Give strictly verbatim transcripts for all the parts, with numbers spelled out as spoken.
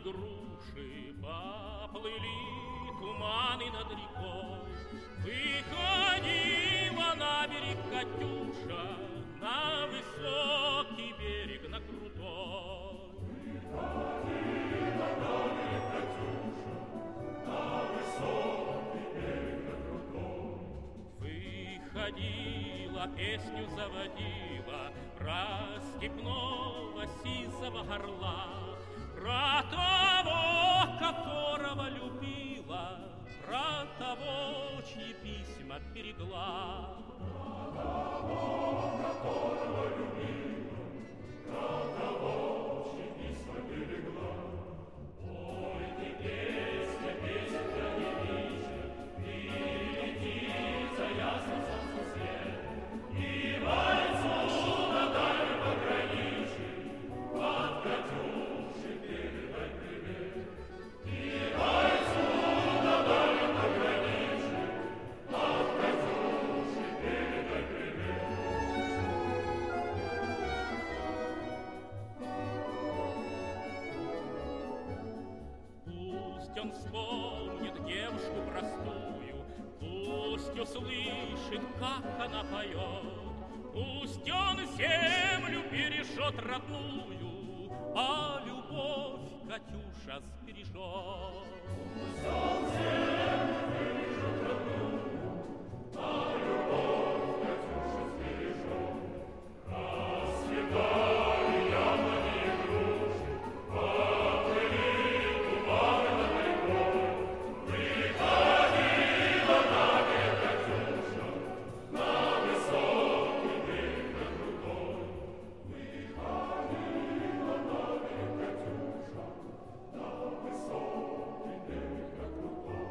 груши, поплыли туманы над рекой. Выходила на берег Катюша, на высокий берег, на крутой. Выходила на берег Катюша, на высокий берег, на крутой. Выходила, песню заводила про степного сизого горла, про того, которого любила, про того, чьи письма берегла. Про того, которого любила, про того, чьи письма берегла. Ой, ты песня, песенка не вижу, ты летит за ясным солнцем свет, и вальцу на дальнем пограничье от Катюши передай привет. И вальцу на дальнем пограничье от Катюши передай привет. Пусть он вспомнит девушку простую, пусть услышит, как она поет, пусть он землю бережет родную, а любовь Катюша сбережет. Пусть он землю бережет родную, а любовь Катюша сбережет. Расцветали яблони и груши, поплыли туманы над рекой. Выходила на берег Катюша, на высокий берег, на крутой. Выходила на берег Катюша, на высокий берег, на крутой.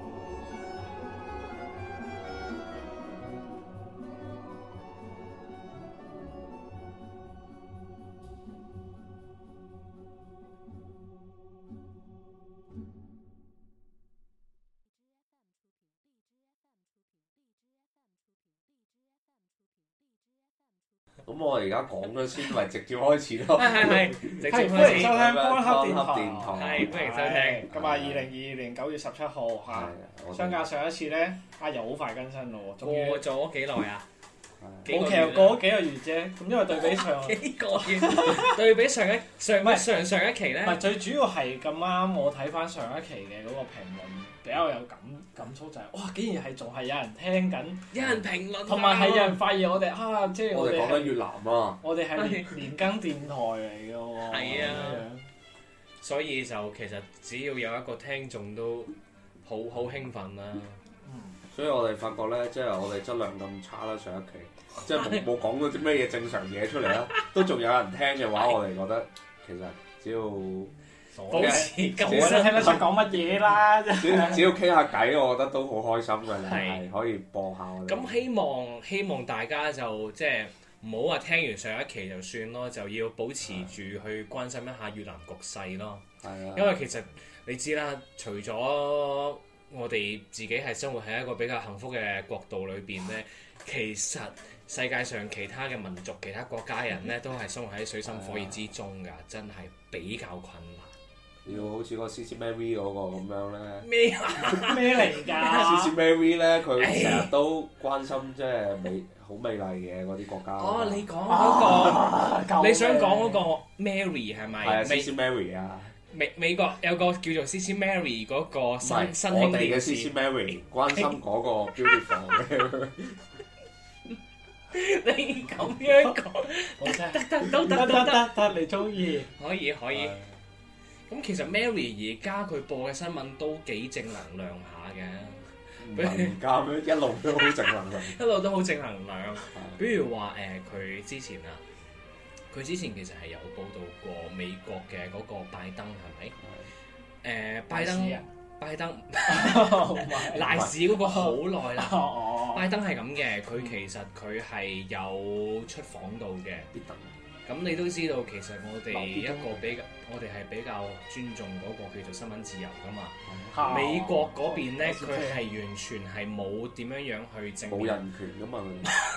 咁我而家講咗先，咪直接開始咯。 係係係，直接係歡開始。 迎收聽光刻電光刻電台， 台係歡迎收聽。 咁啊，二零二二年九月十七號嚇， 我哋相隔上一次咧，阿柔好快更新咯喎，終於過咗幾耐啊？幾冇個月啦其實過咗幾個月啫，咁因為對比上， 幾個月對比上一上唔係上上一期咧唔，係最主要係咁啱，我睇翻上一期嘅嗰個評論比較有感感觸，就係哇，竟然係仲係有人聽緊， 有人評論啊， 同埋係有人發現我哋啊，即係我哋哋係講緊越南啊， 我哋係連連更電台嚟嘅喎， 係啊咁樣所以就其實只要有一個聽眾都好好興奮啦。 所以我哋發覺咧，即係我哋質量咁差啦，上一期即係冇冇講到啲咩嘢正常嘢出嚟啦，都仲有人聽嘅話，我哋覺得其實只要保持我都聽得出講乜嘢啦， 只只要傾下偈，我覺得都好開心嘅， 係係可以播下我哋。 咁希望希望大家就即係唔好話聽完上一期就算咯，就要保持住去關心一下越南局勢咯。 係啊， 因為其實你知啦，除咗我哋自己係生活喺一個比較幸福嘅國度裏邊咧，其實世界上其他嘅民族、其他國家人咧，都係生活喺水深火熱之中㗎，真係比較困難。 要好似個 C C Mary 嗰個咁樣咧咩啊？ 咩嚟 ，C 㗎？ C Mary 咧佢成日都關心即係美好美麗嘅嗰啲國家。 哦，你講嗰個， 救命你想講嗰個 Mary 係咪？ 係啊，C 美 C Mary 啊， 美美國有個叫做 C C Mary 嗰個唔新係新我哋嘅興電 C C 視。 Mary 關心嗰個 beautiful 嘅。 你咁樣講， 好啫， 得得都得得得都得， 得得，你中意？ 可以可以。咁其實 Mary 而家佢播嘅新聞都幾正能量下嘅， 唔係唔加咩？一路都好正能量。 一路都好正能量。比如話誒，佢、之前啊，佢之前其實係有報導過美國嘅嗰個拜登係咪？誒、拜登啊拜登唔係賴屎嗰個好耐啦。 哦， 拜登係咁嘅，佢其實佢係有出訪到嘅。 必等咁你都知道，其實我哋一個比較，我哋係比較尊重嗰個叫做新聞自由噶嘛。 啊美國嗰邊咧， 哦佢係完全係冇點樣樣去正面， 冇人權噶嘛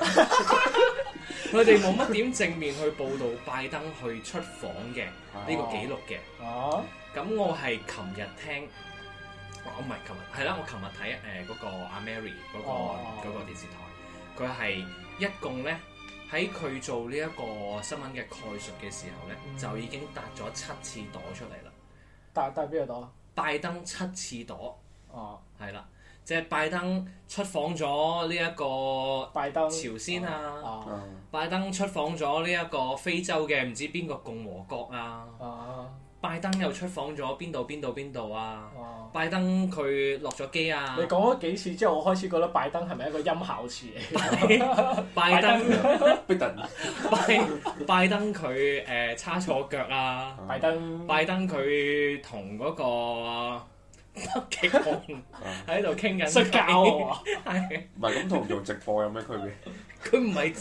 佢哋冇乜點正面去報導拜登去出訪嘅呢個記錄嘅。 哦， 咁我係琴日聽，我唔係琴日，係啦，我琴日睇誒嗰個阿 Mary 嗰、個嗰、 哦個電視台，佢係一共咧喺佢做呢一個新聞嘅概述嘅時候咧， 嗯就已經達咗七次朵出嚟啦。 帶帶邊個朵？ 拜登七次朵， 哦， 係啦，即係拜登出訪咗呢一個拜登朝鮮啊， 啊啊拜登出訪咗呢一個非洲嘅唔知邊個共和國啊， 啊拜登又出訪咗邊度邊度邊度啊。 啊！ 拜登佢落咗機啊！ 你講咗幾次之後，我開始覺得拜登係咪一個音效詞嚟？ 拜登逼人拜拜登佢誒叉錯腳啊！ 拜登拜登佢同嗰個北極熊喺度傾緊摔跤啊！ 係唔係咁同做直播有咩區別？ 佢唔係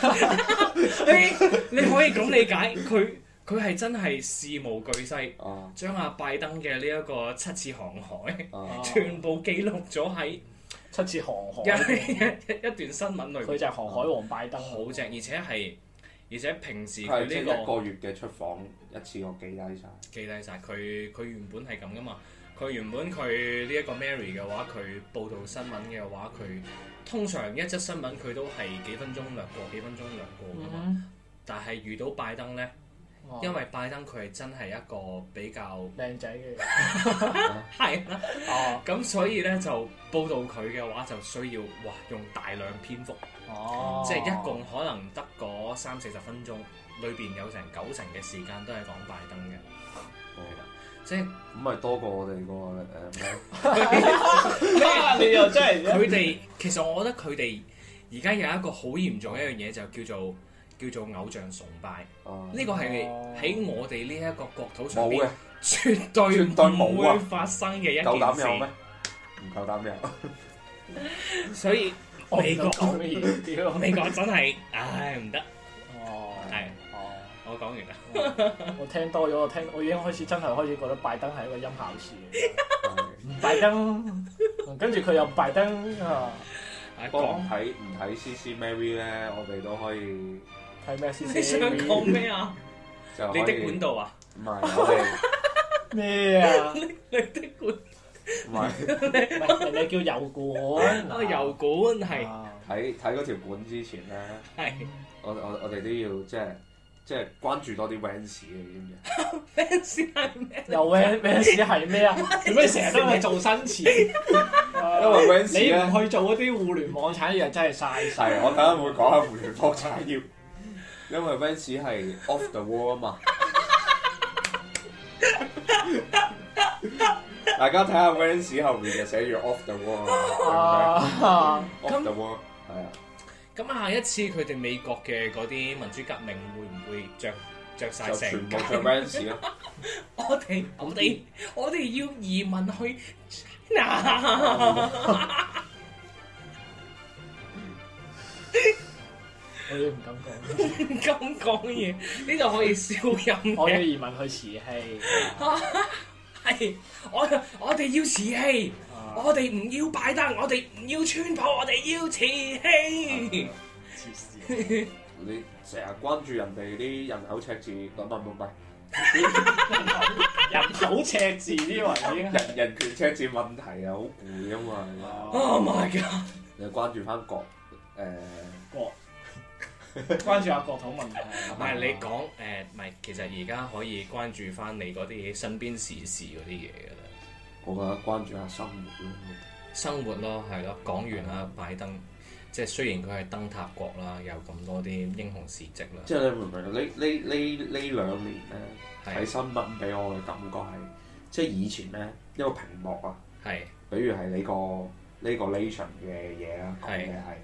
你你可以咁理解佢。佢係真係事無巨細， 啊將阿拜登嘅呢一個七次航海， 啊全部記錄咗喺七次航一海， 一一段新聞裏面。 佢就係航海王拜登， 好正，而且係而且平時佢係即係呢、個一個月嘅出訪一次過記低晒。 記低晒，佢佢原本係咁噶嘛。佢原本佢呢一個 Mary 嘅話，佢報導新聞嘅話，佢通常一則新聞佢都係幾分鐘略過，幾分鐘略過噶嘛。 嗯但係遇到拜登咧。 哦因為拜登佢係真係一個比較靚仔嘅， 係啦， 哦咁所以咧就報導佢嘅話就需要哇用大量篇幅， 哦， 即係一共可能得嗰三四十分鐘，裏邊有成九成嘅時間都係講拜登嘅，係啦，即係咁咪多過我哋個誒咩？ 啊你又真係佢哋其實我覺得佢哋而家有一個好嚴重一樣嘢就叫做叫做偶像崇拜。 啊呢個係喺我哋呢一個國土上邊冇嘅， 絕對絕對冇啊唔會發生嘅一夠膽有件咩事，？ 唔夠膽有。 所以我唔美國講乜嘢屌美國真係唉唔得， 哦， 係哦。 我講完啦。 我聽多咗，我聽我已經開始真係開始覺得拜登係一個音效詞嚟係嘅，拜登，跟住佢又拜登啊， 不過唔講睇唔睇 C C Mary 咧，我哋都可以睇咩先？ 你想講咩啊？ 就可以你的管道啊？ 唔係我哋咩啊？ 你的管唔係唔係人哋叫油管， 啊油管係啊睇睇嗰條管之前咧， 係我我我哋都要即係即係關注多啲 Vans 嘅，你知唔知？ 咩事係咩？ 又咩咩事係咩啊？做咩成日都係做新詞？ 因為 Vans 你咧唔去做嗰啲互聯網產業，真係嘥晒。 係我等陣會講下互聯網產業，因為 Vans 係 off the wall 啊嘛。大家睇下 Vans 後面就寫住 off the wall 啊啊！ ，off the wall 係啊。 咁下一次佢哋美國嘅嗰啲民主革命會唔會着着曬就全成部着 Vans 咯。 我哋我哋我哋要移民去 China。 我亦唔敢講， 唔敢講嘢，呢度可以消音嘅。 我要移民去慈禧。 係我我哋要瓷器， 啊我哋唔要拜登，我哋唔要川普，我哋要瓷器。 黐線你成日關注人哋啲人口赤字，唔唔唔唔， 人口赤字呢位已經係人人權赤字問題啊，好攰啊嘛。 Oh my god！ 你關注翻國誒國關注下國土問題。 唔係你講誒，唔係其實而家可以關注翻你嗰啲身邊時事嗰啲嘢㗎啦， 我覺得關注下生活咯。 生活咯，係咯，講完啦，拜登，即係雖然佢係燈塔國啦，有咁多啲英雄事蹟啦， 即係你明唔明？呢呢呢呢兩年咧睇係新聞俾我嘅感覺係，即係以前咧一個屏幕啊， 係比如係呢個呢個 nation 嘅嘢啦，講嘅係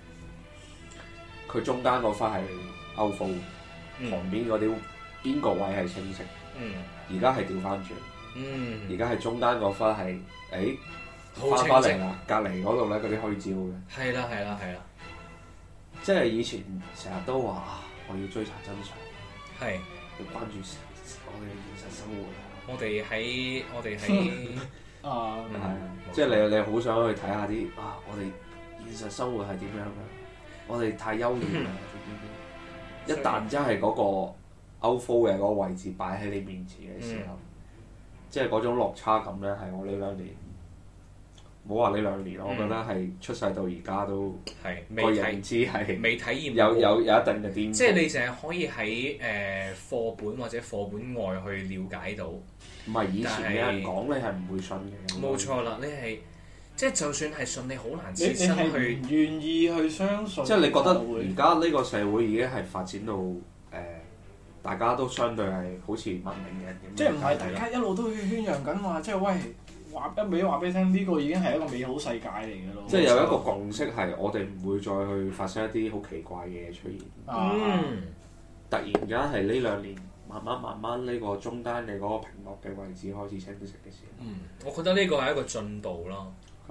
佢中間嗰忽係 outflow， 嗯旁邊嗰啲邊個位係清晰， 嗯而家係調翻轉， 嗯， 而家係中間嗰忽係誒好翻清晰， 返嚟啦，隔離嗰度咧嗰啲虛焦嘅。 係啦係啦係啦， 即係以前成日都話啊，我要追查真相， 係要關注我哋嘅現實生活啊。 我哋喺我哋喺啊， 係啊，即係你你好想去睇下啲啊，我哋現實生活係點樣嘅？我哋太優越啦，點點點。一旦真係嗰個 outflow 嘅嗰個位置擺喺你面前嘅時候，嗯、即係嗰種落差感咧，係我呢兩年。冇話呢兩年，我覺得係出世到而家都個認知係未體驗有有有一定嘅顛覆。 即係你淨係可以喺誒、呃、課本或者課本外去了解到。 唔係以前嘅人講，你係唔會信嘅。 冇錯啦，你係即係就算係信，你好難切身去唔願意去相信。 即係你覺得而家呢個社會已經係發展到誒、呃，大家都相對係好似文明嘅人咁。 即係唔係大家一路都去宣揚緊話，即係喂。話一味話俾你聽，呢、這個已經係一個美好世界嚟嘅咯。 即係有一個共識係，我哋唔會再去發生一啲好奇怪嘅嘢出現。 嗯， 突然間係呢兩年，慢慢慢慢呢個中間嘅嗰個屏幕嘅位置開始清晰嘅時候。 嗯，我覺得呢個係一個進步咯。 啊、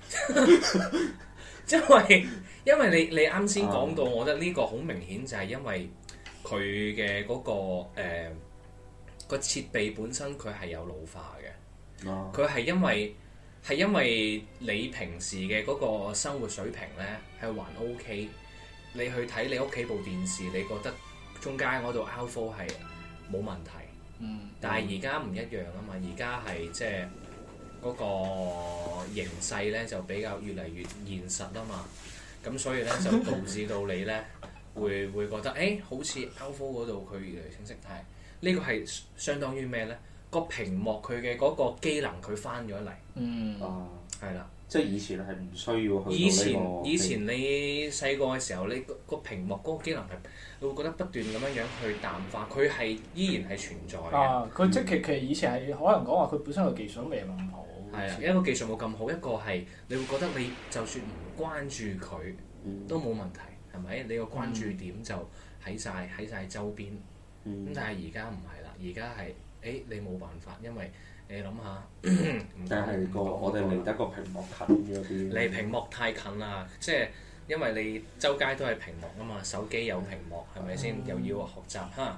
因為因為你你啱先講到，啊、我覺得呢個好明顯就係因為佢嘅嗰個誒、呃、個設備本身佢係有老化嘅。佢係、啊、因為係因為你平時嘅嗰個生活水平咧係還 OK， 你去睇你屋企部電視，你覺得中間嗰度 outflow 係冇問題。 嗯。 但係而家唔一樣啊嘛，而家係即係嗰個形勢咧就比較越嚟越現實啊嘛，咁所以咧就導致到你咧會會覺得誒、欸、好似 outflow 嗰度佢越嚟越清晰，但係呢個係相當於咩咧？個屏幕佢嘅嗰個機能佢翻咗嚟， 嗯啊， 係啦， 即係以前係唔需要去到呢個。 以前以前你細個嘅時候，你個個屏幕嗰個機能係，你會覺得不斷咁樣樣去淡化，佢係依然係存在嘅。 啊，佢即係其其實以前係可能講話佢本身個技術都未咁好。 係啊，一個技術冇咁好，一個係你會覺得你就算唔關注佢、嗯、都冇問題，係咪？你個關注點就喺晒喺曬周邊。咁、嗯、但係而家唔係啦，而家係。誒你冇辦法，因為你諗下， 但係個我哋離得個屏幕近咗啲。 離屏幕太近啦，即係因為你周街都係屏幕啊嘛，手機有屏幕係咪先？又要學習嚇，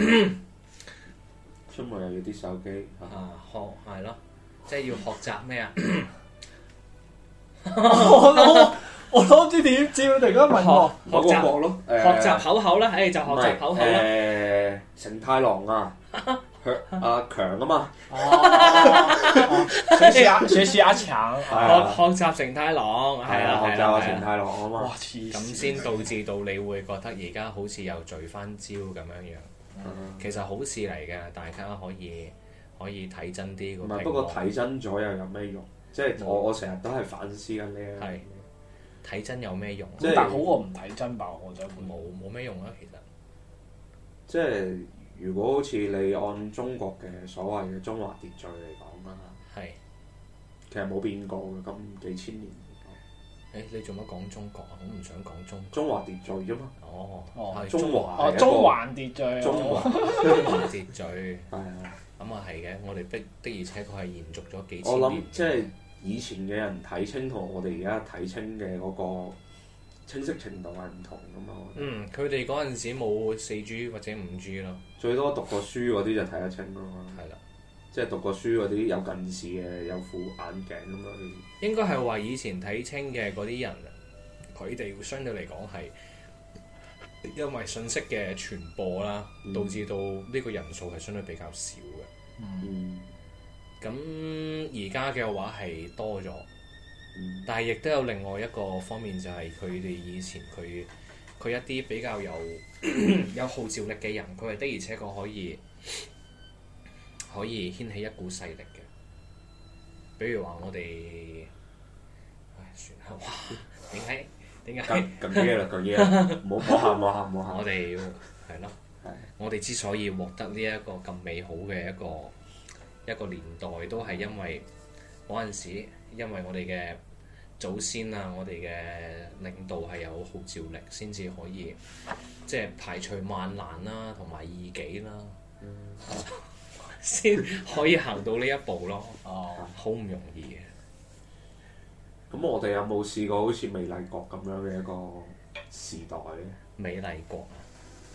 出門又要啲手機啊，學係咯，即係要學習咩啊？ 我都我都唔知點知，突然間問我學習學咯， 學習口口啦，誒就學習口口啦。 誒成太郎啊！阿強啊嘛， 學習阿學習阿強， 學學習成太郎，係啊， 學習阿成太郎啊嘛， 哇黐線， 咁先導致到你會覺得而家好似又聚翻招咁樣樣，其實好事嚟嘅，大家可以可以睇真啲個屏幕。 唔係，不過睇真咗又有咩用？即係我我成日都係反思緊呢樣嘢。 睇真有咩用？ 但係好過唔睇真吧？我覺得冇冇咩用啊，其實。 即係。如果好似你按中國嘅所謂嘅中華秩序嚟講啦，係是其實冇變過嘅，咁幾千年。 誒、欸，你做乜講中國啊？我唔想講中國。 中華秩序啫嘛。 哦， 哦， 係中華。 哦，中環秩序。 中華中華秩序。 係啊。 咁啊係嘅，我哋的的而且確係延續咗幾千年。 我諗即係以前嘅人睇清同我哋而家睇清嘅嗰個清晰程度係唔同噶嘛。 嗯，佢哋嗰陣時冇四 G 或者五 G 咯。 最多讀過書嗰啲就睇得清咯。 係啦， 即係讀過書嗰啲有近視嘅，有副眼鏡咁樣。 應該係話以前睇清嘅嗰啲人，佢哋會相對嚟講係因為信息嘅傳播啦，嗯、導致到呢個人數係相對比較少嘅。 嗯。咁而家嘅話係多咗。嗯、但係亦都有另外一個方面，就係佢哋以前佢佢一啲比較有有號召力嘅人，佢係的而且確可以可以掀起一股勢力嘅。比如話我哋，唉算啦，哇！點解點解？ 咁嘢啦，咁嘢，唔好喊，唔好喊，唔好喊。 我哋係咯，我哋之所以獲得呢一個咁美好嘅一個一個年代，都係因為嗰陣時。因為我哋嘅祖先啊，我哋嘅領導係有號召力，先至可以即係排除萬難啦，同埋異己啦，先、嗯、可以行到呢一步咯。哦，好唔容易嘅。 咁我哋有冇試過好似美麗國咁樣嘅一個時代咧？ 美麗國啊，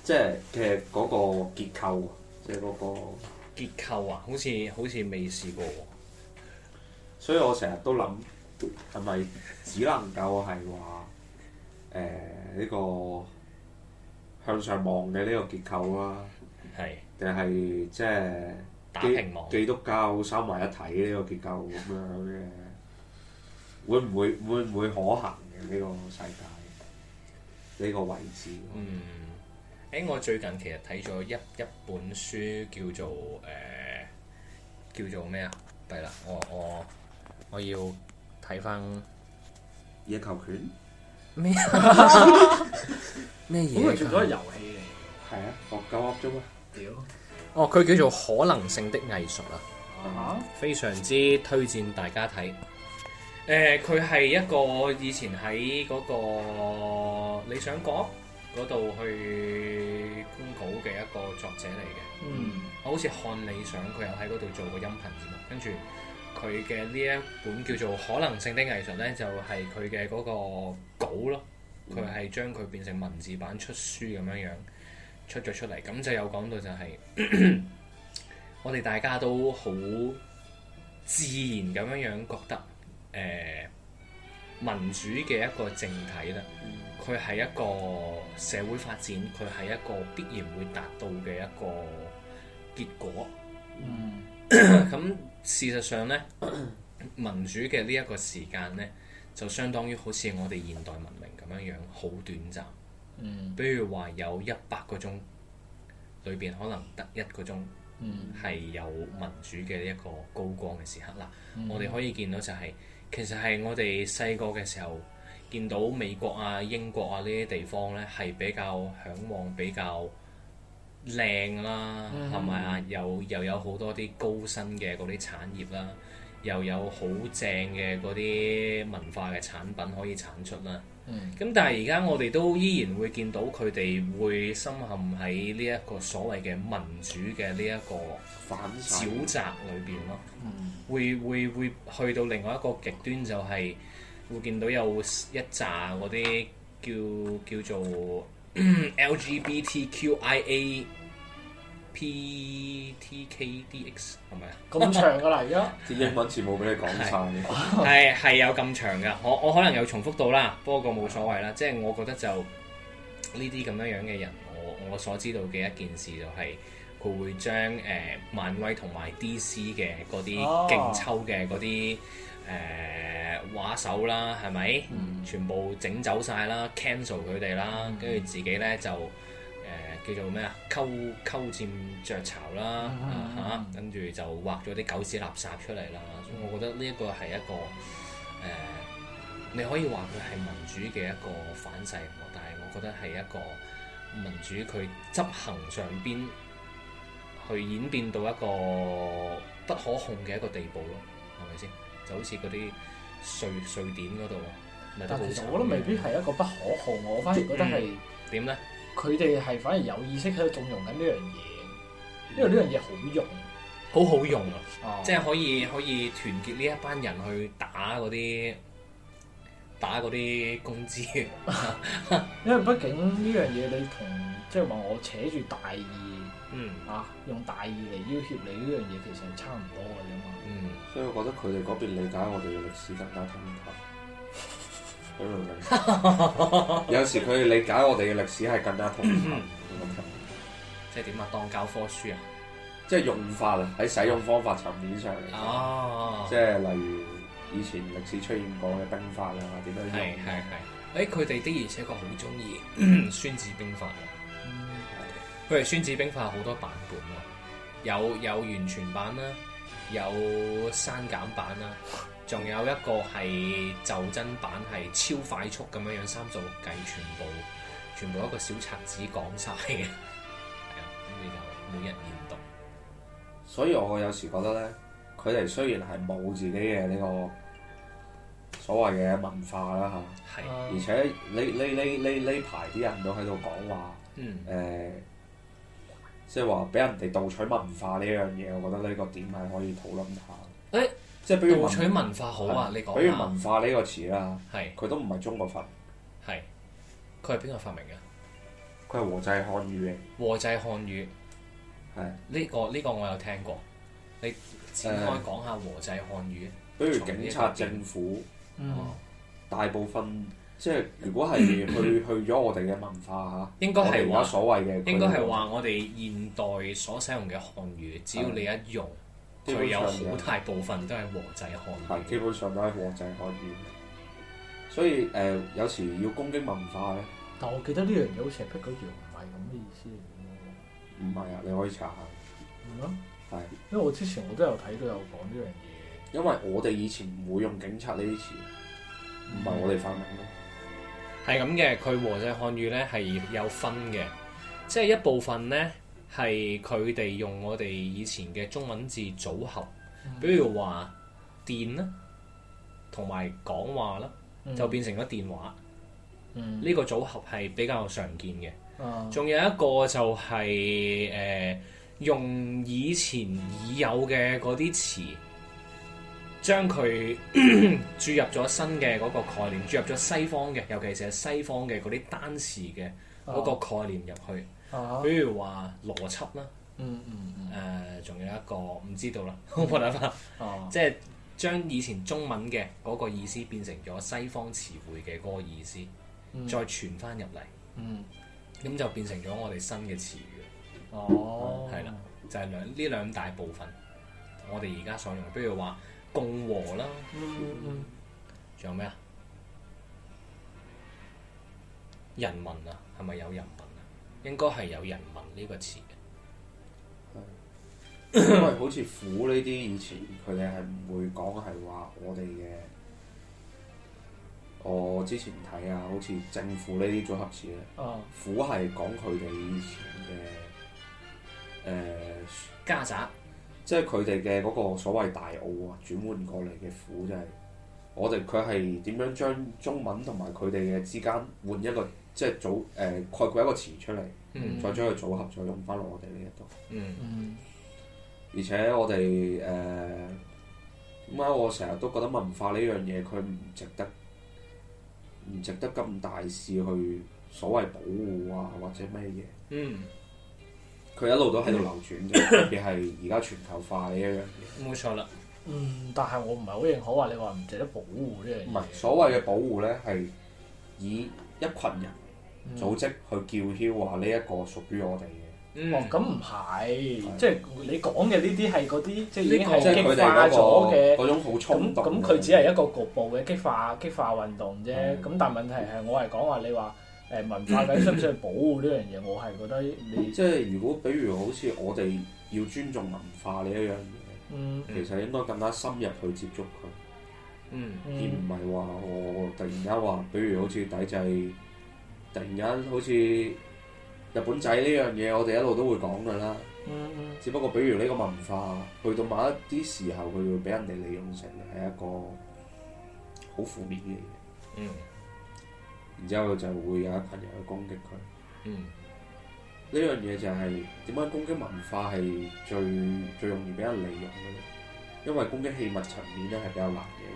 即係嘅嗰個結構，即係嗰個結構啊，好似好似未試過喎。 所以我成日都諗係咪只能夠係話誒呢個向上望嘅呢個結構啦， 係定係即係打平望基督教三位一體呢個結構咁樣嘅，會唔會會唔會可行嘅呢個世界呢個位置？ 嗯，誒，我最近其實睇咗一一本書叫做誒、呃、叫做咩啊？弊啦，我我我要睇翻野球拳咩啊？咩嘢？ 咁佢做咗遊戲嚟。 係啊，學鳩噏啫嘛。 屌！ 哦，佢叫做可能性的藝術啊， 啊非常之推薦大家睇。誒、佢係一個以前喺嗰個理想國嗰度去公稿嘅一個作者嚟嘅。 嗯。 我好似看理想，佢有喺嗰度做過音頻節目，跟住佢嘅呢一本叫做《可能性的藝術》呢，就係佢嘅嗰個稿咯。佢係將佢變成文字版出書咁樣樣出咗出嚟，咁就有講到就係、我哋大家都好自然咁樣樣覺得誒、呃、民主嘅一個政體啦，佢係一個社會發展，佢係一個必然會達到嘅一個結果。 嗯。 咁事實上呢，民主嘅呢一個時間呢，就相當於好似我哋現代文明咁樣樣，好短暫。 嗯。 比如話有一百個鐘，裏邊可能得一個鐘係有民主嘅一個高光嘅時刻啦。 嗯、 我哋可以見到就係、是，其實係我哋細個嘅時候見到美國啊、英國啊呢啲地方呢，係比較嚮往比較靚啦，係咪啊？又又有好多啲高薪嘅嗰啲產業啦，又有好正嘅嗰啲文化嘅產品可以產出啦。咁、嗯、但係而家我哋都依然會見到佢哋會深陷喺呢一個所謂嘅民主嘅呢一個沼澤裏邊咯。嗯、會會會去到另外一個極端，就係會見到有一紮嗰啲叫叫做 L G B T Q I A P T K D X 係咪啊？咁長㗎啦，而家啲英文字母俾你講晒， 係係有咁長㗎。我我可能有重複到啦，不過冇所謂啦。即係我覺得就呢啲咁樣樣嘅人，我我所知道嘅一件事就係、是、佢會將誒、呃、漫威同埋 D C 嘅嗰啲勁抽嘅嗰啲誒畫手啦，係咪？嗯、全部整走晒啦 cancel 佢哋啦，跟住、嗯、自己咧就。叫做咩啊？溝溝佔雀巢啦，嚇，跟住就畫咗啲狗屎垃圾出嚟啦。所以我覺得呢一個係一個誒、呃，你可以話佢係民主嘅一個反噬，但係我覺得係一個民主佢執行上邊去演變到一個不可控嘅一個地步咯，係咪先？就好似嗰啲瑞瑞典嗰度，咪都好慘。但其實我覺得未必係一個不可控，我反而覺得係點咧？ 佢哋係反而有意識喺度縱容緊呢樣嘢，因為呢樣嘢好用， 好好用啊！ 哦、 即係可以可以團結呢一班人去打嗰啲打嗰啲工資。 因為畢竟呢樣嘢你同即係話我扯住大義， 嗯啊用大義嚟要挾你呢樣嘢，其實係差唔多嘅啫嘛。 嗯， 所以我覺得佢哋嗰邊理解我哋嘅歷史更加通透。有時佢哋理解我哋嘅歷史係更加通透， 即係點啊？當教科書啊？ 即係用法啊，喺使用方法層面上嚟講， 哦、 即係例如以前歷史出現過嘅兵法啊，點樣用？ 係係係。誒，佢哋的而且確好中意孫子兵法喎。佢哋孫子兵法好多版本喎，有有完全版啦，有刪減版啦。仲有一個係就真版，係超快速咁樣樣三十六計，全部全部一個小冊子講晒嘅，係啊，咁你就每日研讀。 所以我有時覺得咧，佢哋雖然係冇自己嘅呢個所謂嘅文化啦嚇，係，而且呢呢呢呢呢排啲人都喺度講話， 嗯， 誒，即係話俾人哋盜取文化呢樣嘢，我覺得呢個點係可以討論下。 誒。 即係比如盜取文化好啊！你講， 比如文化呢個詞啦， 係佢都唔係中國發明， 係佢係邊個發明嘅？ 佢係和製漢語嘅。 和製漢語係呢個呢個我有聽過，你展開講下和製漢語。 比如警察、政府， 嗯大部分即係如果係去去咗我哋嘅文化嚇， 應該係話我哋而家所謂嘅， 應該係話我哋現代所使用嘅漢語，只要你一用， 基佢有本上嘅好大部分都係和製漢係基語。 本上都係和製漢語。所以誒、呃，有時要攻擊文化咧， 但我記得呢樣嘢好似係辟咗謠，唔係咁嘅意思嚟唔係啊，你可以查下。 嘅喎。 係， 因為我之前我都有睇到有講呢樣嘢。 因為我哋以前唔會用警察呢啲詞，唔係我哋發明咯。 係咁嘅，佢和製漢語咧係有分嘅，即係一部分咧係佢哋用我哋以前嘅中文字組合，比如話電啦，同埋講話啦， 嗯就變成咗電話。 嗯呢個組合係比較常見嘅。 啊仲有一個就係、誒、用以前已有嘅嗰啲詞，將佢注入咗新嘅嗰個概念，注入咗西方嘅，尤其是係西方嘅嗰啲單詞嘅嗰個概念入去。 啊比如話邏輯啦， 嗯嗯嗯誒仲、有一個唔知道啦，冇辦法， 啊即係將以前中文嘅嗰個意思變成咗西方詞彙嘅嗰個意思， 嗯再傳翻入嚟， 嗯咁就變成咗我哋新嘅詞語。 哦係啦，就係兩呢兩大部分，我哋而家所用，比如話共和啦， 嗯嗯仲有咩啊？人民啊，係咪有人民啊？應該係有人民呢個詞嘅。 因為好似苦呢啲以前佢哋係唔會講係話我哋嘅。我之前睇啊，好似政府呢啲組合詞咧， 啊苦係講佢哋以前嘅誒。呃家宅即係佢哋嘅嗰個所謂大澳啊，轉換過嚟嘅苦，即係我哋佢係點樣將中文同埋佢哋嘅之間換一個即係組誒、呃、概括一個詞出嚟， 嗯再將佢組合，再用翻落我哋呢一度。 嗯嗯而且我哋誒點解我成日都覺得文化呢樣嘢佢唔值得唔值得咁大肆去所謂保護啊或者咩嘢？ 嗯， 佢一路都喺度流轉嘅，特別係而家全球化呢一樣嘢。 冇錯啦。 嗯，但係我唔係好認可話你話唔值得保護呢樣嘢。 唔係所謂嘅保護咧，係以一群人組織去叫囂話呢一個屬於我哋嘅。 嗯， 哦，咁唔係，即係你講嘅呢啲係嗰啲，即係已經即係激係佢哋化咗嗰嘅。 個嗰種好衝動。 咁咁佢只係一個局部嘅激化激化運動啫。 嗯咁但係問題係我係講話你話誒文化究竟需唔需要保護呢樣嘢？我係覺得你即係如果比如好似我哋要尊重文化呢一樣嘢， 嗯其實應該更加深入去接觸佢， 嗯而唔係話我突然間話，比如好似抵制，突然間好似日本仔呢樣嘢，我哋一路都會講㗎啦。 嗯嗯只不過比如呢個文化去到某一啲時候，佢會俾人哋利用成係一個好負面嘅嘢， 嗯然之後就會有一群人去攻擊佢。 嗯呢樣嘢就係點解攻擊文化係最最容易俾人利用嘅咧？因為攻擊器物層面咧係比較難嘅。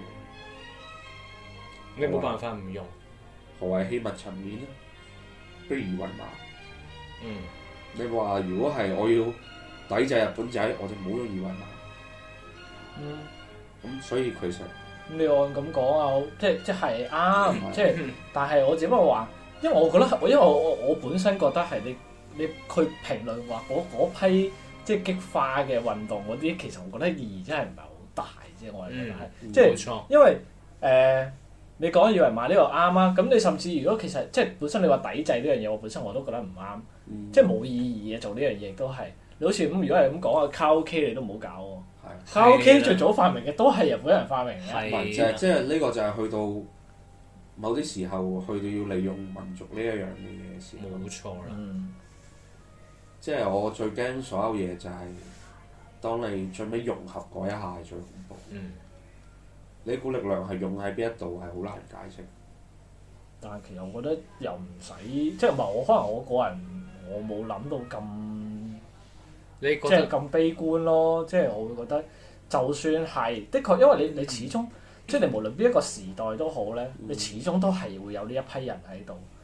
你冇辦法唔用。 何謂器物層面咧？比如二維碼。 嗯你話如果係我要抵制日本仔，我就唔好用二維碼。 嗯。 咁所以其實咁你按咁講啊，即係即係啱， 嗯即係但係我只不過話，因為我覺得我因為我我我本身覺得係你你去評論話嗰嗰批即係激化嘅運動嗰啲，其實我覺得意義真係唔係好大啫。我係覺得係， 嗯即係冇錯。 因為誒、呃、你講二維碼呢個啱啊，咁你甚至如果其實即係本身你話抵制呢樣嘢，我本身我都覺得唔啱， 嗯即係冇意義嘅做呢樣嘢都係。你好似咁，如果係咁講啊，卡拉 OK 你都唔好搞喎。 係卡拉 OK 最早發明嘅都係日本人發明嘅。 係唔係就係即係呢個就係去到某啲時候，去到要利用民族呢一樣嘅嘢嘅時候。 冇錯啦。 嗯即係我最驚所有嘢就係、當你最尾融合嗰一下係最恐怖。 嗯呢股力量係用喺邊一度係好難解釋。 但係其實我覺得又唔使，即係唔係我可能我個人我冇諗到咁你覺即係得咁悲觀咯，即係我會覺得就算係的確，因為你你始終即係你無論邊一個時代都好咧， 嗯你始終都係會有呢一批人喺度。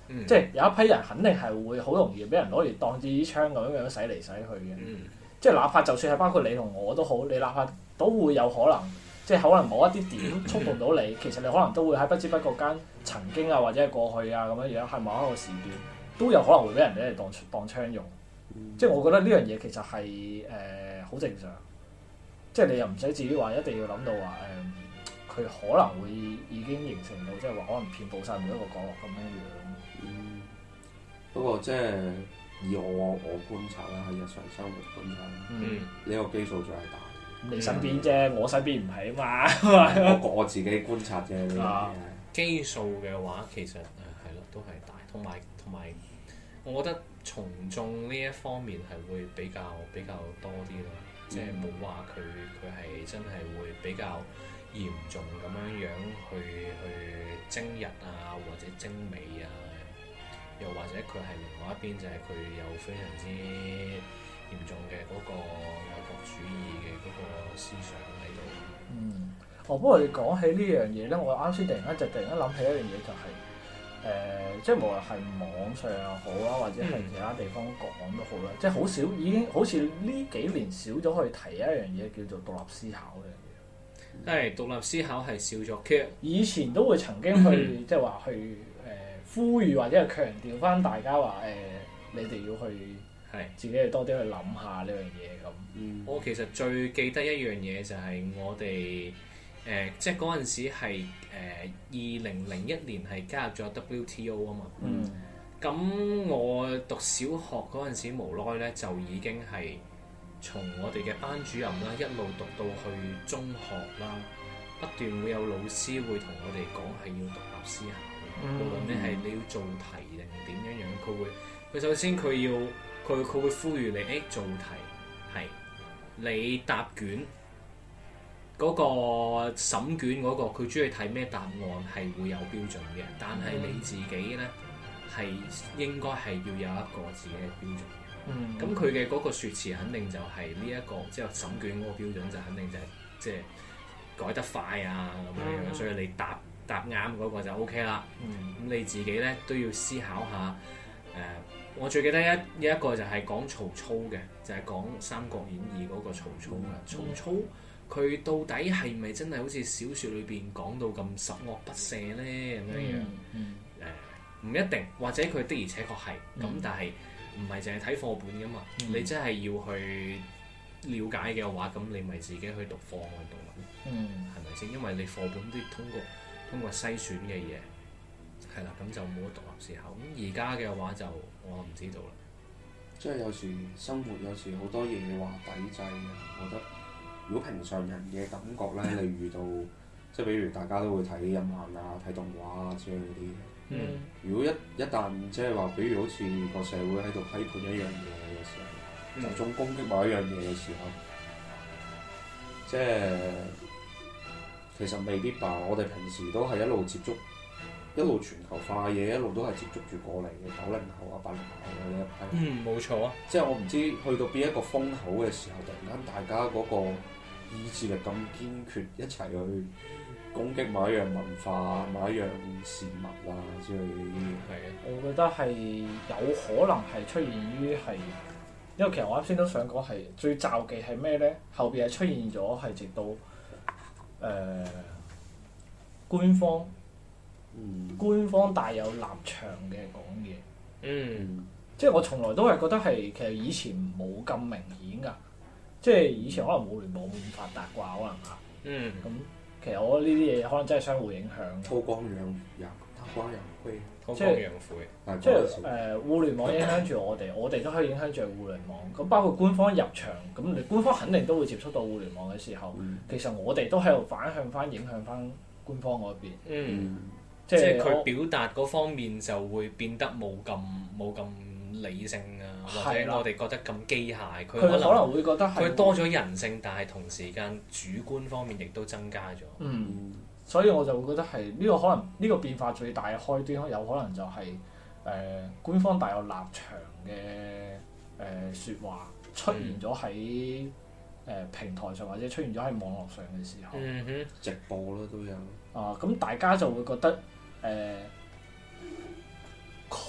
嗯即係有一批人肯定係會好容易俾人攞嚟當支槍咁樣樣洗嚟洗去嘅。 嗯即係哪怕就算係包括你同我都好，你哪怕都會有可能，即係可能某一啲點觸動到你，其實你可能都會喺不知不覺間曾經啊或者係過去啊咁樣樣，係某一個時段都有可能會俾人哋嚟當當槍用。 嗯、 即係我覺得呢樣嘢其實係誒好正常，即係你又唔使至於話一定要諗到話誒，佢、呃、可能會已經形成到即係話可能遍佈晒每一個角落咁樣樣。 嗯，不過即係以我我觀察啦，喺日常生活觀察啦， 嗯， 呢個基數仲係大。 你身邊啫，我身邊唔係啊嘛。 嗰個我自己觀察啫，呢樣嘢。 基數嘅話，其實誒係咯，都係大，同埋同埋，我覺得從眾呢一方面係會比較比較多啲咯，嗯、即係冇話佢佢係真係會比較嚴重咁樣樣去去精日啊，或者精美啊，又或者佢係另外一邊就係佢有非常之嚴重嘅嗰個愛國主義嘅嗰個思想喺度。 嗯，哦，不過你講起呢樣嘢咧，我啱先突然間就突然間諗起一樣嘢，就係、是、誒、呃，即係無論係網上又好啦，或者係其他地方講都好啦，嗯、即係好少已經好似呢幾年少咗去提一樣嘢叫做獨立思考嘅。 係獨立思考係少咗，其實以前都會曾經去即係話去誒、呃、呼籲或者係強調翻大家話誒、呃，你哋要去。係自己去多啲去諗下呢樣嘢咁。 嗯、 我其實最記得一樣嘢就係我哋誒、呃，即係嗰陣時係誒二零零一年係加入咗 W T O 啊嘛。咁、嗯、我讀小學嗰陣時無奈咧，就已經係從我哋嘅班主任啦，一路讀到去中學啦，不斷會有老師會同我哋講係要獨立思考，無論你係你要做題定點樣樣，佢會佢首先佢要。佢佢會呼籲你，誒、欸、做題係你答卷嗰、那個審卷嗰、那個，佢中意睇咩答案係會有標準嘅，但係你自己咧係應該係要有一個自己嘅標準嘅。咁佢嘅嗰個説辭肯定就係呢一個，即係審卷嗰個標準就肯定就係即係改得快啊咁樣樣，嗯、所以你答答啱嗰個就 O K 啦。咁、嗯、你自己咧都要思考下誒。呃我最記得一一個就係講曹操嘅，就係、是、講《三國演義》嗰個曹操嘅。嗯、曹操佢到底係咪真係好似小説裏邊講到咁十惡不赦咧咁樣樣？誒唔、嗯呃、一定，或者佢的而且確係咁，嗯、但係唔係淨係睇課本噶嘛？嗯、你真係要去了解嘅話，咁你咪自己去讀課外讀物，係咪先？因為你課本都要通過通過篩選嘅嘢。係啦，咁就冇得獨立思考。咁而家嘅話就我唔知道啦。 即係有時生活有時好多嘢話抵制嘅，我覺得如果平常人嘅感覺咧，你遇到即係比如大家都會睇日漫啊、睇動畫啊之類嗰啲。嗯。如果一一旦即係話，比如好似個社會喺度批判一樣嘢嘅時候，集中、嗯、攻擊某一樣嘢嘅時候，即係其實未必吧。我哋平時都係一路接觸。一路全球化嘅嘢，一路都係接觸住過嚟嘅九零後啊、八零後嘅呢一批。 嗯，冇錯啊。 即係我唔知去到邊一個風口嘅時候，突然間大家嗰個意志力咁堅決，一齊去攻擊某一樣文化、某一樣事物啊之類嘅嘢。 係啊，我覺得係有可能係出現於係，因為其實我啱先都想講係最罩忌係咩咧？後邊係出現咗係直到誒、呃、官方。嗯、官方帶有立場嘅講嘢，嗯，即係我從來都係覺得係其實以前冇咁明顯㗎，即係以前可能互聯網冇咁發達啩，可能嚇，嗯，咁其實我覺得呢啲嘢可能真係相互影響。韜光養養，韜光養晦，韜光養晦，即係誒、呃、互聯網影響住我哋，我哋都可以影響住互聯網。咁包括官方入場，咁你官方肯定都會接觸到互聯網嘅時候，嗯、其實我哋都喺度反向翻影響翻官方嗰邊。嗯。 即係佢表達嗰方面就會變得冇咁冇咁理性啊，或者我哋覺得咁機械。佢可能會覺得係佢多咗人性，但係同時間主觀方面亦都增加咗。 嗯，所以我就會覺得係呢個可能呢個變化最大嘅開端，有可能就係誒官方大有立場嘅誒説話出現咗喺誒平台上，或者出現咗喺網絡上嘅時候。 嗯哼， 直播啦都有。 啊，咁大家就會覺得。誒，佢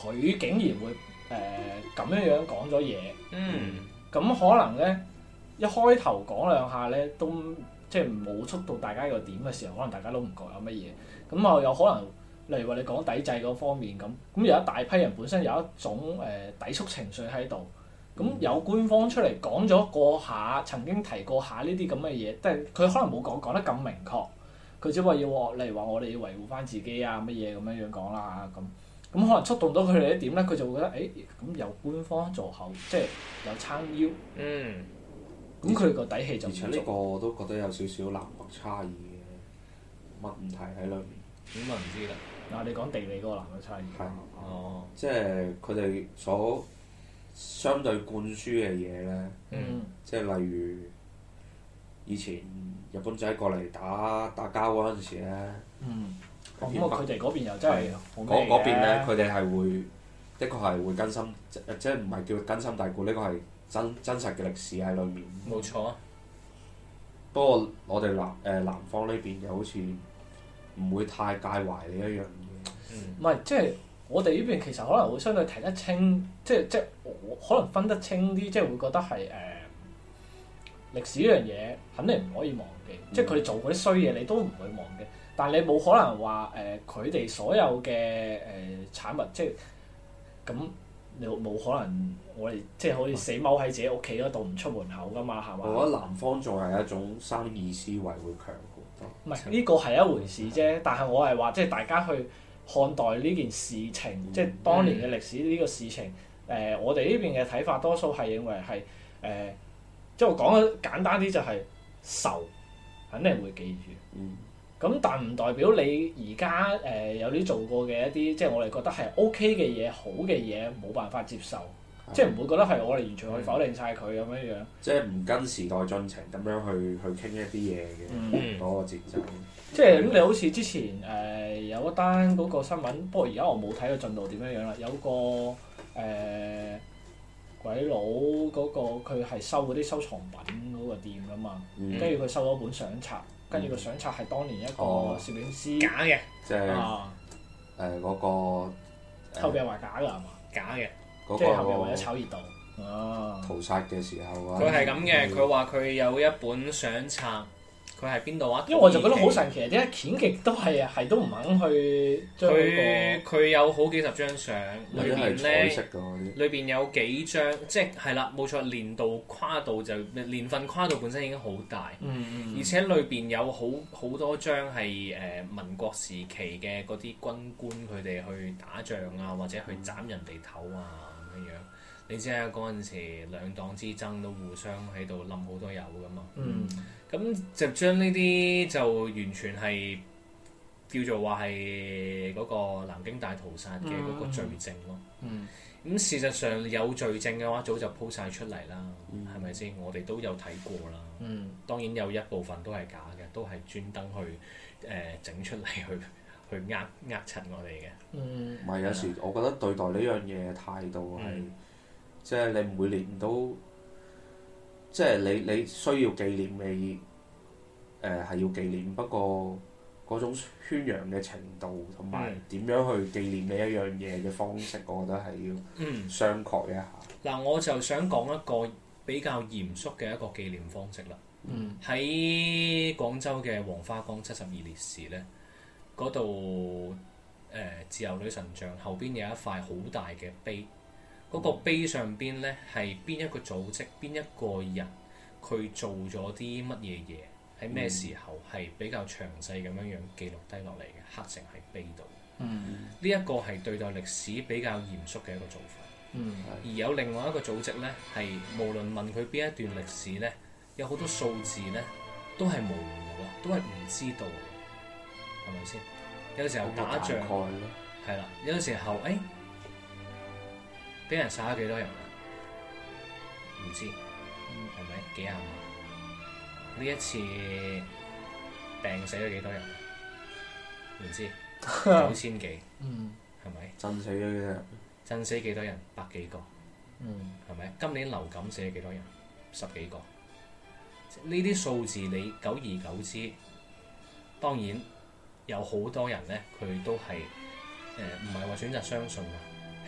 佢竟然會誒咁樣樣講咗嘢， 嗯， 咁可能咧一開頭講兩下咧都即係冇觸到大家個點嘅時候，可能大家都唔覺有乜嘢。咁啊有可能例如話你講抵制嗰方面咁，咁有一大批人本身有一種誒、呃、抵觸情緒喺度，咁有官方出嚟講咗過下，曾經提過下呢啲咁嘅嘢，但係佢可能冇講講得咁明確，佢只不過要例如話我哋要維護翻自己啊乜嘢咁樣樣講啦咁。咁可能觸動到佢哋一點咧，佢就會覺得誒，咁、欸、有官方做後，即係有撐腰， 嗯， 咁佢個底氣就唔足。 而且呢個我都覺得有少少南北差異嘅問題喺裏面。 咁啊唔知啦。 嗱，你講地理嗰個南北差異。 係。 哦。 即係佢哋所相對灌輸嘅嘢咧， 嗯。 即係例如以前日本仔過嚟打打交嗰陣時咧。 嗯。咁啊！佢哋嗰邊又真係嗰嗰邊咧，佢哋係會的確係會根深，即即係唔係叫根深蒂固？呢個係真真實嘅歷史喺裏面。 冇錯啊！ 不過我哋南誒南方呢邊就好似唔會太介懷呢一樣嘢。 唔係、嗯，即係我哋呢邊其實可能會相對睇得清，即係即係我可能分得清啲，即係會覺得係誒、呃、歷史呢樣嘢肯定唔可以忘記，嗯、即係佢哋做嗰啲衰嘢，你都唔會忘記。但你冇可能話誒佢哋所有嘅誒、呃、產物，即係咁你冇可能我哋即係好似死踎喺自己屋企嗰度唔出門口㗎嘛，係嘛？ 我覺得南方仲係一種生意思維會強好多。 唔係呢個係一回事啫，但係我係話即係大家去看待呢件事情，嗯、即係當年嘅歷史呢個事情。誒、呃，我哋呢邊嘅睇法多數係認為係誒、呃，即係我講得簡單啲就係仇，肯定會記住。 嗯。 咁但唔代表你而家誒有啲做過嘅一啲，即係我哋覺得係 O.K. 嘅嘢、好嘅嘢，冇辦法接受，的即係唔會覺得係我哋完全可以否定晒佢咁樣樣。即係唔跟時代進程咁樣去去傾一啲嘢嘅嗰個節奏。 即係咁，你好似之前誒、呃、有一單嗰個新聞，不過而家我冇睇個進度點樣樣啦。有個誒、呃、鬼佬嗰、嗰個佢係收嗰啲收藏品嗰個店㗎嘛，跟住佢收咗本相冊。跟住個相冊係當年一個攝影師假嘅， 即係誒嗰個後邊話假㗎係嘛？ 假嘅， 即係後邊為咗炒熱度。哦， 屠殺嘅時候啊！ 佢係咁嘅，佢話佢有一本相冊，佢係邊度啊？ 因為我就覺得好神奇，點解剪極都係係都唔肯去將嗰個？ 佢有好幾十張相，裏邊咧，裏邊有幾張，即係係啦，冇錯，年度跨度就年份跨度本身已經好大， 嗯嗯、 而且裏邊有好好多張係誒、呃、民國時期嘅嗰啲軍官佢哋去打仗啊，或者去斬人哋頭啊咁樣樣。你知啊，嗰陣時兩黨之爭都互相喺度冧好多友噶嘛。咁、嗯、就將呢啲就完全係叫做話係嗰個南京大屠殺嘅嗰個罪證咯。咁、嗯嗯、事實上有罪證嘅話，早就鋪晒出嚟啦，係咪先？我哋都有睇過啦。嗯、當然有一部分都係假嘅，都係專登去誒整、呃、出嚟去去呃呃柒我哋嘅。唔係、嗯、有時我覺得對待呢樣嘢嘅態度係。嗯即係你每年都，即係你你需要紀念嘅，誒係要紀念，不過嗰種宣揚嘅程度同埋點樣去紀念呢一樣嘢嘅方式，我覺得係要商榷一下。嗱、 嗯，我就想講一個比較嚴肅嘅一個紀念方式啦。喺、嗯、廣州嘅黃花崗七十二烈士咧，嗰度誒自由女神像後邊有一塊好大嘅碑。嗰個碑上邊咧係邊一個組織、邊一個人佢做咗啲乜嘢嘢，喺咩時候係比較詳細咁樣樣記錄低落嚟嘅，刻成喺碑度。呢一、嗯、個係對待歷史比較嚴肅嘅一個做法。嗯、而有另外一個組織咧，係無論問佢邊一段歷史咧，有好多數字咧都係模糊嘅，都係唔知道嘅，係咪先？有時候打仗係啦，有時候誒。哎俾人殺咗幾多人啊？唔知，係咪、嗯、幾廿萬？呢一次病死咗幾多人？唔知九千幾，係咪？ 震死咗幾多人？ 震死幾多人？百幾個，係咪、嗯？今年流感死咗幾多人？十幾個。呢啲數字你久而久之，當然有好多人咧，佢都係誒唔係話選擇相信啊。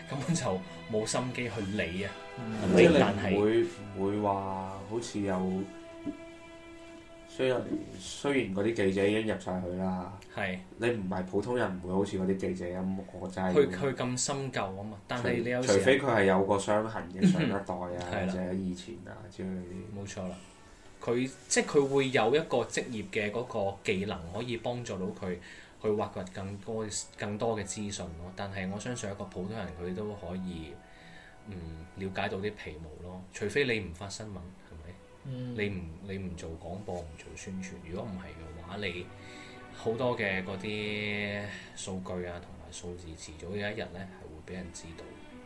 根本就冇心機去理啊。 嗯、即係但係你唔會唔會話好似有雖然雖然嗰啲記者已經入晒去啦， 係你唔係普通人，唔會好似嗰啲記者咁，我真係佢佢咁深究啊嘛。但係你有時除非佢係有個傷痕嘅上一代啊， 係啦或者以前啊之類嗰啲。 冇錯啦，佢即係佢會有一個職業嘅嗰個技能可以幫助到佢去挖掘更多更多嘅資訊咯。但係我相信一個普通人佢都可以嗯了解到啲皮毛咯。除非你唔發新聞，係咪？ 嗯、 你唔你唔做廣播唔做宣傳，如果唔係嘅話，你好多嘅嗰啲數據啊同埋數字，遲早有一日咧係會俾人知道。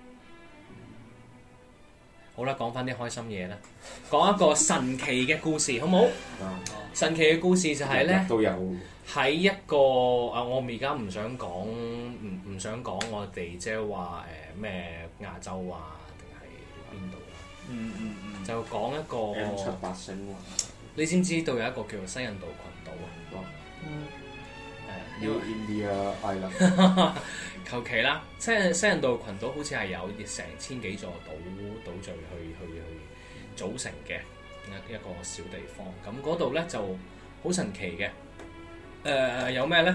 好啦，講翻啲開心嘢啦，講一個神奇嘅故事，好唔好？ 啊神奇嘅故事就係咧， 都有喺一個啊，我而家唔想講，唔唔想講我哋即係話誒咩亞洲啊，定係邊度啊？ 嗯嗯嗯， 就講一個 M 七八星喎。 你知唔知道有一個叫做西印度群島啊？ 嗯誒 New India Island 求其啦，西西印度群島好似係有成千幾座島島嶼去去去組成嘅一一個小地方。咁嗰度咧就好神奇嘅。誒、呃、有咩咧？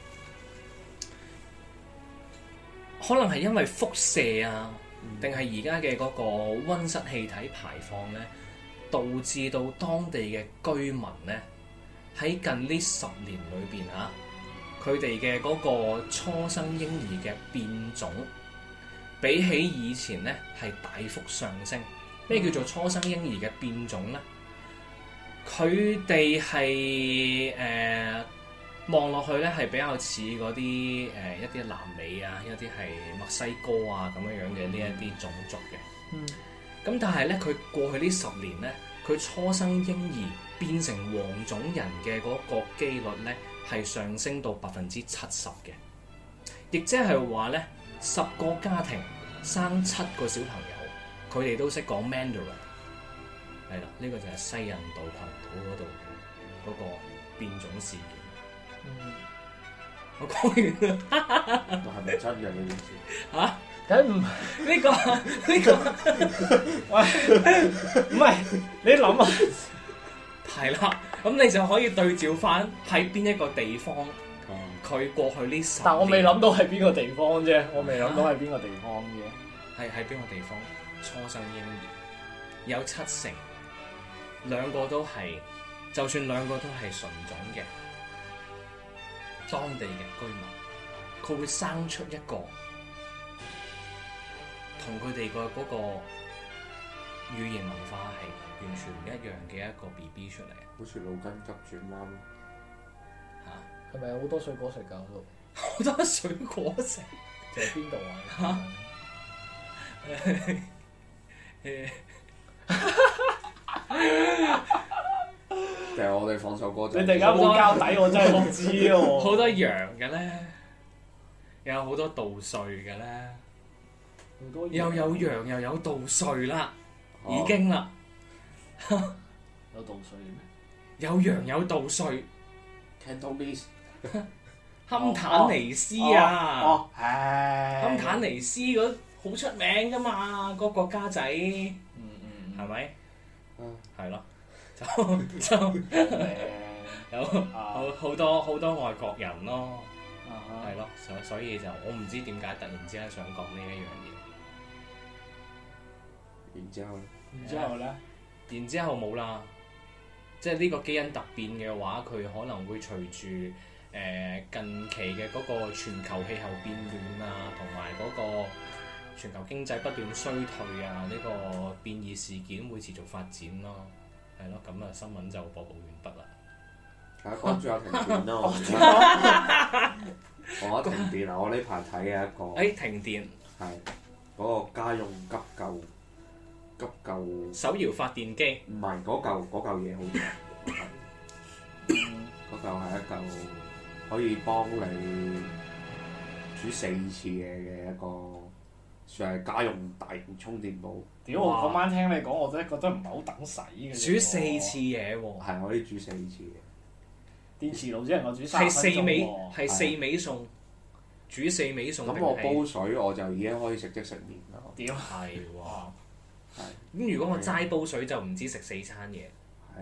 可能係因為輻射啊，定係而家嘅嗰個溫室氣體排放咧，導致到當地嘅居民咧喺近呢十年裏邊嚇。佢哋嘅嗰個初生嬰兒嘅變種，比起以前咧係大幅上升。咩叫做初生嬰兒嘅變種咧？佢哋係誒望落去咧係比較似嗰啲誒一啲南美啊，一啲係墨西哥啊咁樣樣嘅呢一啲種族嘅。 嗯。 咁但係咧，佢過去呢十年咧，佢初生嬰兒變成黃種人嘅嗰個機率咧，係上升到百分之七十嘅，亦即係話咧，十個家庭生七個小朋友，佢哋都識講 Mandarin。係啦，呢、這個就係西印度群島嗰度嗰個變種事件。 嗯、 我講完啦。 係咪真嘅呢件事？ 嚇？ 梗唔呢個呢個， 喂，唔係你諗啊？ 係啦，咁你就可以對照翻喺邊一個地方，佢過去呢十年， 但我未諗到係邊個地方啫，我未諗到係邊個地方嘅。 係喺邊個地方？初生嬰兒有七成，兩個都係，就算兩個都係純種嘅當地嘅居民，佢會生出一個同佢哋個嗰個語言文化係完全唔一樣嘅一個 B B 出嚟。 好似腦筋急轉彎嚇， 係咪有好多水果食㗎？嗰度好多水果食， 就係邊度啊？ 定係我哋放首歌就？ 你突然間冇交底，我真係唔知喎。 好多羊嘅咧，有好多稻穗嘅咧，又有羊又有稻穗啦，已經啦。 有稻穗咩？ 有羊有稻穗 Cantonese 坎坦尼斯啊， 哦，唉， 坎坦尼斯嗰好出名噶嘛，個國家仔， 嗯嗯， 係咪？ 嗯， 係咯，就就有好好多好多外國人咯，係咯，所所以就我唔知點解突然之間想講呢一樣嘢。 然之後， 然之後咧， 然之後冇啦，即係呢個基因突變嘅話，佢可能會隨住誒、呃、近期嘅嗰個全球氣候變暖啊，同埋嗰個全球經濟不斷衰退啊，呢、呢個變異事件會持續發展咯，係咯，咁啊新聞就播報完畢啦。 大家關注下停電啦，我我停電啊！我呢排睇嘅一個， 誒、哎、停電係嗰、嗰個家用急救急救手搖發電機， 唔係嗰嚿嗰嚿嘢好長，嗰嚿係一嚿可以幫你煮四次嘢嘅一個，算係家用大型充電寶。 屌！我嗰晚聽你講，我真係覺得唔係好等使嘅。 煮四次嘢喎， 係可以煮四次嘅。 電磁爐只能夠煮三係分鐘四味喎。 係四味餸， 煮四味餸定咁我係煲水我就已經可以食即食麵啦。 屌係喎。 哇！ 係咁如果我齋煲水就唔知食四餐嘢， 係。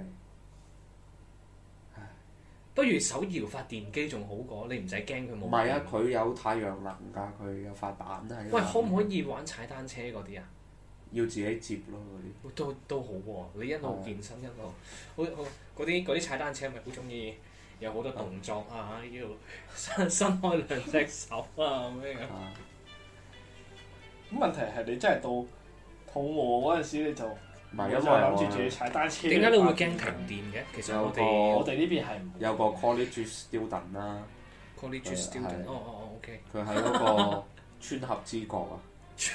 不如手搖發電機仲好過，你唔使驚佢冇。 唔係啊，佢有太陽能㗎，佢有塊板喺度。 喂，可唔可以玩踩單車嗰啲啊？ 要自己接咯嗰啲。 都都好喎、你一路健身一路，好好嗰啲嗰啲踩單車咪好中意有好多動作啊，要伸伸開兩隻手啊咁樣。 啊咁問題係你真係到肚餓嗰陣時，你就唔係因為就諗住我自己踩單車。 點解你會驚停電嘅？其實我哋我哋呢邊係唔會有個 college student 啦， college 係 student，哦哦哦，OK。 佢喺嗰個川合之國啊。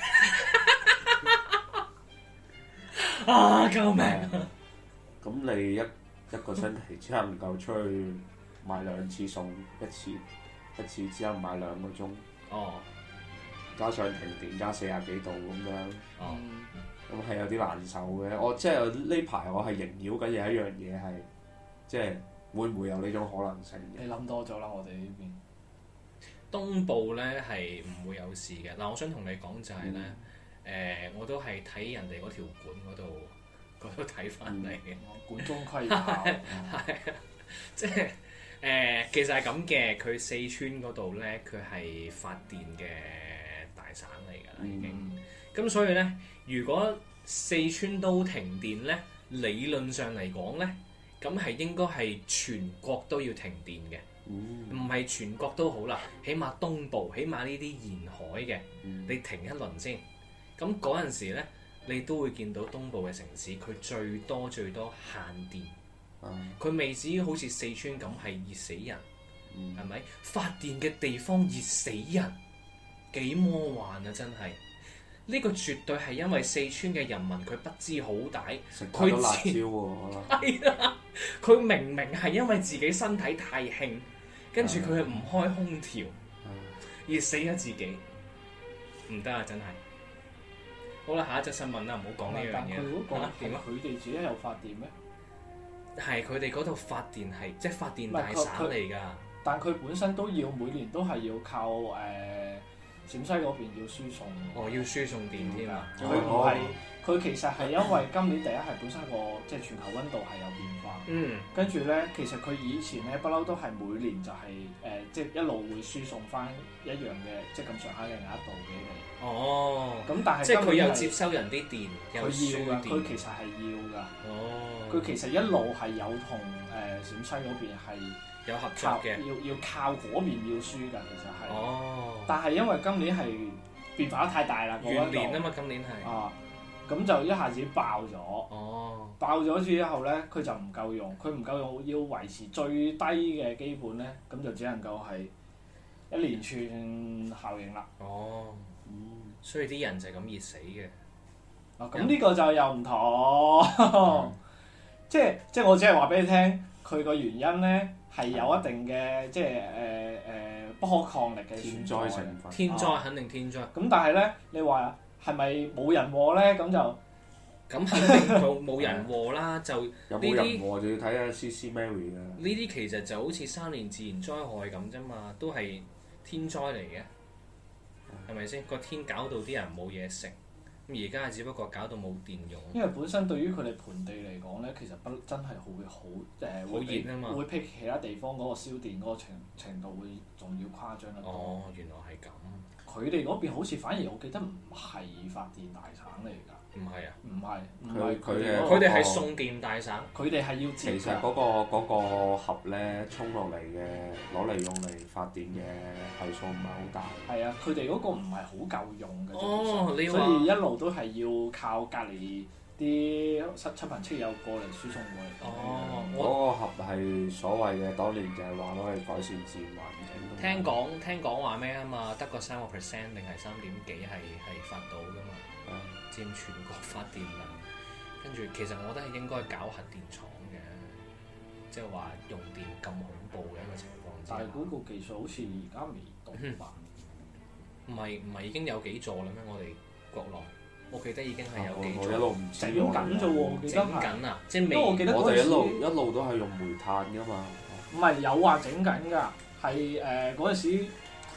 啊！救命！ 咁你一一個星期只能夠出去買兩次餸，一次一次只能買兩個鐘， 哦加上停電加四廿幾度咁樣， 哦， 咁係有啲難受嘅。我即係呢排我係縈繞緊有一樣嘢係，即係會唔會有呢種可能性嘅？ 你諗多咗啦，我哋呢邊。 東部咧係唔會有事嘅。嗱，我想同你講就係咧，誒，我都係睇人哋嗰條管嗰度嗰度睇翻嚟嘅。 管中窺豹。 係啊，即係誒，其實係咁嘅。佢四川嗰度咧，佢係發電嘅大省嚟㗎啦，已經。咁所以咧，如果四川都停電咧，理論上嚟講咧，咁係應該係全國都要停電嘅。唔係、嗯、全國都好啦，起碼東部，起碼呢啲沿海嘅，嗯、你停一輪先。咁嗰陣時咧，你都會見到東部嘅城市，佢最多最多限電。佢、嗯、未至於好似四川咁係熱死人，係咪、嗯？發電嘅地方熱死人，幾魔幻啊！真係，呢、呢個絕對係因為四川嘅人民佢不知好歹，佢辣椒喎。 係啊，佢明明係因為自己身體太興。跟住佢係唔開空調，熱死咗自己，唔得啊！真係。好啦，下一則新聞啦，唔好講呢樣嘢。 佢嗰個點啊？ 佢哋自己有發電咩？ 係佢哋嗰度發電係即係發電大省嚟㗎。 但佢本身都要每年都係要靠誒、呃、陝西嗰邊要輸送。 哦，要輸送電添啊！ 佢唔係，佢其實係因為今年第一係本身個即係全球溫度係有變化。 嗯。跟住咧，其實佢以前咧不嬲都係每年就係、是、誒、呃，即係一路會輸送翻一樣嘅即係咁上下嘅額度俾你。 哦。 咁但係即係佢有接收人啲電， 佢有輸要㗎， 電。 佢其實係要㗎。 哦。 佢其實一路係有同誒陝西嗰邊係有合作嘅， 要要靠嗰邊要輸㗎，其實係。 哦。但係因為今年係變化得太大啦， 元年啊嘛，今年係。 啊。咁就一下子爆咗， 哦、 爆咗之後咧，佢就唔夠用，佢唔夠用，要維持最低嘅基本咧，咁就只能夠係一連串效應啦。 哦，嗯、所以啲人就係咁熱死嘅。 啊，咁呢個就又唔同，嗯、即係即係我只係話俾你聽，佢個原因咧係有一定嘅、嗯、即係誒誒不可抗力嘅天災成分。 天災肯定天災。 咁、啊、但係咧，你話係咪冇人禍咧？咁就咁肯定冇冇人禍啦。就呢啲有冇人禍就要睇下 C C Mary 啦。 呢啲其實就好似三年自然災害咁啫嘛，都係天災嚟嘅，係咪先？個天搞到啲人冇嘢食，咁而家只不過搞到冇電用。 因為本身對於佢哋盆地嚟講咧，其實不真係會好誒， 好熱啊嘛， 會比其他地方嗰個燒電嗰個程程度會仲要誇張得多。 哦，原來係咁。 佢哋嗰邊好似反而我記得唔係發電大省嚟㗎。 唔係啊？ 唔係，唔係佢哋佢哋係送電大省。 佢哋係要接。 其實嗰、嗰個嗰個盒咧沖落嚟嘅，攞嚟用嚟發電嘅係數唔係好大。 係啊，佢哋嗰個唔係好夠用嘅。 哦，你話。 所以一路都係要靠隔離啲七親朋戚友過嚟輸送過嚟。 哦， 嗰個盒係所謂嘅，當年就係話攞嚟改善自然環境。 聽講聽講話咩啊嘛？得個三個 percent 定係三點幾係係發到㗎嘛？ 嗯、 佔全國發電量。跟住其實我覺得係應該搞核電廠嘅，即係話用電咁恐怖嘅一個情況之下。 但係嗰個技術好似而家未到吧？ 唔係唔係已經有幾座啦咩？我哋國內，我記得已經係有幾座。 我一路唔知整緊啫喎， 整緊啊！即係未。 我記得我哋一路一路都係用煤炭㗎嘛。 唔係有話整緊㗎，係誒嗰陣時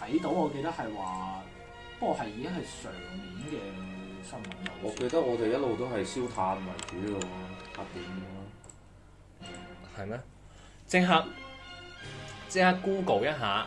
睇到，我記得係話，不過係已經係上年嘅新聞啦。 我記得我哋一路都係燒炭為主嘅喎，核電嘅係咩？即刻即刻 Google 一下，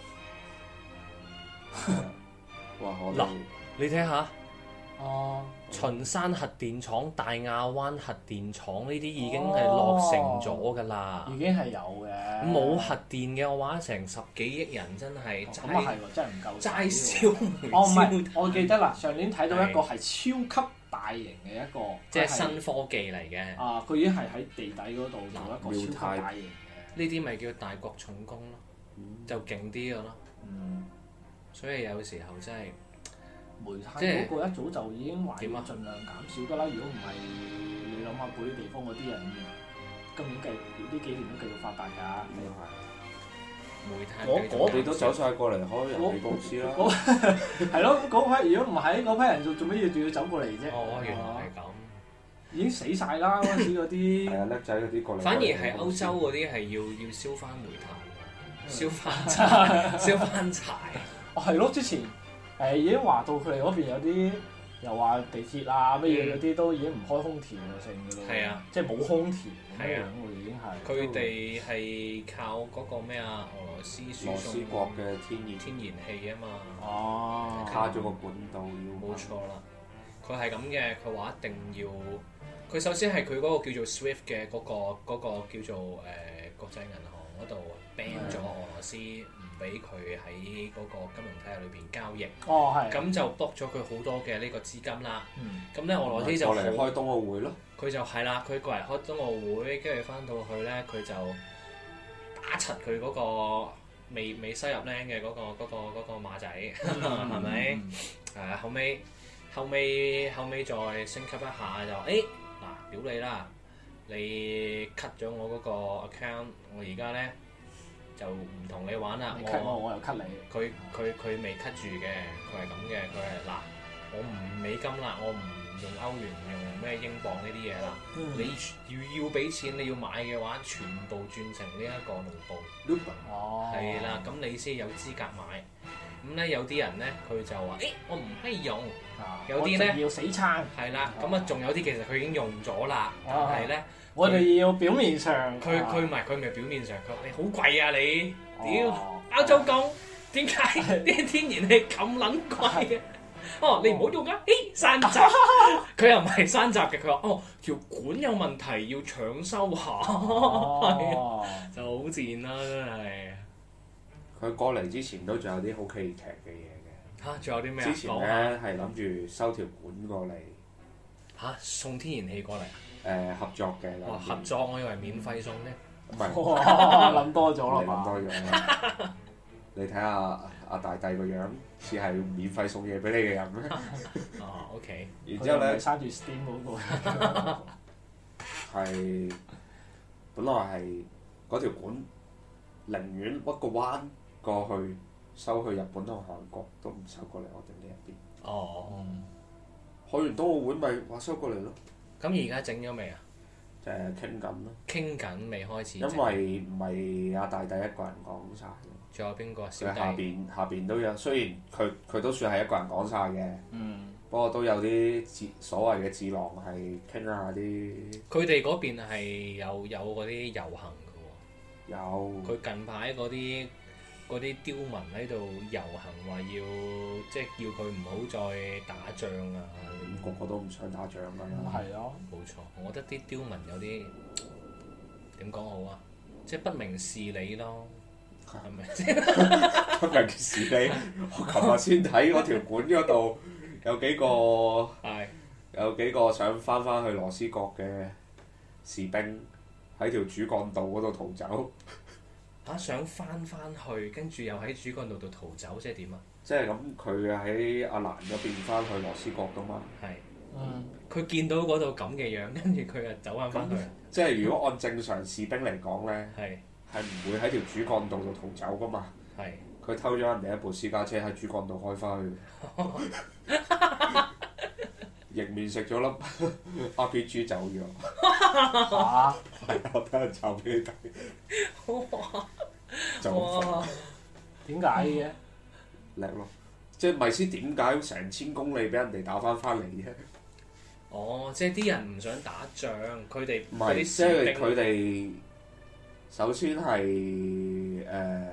喎。哇！我嗱哋你睇下。 哦， 秦山核電廠、大亞灣核電廠呢啲已經係落成咗㗎啦。 已經係有嘅。 冇核電嘅話，成十幾億人真係咁啊係齋喎，真係唔夠齋使喎。 燒煤哦，唔係燒， 我記得啦，上年睇到一個係超級大型嘅一個， 即係佢係新科技嚟嘅。 啊！佢已經係喺地底嗰度做一個超級大型嘅。 呢啲咪叫大國重工咯，就勁啲嘅咯。 嗯， 所以有時候真係煤炭即係嗰個一早就已經話要點啊盡量減少㗎啦。如果唔係，你諗下嗰啲地方嗰啲人，今年繼呢幾年都繼續發達㗎。 咁又係。 煤炭我繼續我你都走晒過嚟開人氣公司啦。 係咯，嗰批如果唔係嗰批人做做咩要仲要走過嚟啫？ 哦，原來係咁。 已經死晒啦！嗰陣時嗰啲係啊，叻仔嗰啲過嚟。 反而係歐洲嗰啲係要要燒翻煤炭，燒翻柴，燒翻柴。 哦係咯，之前誒已經話到佢哋嗰邊有啲又話地鐵啊乜嘢嗰啲都已經唔開空調啊剩㗎咯。 係啊， 即係冇空調咁樣係啊喎，已經係。 佢哋係靠嗰個咩啊？俄羅斯輸羅斯送國嘅天然天然氣啊嘛。 哦， 卡咗個管道要。 冇錯啦，佢係咁嘅，佢話一定要，佢首先係佢嗰個叫做 SWIFT 嘅嗰、個嗰、個叫做誒、呃、國際銀行嗰度 ban 咗俄羅斯，唔俾佢喺嗰個金融體系裏邊交易， 哦係。 咁就 block 咗佢好多嘅呢個資金啦。 嗯咁咧俄羅斯就過嚟好開冬奧會咯。 佢就係啦，佢過嚟開冬奧會，跟住翻到去咧，佢就打柒佢嗰個未未收入僆嘅嗰個嗰、個嗰、個馬仔，係咪？誒後尾後尾後尾再升級一下就誒嗱屌你啦！你 cut 咗我嗰個 account，我而家咧就唔同你玩啦。 你 cut 我，我又 cut 你。 佢佢佢未 cut 住嘅，佢係咁嘅，佢係嗱我唔美金啦，我唔用歐元，唔用咩英鎊呢啲嘢啦。 嗯你要要俾錢，你要買嘅話，全部轉成呢一個盧布， 哦。 係啦，咁你先有資格買。咁咧有啲人咧，佢就話：誒、我唔可以用。 啊有啲呢我仲要死撐。 係啦，咁啊仲有啲其實佢已經用咗啦，但係咧， 我哋要表面上。 佢佢唔係佢唔係表面上，佢話你好貴啊你，屌哦包租公，點解啲天然氣咁撚貴嘅？哦，你唔好用啊！誒山閘，佢又唔係山閘嘅，佢話哦條管有問題要搶修下，係啊哦。 就好賤啦真係。 佢過嚟之前都仲有啲好戲劇嘅嘢嘅。 嚇，仲有啲咩啊？ 之前講下咧係諗住收條管過嚟， 嚇送天然氣過嚟， 誒合作嘅。 哇合作我以為免費送咧。 唔係。 哇！諗多咗啦嘛。 你諗多咗啦。你睇下阿大帝個樣，似係免費送嘢俾你嘅人咩？ 哦，OK。 然之後咧佢生住 Steam 嗰個。 係本來係嗰條管，寧願屈個彎過去收去日本同韓國，都唔收過嚟我哋呢一邊。 哦。 開完冬奧會咪話收過嚟咯， 咁而家整咗未啊？ 就係傾緊咯。 傾緊未開始整。 因為唔係阿大帝一個人講晒， 仲有邊個啊？小佢下弟。 邊下邊都有，雖然佢佢都算係一個人講晒嘅， 嗯。 不過都有啲智所謂嘅智囊係傾下啲佢哋嗰邊係有有嗰啲遊行嘅喎。 有佢近排嗰啲嗰啲刁民喺度遊行，話要即係叫佢唔好再打仗啊！ 個個都唔想打仗㗎啦。 係咯。 冇錯，我覺得啲刁民有啲點講好啊？即係不明事理咯，係咪先？ 不明事理，我琴日先睇嗰條管嗰度有幾個係有幾個想翻返去羅斯國嘅士兵喺條主幹道嗰度逃走。 嚇想翻翻去，跟住又喺主幹道度逃走，即係點啊？ 即係咁，佢喺阿蘭嗰邊翻去羅斯國㗎嘛。 係。 嗯。 佢見到嗰度咁嘅樣，跟住佢又走翻翻去。 即係如果按正常士兵嚟講咧， 係係唔會喺條主幹道度逃走㗎嘛。 係。 佢偷咗人哋一部私家車喺主幹道開翻去，迎面食咗粒 R P G 走咗。 嚇！ 係我睇人抄俾你睇。 哇！ 就咁哇！ 點解嘅？ 叻咯。即係咪先點解成千公里俾人哋打翻翻嚟啫？ 哦，即係啲人唔想打仗，佢哋唔係， 啲即係士兵佢哋首先係誒、呃，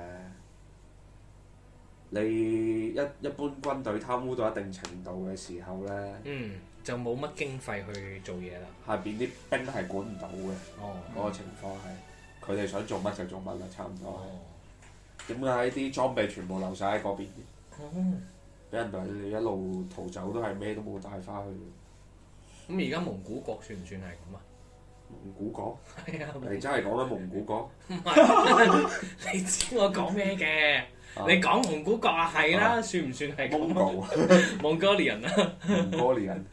你一一般軍隊貪污到一定程度嘅時候咧， 嗯就冇乜經費去做嘢啦。 下邊啲兵係管唔到嘅， 哦， 嗰、個情況係佢哋想做乜就做乜啦，差唔多哦， 係。點解啲裝備全部留晒喺嗰邊嘅？ 哦， 俾人哋一路逃走都係咩都冇帶翻去。 咁而家蒙古國算唔算係咁啊？ 蒙古國？ 係啊， 你真係講緊蒙古國？ 唔係，你知我講咩嘅？你講蒙古國啊，係啦， 啊算唔算係蒙咁古啊？蒙哥利人啊， 蒙哥利人。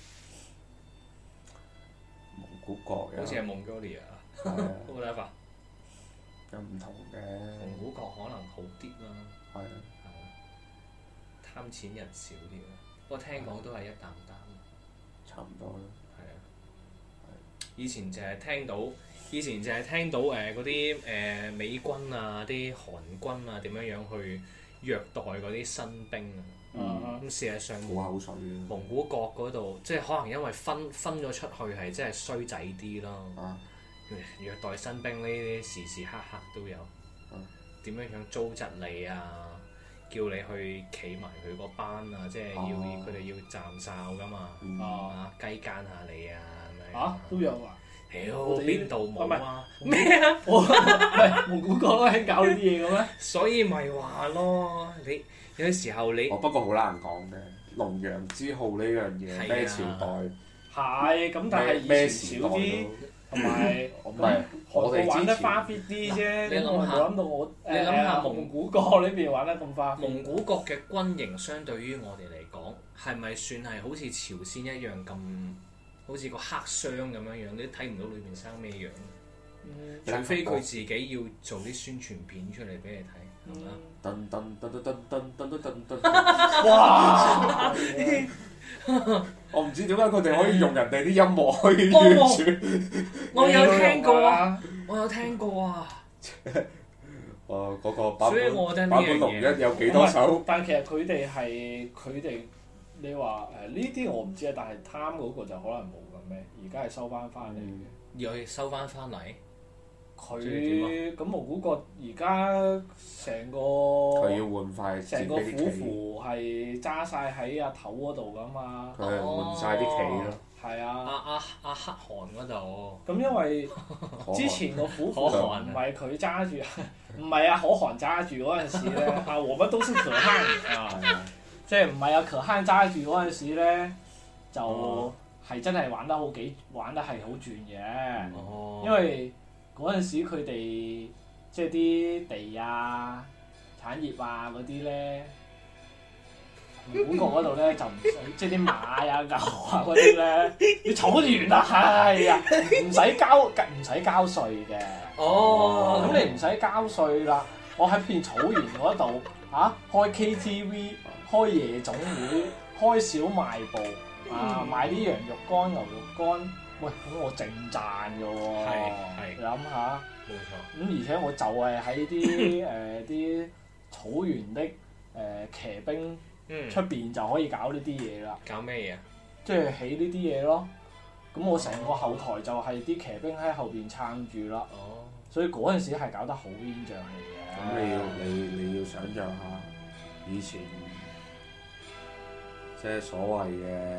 蒙古國好似係蒙哥利人啊， 係啊， 好睇法。 有唔同嘅。 蒙古國可能好啲啦， 係啊， 係啊，貪錢人少啲啦。不過聽講都係一擔擔。 差唔多啦。 係啊，以前淨係聽到，以前淨係聽到誒嗰啲誒美軍啊、啲韓軍啊點樣樣去虐待嗰啲新兵啊。 嗯咁事實上， 冇口水嘅。 蒙古國嗰度即係可能因為分分咗出去係真係衰仔啲咯。 啊， 虐待新兵呢啲時時刻刻都有。點樣樣糟質你啊？叫你去企埋佢個班啊！即係要哦佢哋要站哨噶嘛。 嗯啊，雞奸下你啊咁樣。 嚇都有啊！ 屌我哋邊度冇啊？ 咩啊？我唔係蒙古國都興搞呢啲嘢嘅咩？ 所以咪話咯，你有時候你哦，不過好難講嘅，龍陽之好呢樣嘢係啊咩朝代？ 係咁，但係以咩前時代少啲， 都同埋唔係我我哋玩得之前花 fit 啲啫。 你諗下我冇諗到我你諗下誒蒙古國呢邊玩得咁花 fit。 蒙古國嘅軍營相對於我哋嚟講，係咪算係好似朝鮮一樣咁，好似個黑箱咁樣樣，你都睇唔到裏面生咩樣？ 嗯除非佢自己要做啲宣傳片出嚟俾你睇，係嘛？ 噔噔噔噔噔噔噔噔噔。 哇！ 我唔知點解佢哋可以用人哋啲音樂可以完全。 我有聽過啊， 啊！ 我有聽過啊， 哦，嗰個版所以本我覺得呢樣版本龍嘢一有幾多首？ 但其實佢哋係佢哋，你話誒呢啲我唔知啊，但係貪嗰個就可能冇咁咩，而家係收翻翻嚟嘅。 又收翻翻嚟。 佢咁蒙古國而家成個佢要換塊自己成個啲旗， 虎符係揸晒喺阿頭嗰度噶嘛， 佢係換晒啲旗咯。 係阿啊。 阿阿黑韓嗰度， 咁因為可之前個虎符可汗唔係佢揸住，唔係啊可汗揸住嗰陣時咧，啊我乜都識可汗啊， 係啊， 即係唔係啊可汗揸住嗰陣時咧，就哦係真係玩得好幾玩得係好轉嘅。 哦， 因為嗰陣時佢哋即係啲地啊、產業啊嗰啲咧，蒙古國嗰度咧就唔使，即係啲馬啊、牛啊嗰啲咧，你草原啊，係啊，唔使交唔使交稅嘅。 哦， 咁你唔使交稅啦，我喺片草原嗰度嚇開 K T V、開夜總會、開小賣部啊，賣啲羊肉乾、牛肉乾。喂，咁我淨賺嘅喎， 係係你諗下， 冇錯， 咁而且我就係喺啲誒啲草原的誒、呃、騎兵嗯， 出邊就可以搞呢啲嘢啦， 搞咩嘢啊？ 即係起呢啲嘢咯。咁我成個後台就係啲騎兵喺後邊撐住啦， 哦， 所以嗰陣時係搞得好煙瘴氣嘅。 咁你要你你要想像下以前即係所謂嘅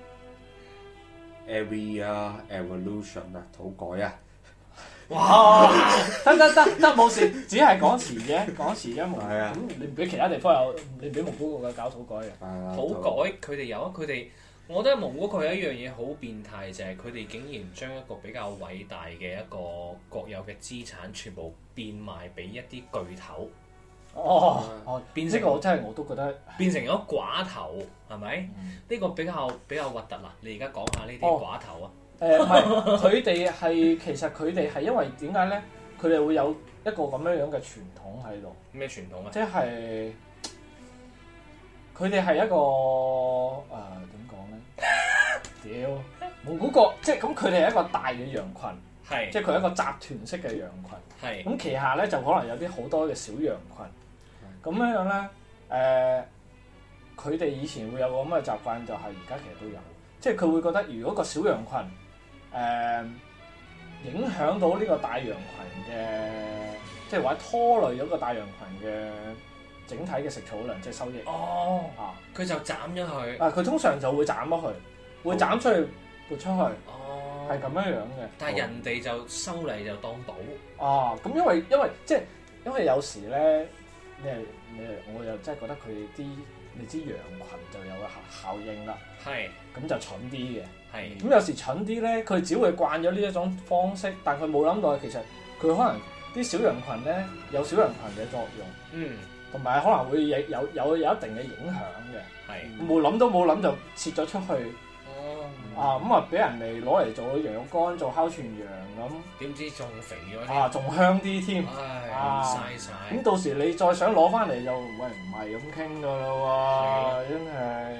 area evolution 啊，土改啊， 哇！得得得得冇事，只係講詞啫，講詞啫冇。 係啊咁你唔俾其他地方有，你唔俾蒙古國嘅搞土改嘅。 係啊， 土改佢哋有啊，佢哋，我覺得蒙古國有一樣嘢好變態，就係佢哋竟然將一個比較偉大嘅一個國有嘅資產，全部變賣俾一啲巨頭， 哦哦， 變成呢個我真係我都覺得。 變成咗寡頭，係咪？呢、 嗯個比較比較核突啦！你而家講下呢啲哦寡頭啊， 誒唔係，佢哋係其實佢哋係因為點解咧？佢哋會有一個咁樣樣嘅傳統喺度， 咩傳統啊？ 即係佢哋係一個誒點講咧？屌蒙古國，即係咁佢哋係一個大嘅羊群， 係即係佢係一個集團式嘅羊群。 係咁旗下咧就可能有啲好多嘅小羊群。咁樣樣咧， 誒佢哋以前會有個咁嘅習慣，就係而家其實都有，即係佢會覺得如果個小羊群誒、呃、影響到呢個大羊群嘅，即係或者拖累咗個大羊群嘅整體嘅食草量，即係收益。 哦， 啊， 佢就斬咗佢。 啊，佢通常就會斬咗佢，會斬出去撥出去， 哦， 係咁樣樣嘅。 但係人哋就收嚟就當寶。 啊，咁因為因為即係因為有時咧，你係你係我又真係覺得佢啲你知羊群就有個效效應啦。 係。 咁就蠢啲嘅。 係。 咁有時蠢啲咧，佢只會慣咗呢一種方式，但佢冇諗到其實佢可能啲小羊群咧有小羊群嘅作用。 嗯。 同埋可能會有有有有一定嘅影響嘅。 係。 冇諗都冇諗就切咗出去。 哦。 啊，咁啊俾人哋攞嚟做羊肉乾，做烤全羊咁。 點知仲肥咗啊，仲香啲添。 唉， 啊， 嘥晒。 咁到時你再想攞翻嚟就喂唔係咁傾噶啦喎，真係。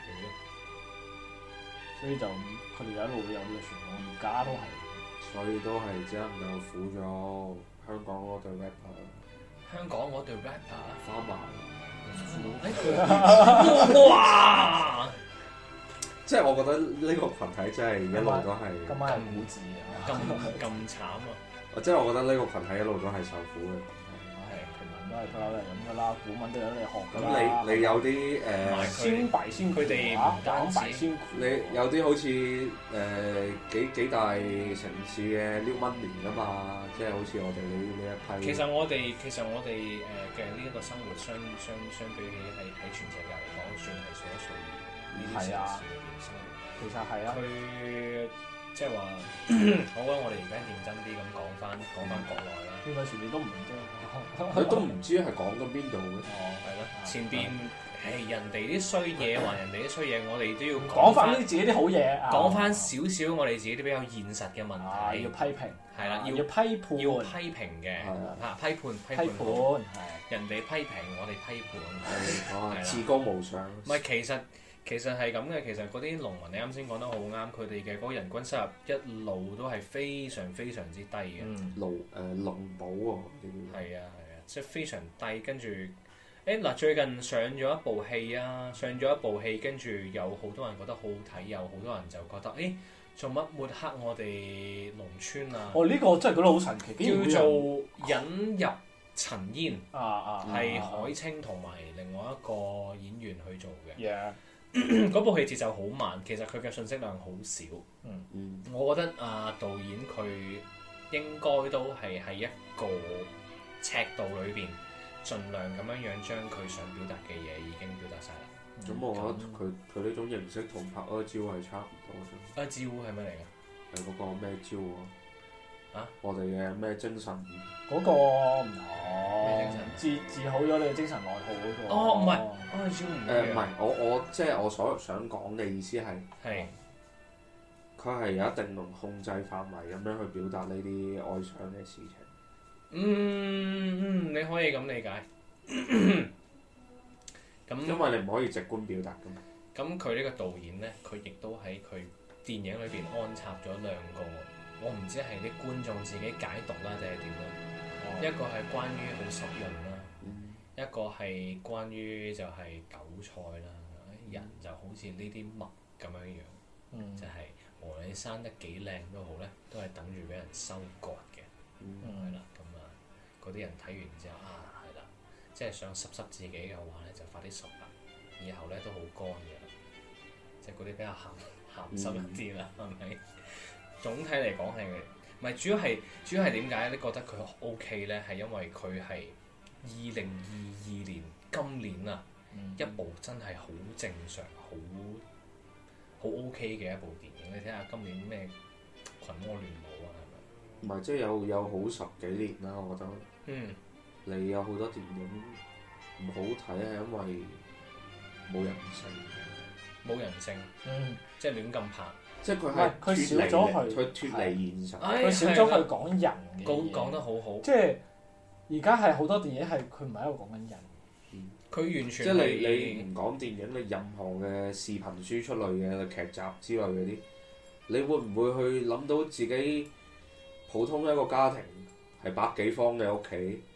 所以就佢哋就一路都有呢個傳統，而家都係。 所以都係只能夠苦咗香港嗰隊 rapper。 香港嗰隊 rapper 花麻。 哇！ 即係我覺得呢個群體真係一路都係今晚係古字啊！ 咁咁慘啊！ 即係我覺得呢個群體一路都係受苦嘅。 係平民都係不嬲都係咁噶啦，古文都有得你學㗎啦。 咁你你有啲誒先弊先佢哋唔單止先苦， 你有啲好似誒幾幾大城市嘅 New Money 㗎嘛，即係好似我哋呢呢一批。 其實我哋其實我哋誒嘅呢一個生活相相相比起係喺全世界嚟講，算係數一數二呢啲城市裏邊生活。 其實係啊。 佢即係話，我覺得我哋而家認真啲咁講翻講翻國內啦。 應該前面都唔認真。 佢都唔知係講緊邊度嘅。 哦，係咯，前邊誒人哋啲衰嘢，話人哋啲衰嘢，我哋都要講翻啲自己啲好嘢， 講翻少少我哋自己啲比較現實嘅問題， 要批評， 係啦， 要批判， 要批評嘅嚇，批判批判，人哋批評我哋批判， 係至高無上。 唔係其實。其實係咁嘅，其實嗰啲農民你啱先講得好啱，佢哋嘅嗰個人均收入一路都係非常非常之低嘅。 農誒農保喎， 係啊係啊，即係非常低。跟住誒嗱，最近上咗一部戲啊，上咗一部戲，跟住有好多人覺得好好睇，有好多人就覺得誒做乜抹黑我哋農村啊？ 哦，呢個真係覺得好神奇， 叫做引入塵煙啊啊， 係海清同埋另外一個演員去做嘅。 Yeah. 嗰部戲節奏好慢，其實佢嘅信息量好少。 嗯嗯，我覺得啊，導演佢應該都係喺一個尺度裏邊，盡量咁樣樣將佢想表達嘅嘢已經表達晒啦。 咁、嗯、我覺得佢佢呢種形式同拍阿招係差唔多啫。 阿招係咩嚟㗎？ 係嗰個咩招啊？ 啊！ 我哋嘅咩精神？ 嗰個唔同。 咩精神？ 治治好咗你嘅精神內耗嗰個。 哦，唔係，阿招唔誒唔係，我我即係我所想講嘅意思係。係。佢係有一定能控制範圍咁樣去表達呢啲哀傷嘅事情。 嗯嗯，你可以咁理解。咁因為你唔可以直觀表達㗎嘛。 咁佢呢個導演咧，佢亦都喺佢電影裏邊安插咗兩個，我唔知係啲觀眾自己解讀啦，定係點樣？哦、一個係關於好濕潤啦，嗯、一個係關於就係韭菜啦。嗯、人就好似呢啲麥咁樣樣，嗯、就係無論你生得幾靚都好咧，都係等住俾人收割嘅。係啦、嗯，咁啊，嗰啲人睇完之後啊，係啦，即係想濕濕自己嘅話咧，就快啲熟啦，以後咧都好乾嘅。即係嗰啲比較鹹鹹濕一啲啦，係咪、嗯？總體嚟講係，唔係主要係主要係點解你覺得佢 O K 咧？係因為佢係二零二二年今年啊，嗯、一部真係好正常、好好 O K 嘅一部電影。你睇下今年咩《群魔亂舞》啊，係咪？ 唔係，即係有有好十幾年啦，我覺得。 嗯。 你有好多電影唔好睇係因為冇人性。冇人性， 嗯， 即係亂咁拍， 即係佢係佢少咗佢， 佢脫離現實， 佢少咗佢講人嘅嘢， 講講得好好。 即係而家係好多電影係佢唔係喺度講緊人， 佢、嗯、完全即係你你唔講電影，你任何嘅視頻輸出類嘅劇集之類嗰啲，你會唔會去諗到自己普通一個家庭係百幾方嘅屋企，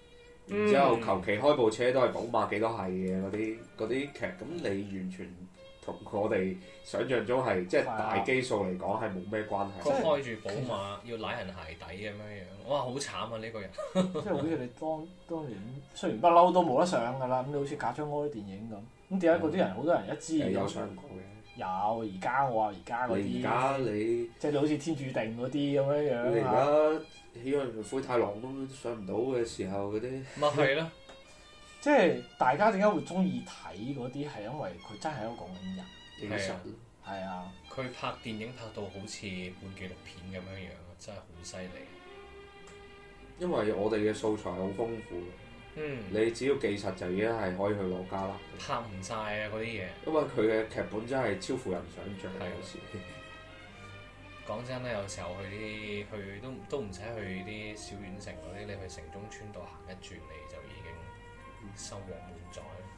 然之後求其開部車都係寶馬幾多係嘅嗰啲嗰啲劇，咁你完全同我哋想象中係即係大基數嚟講係冇咩關係。 佢開住寶馬要舐人鞋底咁樣樣，哇！好慘啊呢個人。 即係好似你當當年雖然不嬲都冇得上㗎啦，咁你好似賈樟柯啲電影咁，咁點解嗰啲人好多人一知係有上過嘅。 有而家我話而家嗰啲， 你而家你即係你好似天注定嗰啲咁樣樣你而啊。 家喜羊羊灰太狼都上唔到嘅時候嗰啲， 咪係咯， 即係大家點解會中意睇嗰啲係因為佢真係喺度講緊人。 其實係啊， 佢拍電影拍到好似本紀錄片咁樣樣，真係好犀利。 因為我哋嘅素材好豐富， 嗯， 你只要記實就已經係可以去攞加啦。 拍唔晒啊嗰啲嘢。 因為佢嘅劇本真係超乎人想像， 係有時。 講真咧，有時候去啲去都都唔使去啲小縣城嗰啲，你去城中村度行一轉，你就已經收穫滿載。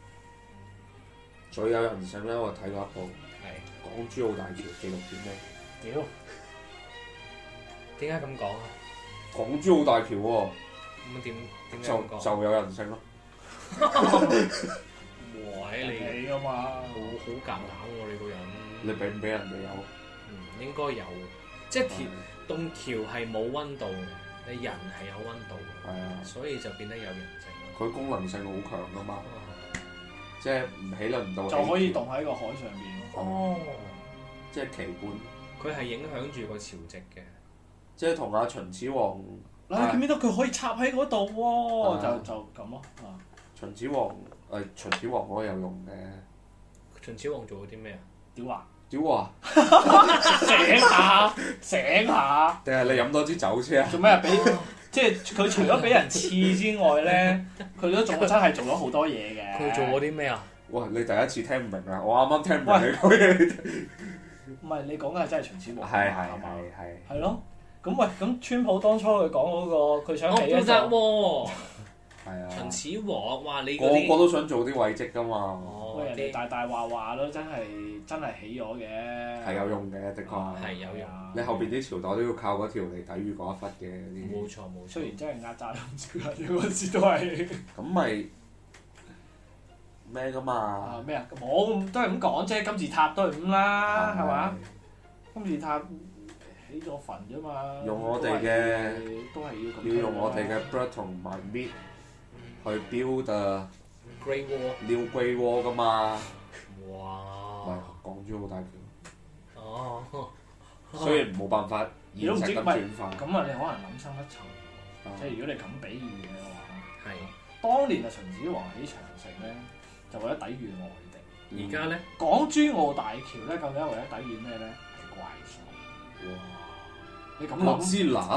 最有人性咧，我睇過一部係港珠澳大橋紀錄片咧。 屌！ 點解咁講啊？ 港珠澳大橋喎、 咁點點解就咁講？ 就有人性咯。 哇！你你㗎嘛好，好夾硬喎你個人。 你俾唔俾人哋有？ 嗯，應該有。即係條棟橋係冇温度嘅，你人係有温度嘅， 係啊， 所以就變得有人性咯。 佢功能性好強噶嘛， 啊即係唔起輪唔到就可以起橋棟喺個海上邊咯。 哦， 即係旗杆， 佢係影響住個潮汐嘅。 即係同阿秦始皇。 嗱，你見唔見到佢可以插喺嗰度喎？ 啊就就咁咯。啊， 秦始皇誒秦始皇嗰個有用嘅。 秦始皇做咗啲咩啊？ 屌啊！ 屌啊！ 醒下，醒下。 定係你飲多支酒先啊？ 做咩啊？俾即係佢除咗俾人刺之外咧，佢都仲真係做咗好多嘢嘅。 佢做過啲咩啊？ 哇！你第一次聽唔明啊！我啱啱聽唔明你講嘢。 唔係你講嘅係真係秦始皇係係係嘛？ 係係。 係咯。咁喂，咁川普當初佢講嗰個，佢想我記得起一個喎， 係啊。 秦始皇哇！你個嗰啲個都想做啲位職㗎嘛， 哦喂人哋啲大大話話都真係真係起咗嘅。 係有用嘅，的確。 係有用。 你後邊啲朝代都要靠嗰條嚟抵禦嗰一忽嘅嗰啲。 冇錯冇錯。 雖然真係壓榨咗唔少人，嗰陣時都係咁咪咩㗎嘛？ 啊咩啊？冇都係咁講啫，金字塔都係咁啦，係嘛？金字塔起咗墳啫嘛。 用我哋嘅都係都係要咁。 要用我哋嘅 blood 同埋 meat 去 build a Great Wall。 new Great Wall 㗎嘛。 哇！ 喂，港珠澳大橋， 哦。 雖然冇辦法現實咁轉化。 咁啊，你可能諗深一層， 啊即係如果你咁比喻嘅話， 係。 當年啊秦始皇起長城咧，就為咗抵禦外敵。 嗯而家咧？ 港珠澳大橋咧，究竟係為咗抵禦咩咧？係怪獸。 哇！ 你咁哥諗斯拉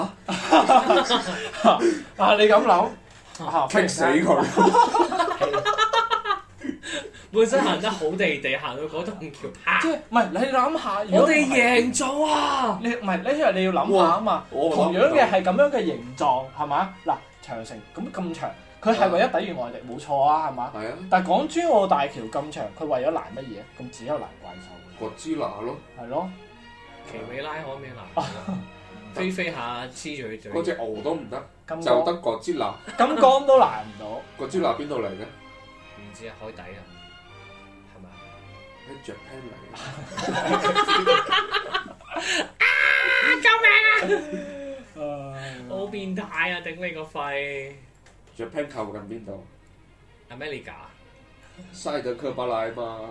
啊？你咁諗啊？ 棘死佢！ 本身行得好地地，行到嗰棟橋，啪！ 即係唔係你諗下？如果我哋唔係贏咗啊！ 你唔係呢？因為你要諗下啊嘛。 我同樣嘅係咁樣嘅形狀係嘛？嗱，長城咁咁長，佢係為咗抵禦外敵，冇錯啊，係嘛？ 係啊， 但係港珠澳大橋咁長，佢為咗攔乜嘢？咁只有攔怪獸。 哥斯拉咯， 係咯， 奇美拉可唔可以攔？飛飛下黐住佢嘴。 嗰隻牛都唔得， 金就得剛哥斯拉。 金剛都攔唔到。 哥斯拉邊度嚟嘅？ 唔知啊，海底啊，係咪啊？ 喺 Japan 嚟嘅。 好變態啊！頂你個肺 Japan 靠近邊度？ ！America 塞德克巴萊嘛。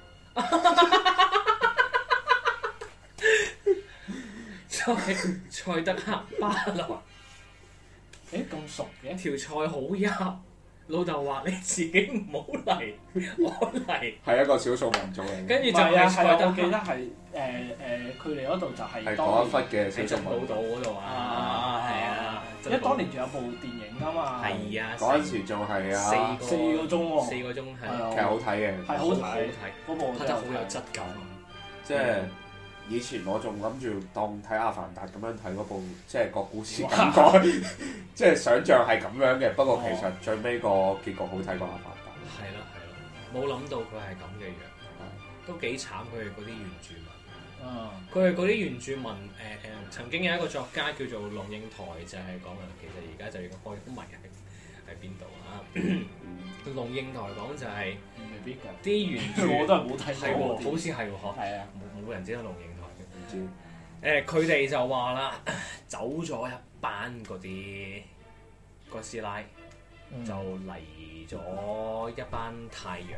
塞塞德克巴萊誒咁熟嘅？ 條菜好入，老豆話你自己唔好嚟，我嚟。 係一個少數民族嚟嘅。 跟住就唔係啊，係啊， 係塞德克我記得係誒誒，佢哋嗰度就係係當年嗰一忽嘅喺珍寶少數民族。 島嗰度啊， 啊係啊， 因為當年仲有部電影㗎嘛。 係啊， 嗰陣時仲係啊， 四四個鐘喎。 四個鐘係係啊其實好睇嘅。 係好好睇， 睇， 嗰部拍得好有質感。 即係以前我仲諗住當睇《阿凡達》咁樣睇嗰部，即係個故事感覺，即係想像係咁樣嘅。不過其實最尾個結局好睇過《阿凡達》。 係咯係咯，冇諗到佢係咁嘅樣，都幾慘佢哋嗰啲原住民。 嗯， 佢係嗰啲原住民誒誒、呃，曾經有一個作家叫做龍應台，就係講啊，其實而家就已經開咗迷係喺邊度啊？龍應台講就係未必㗎。 啲原著我都係冇睇係過喎，好似係喎，嗬。 係啊， 冇冇人知道龍應台嘅。 唔知誒，佢哋就話啦，走咗一班嗰啲哥斯拉， 嗯就嚟咗一班太陽。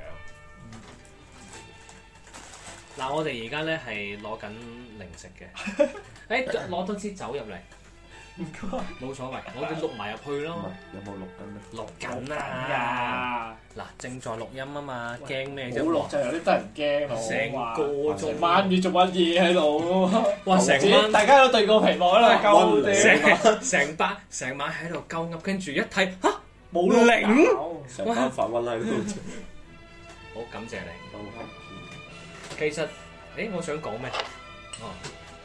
嗱、我哋而家咧係攞緊零食嘅，誒攞多支酒入嚟， 唔該。 冇所謂，我哋錄埋入去唔咯。 係有冇錄緊咧？ 錄緊啊！嗱，正在錄音啊嘛，驚咩啫？ 冇錄就有啲得人驚咯。 成個鐘， 成晚唔知做乜嘢喺度。 哇！成自己晚大家都對個屏幕喺度鳩溫地， 成成班成晚喺度鳩噏，跟住一睇嚇冇零成班發瘟喺度。 好感謝你。其實，誒，我想講咩？哦，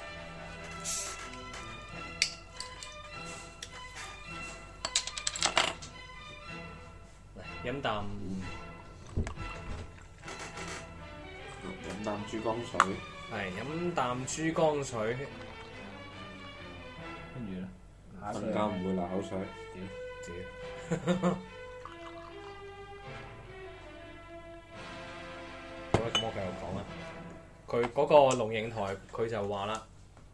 嚟飲啖飲啖珠江水， 係飲啖珠江水。 跟住咧， 更加唔會流口水。 屌！好啦，咁我繼續講啦。佢嗰個龍應台，佢就話啦，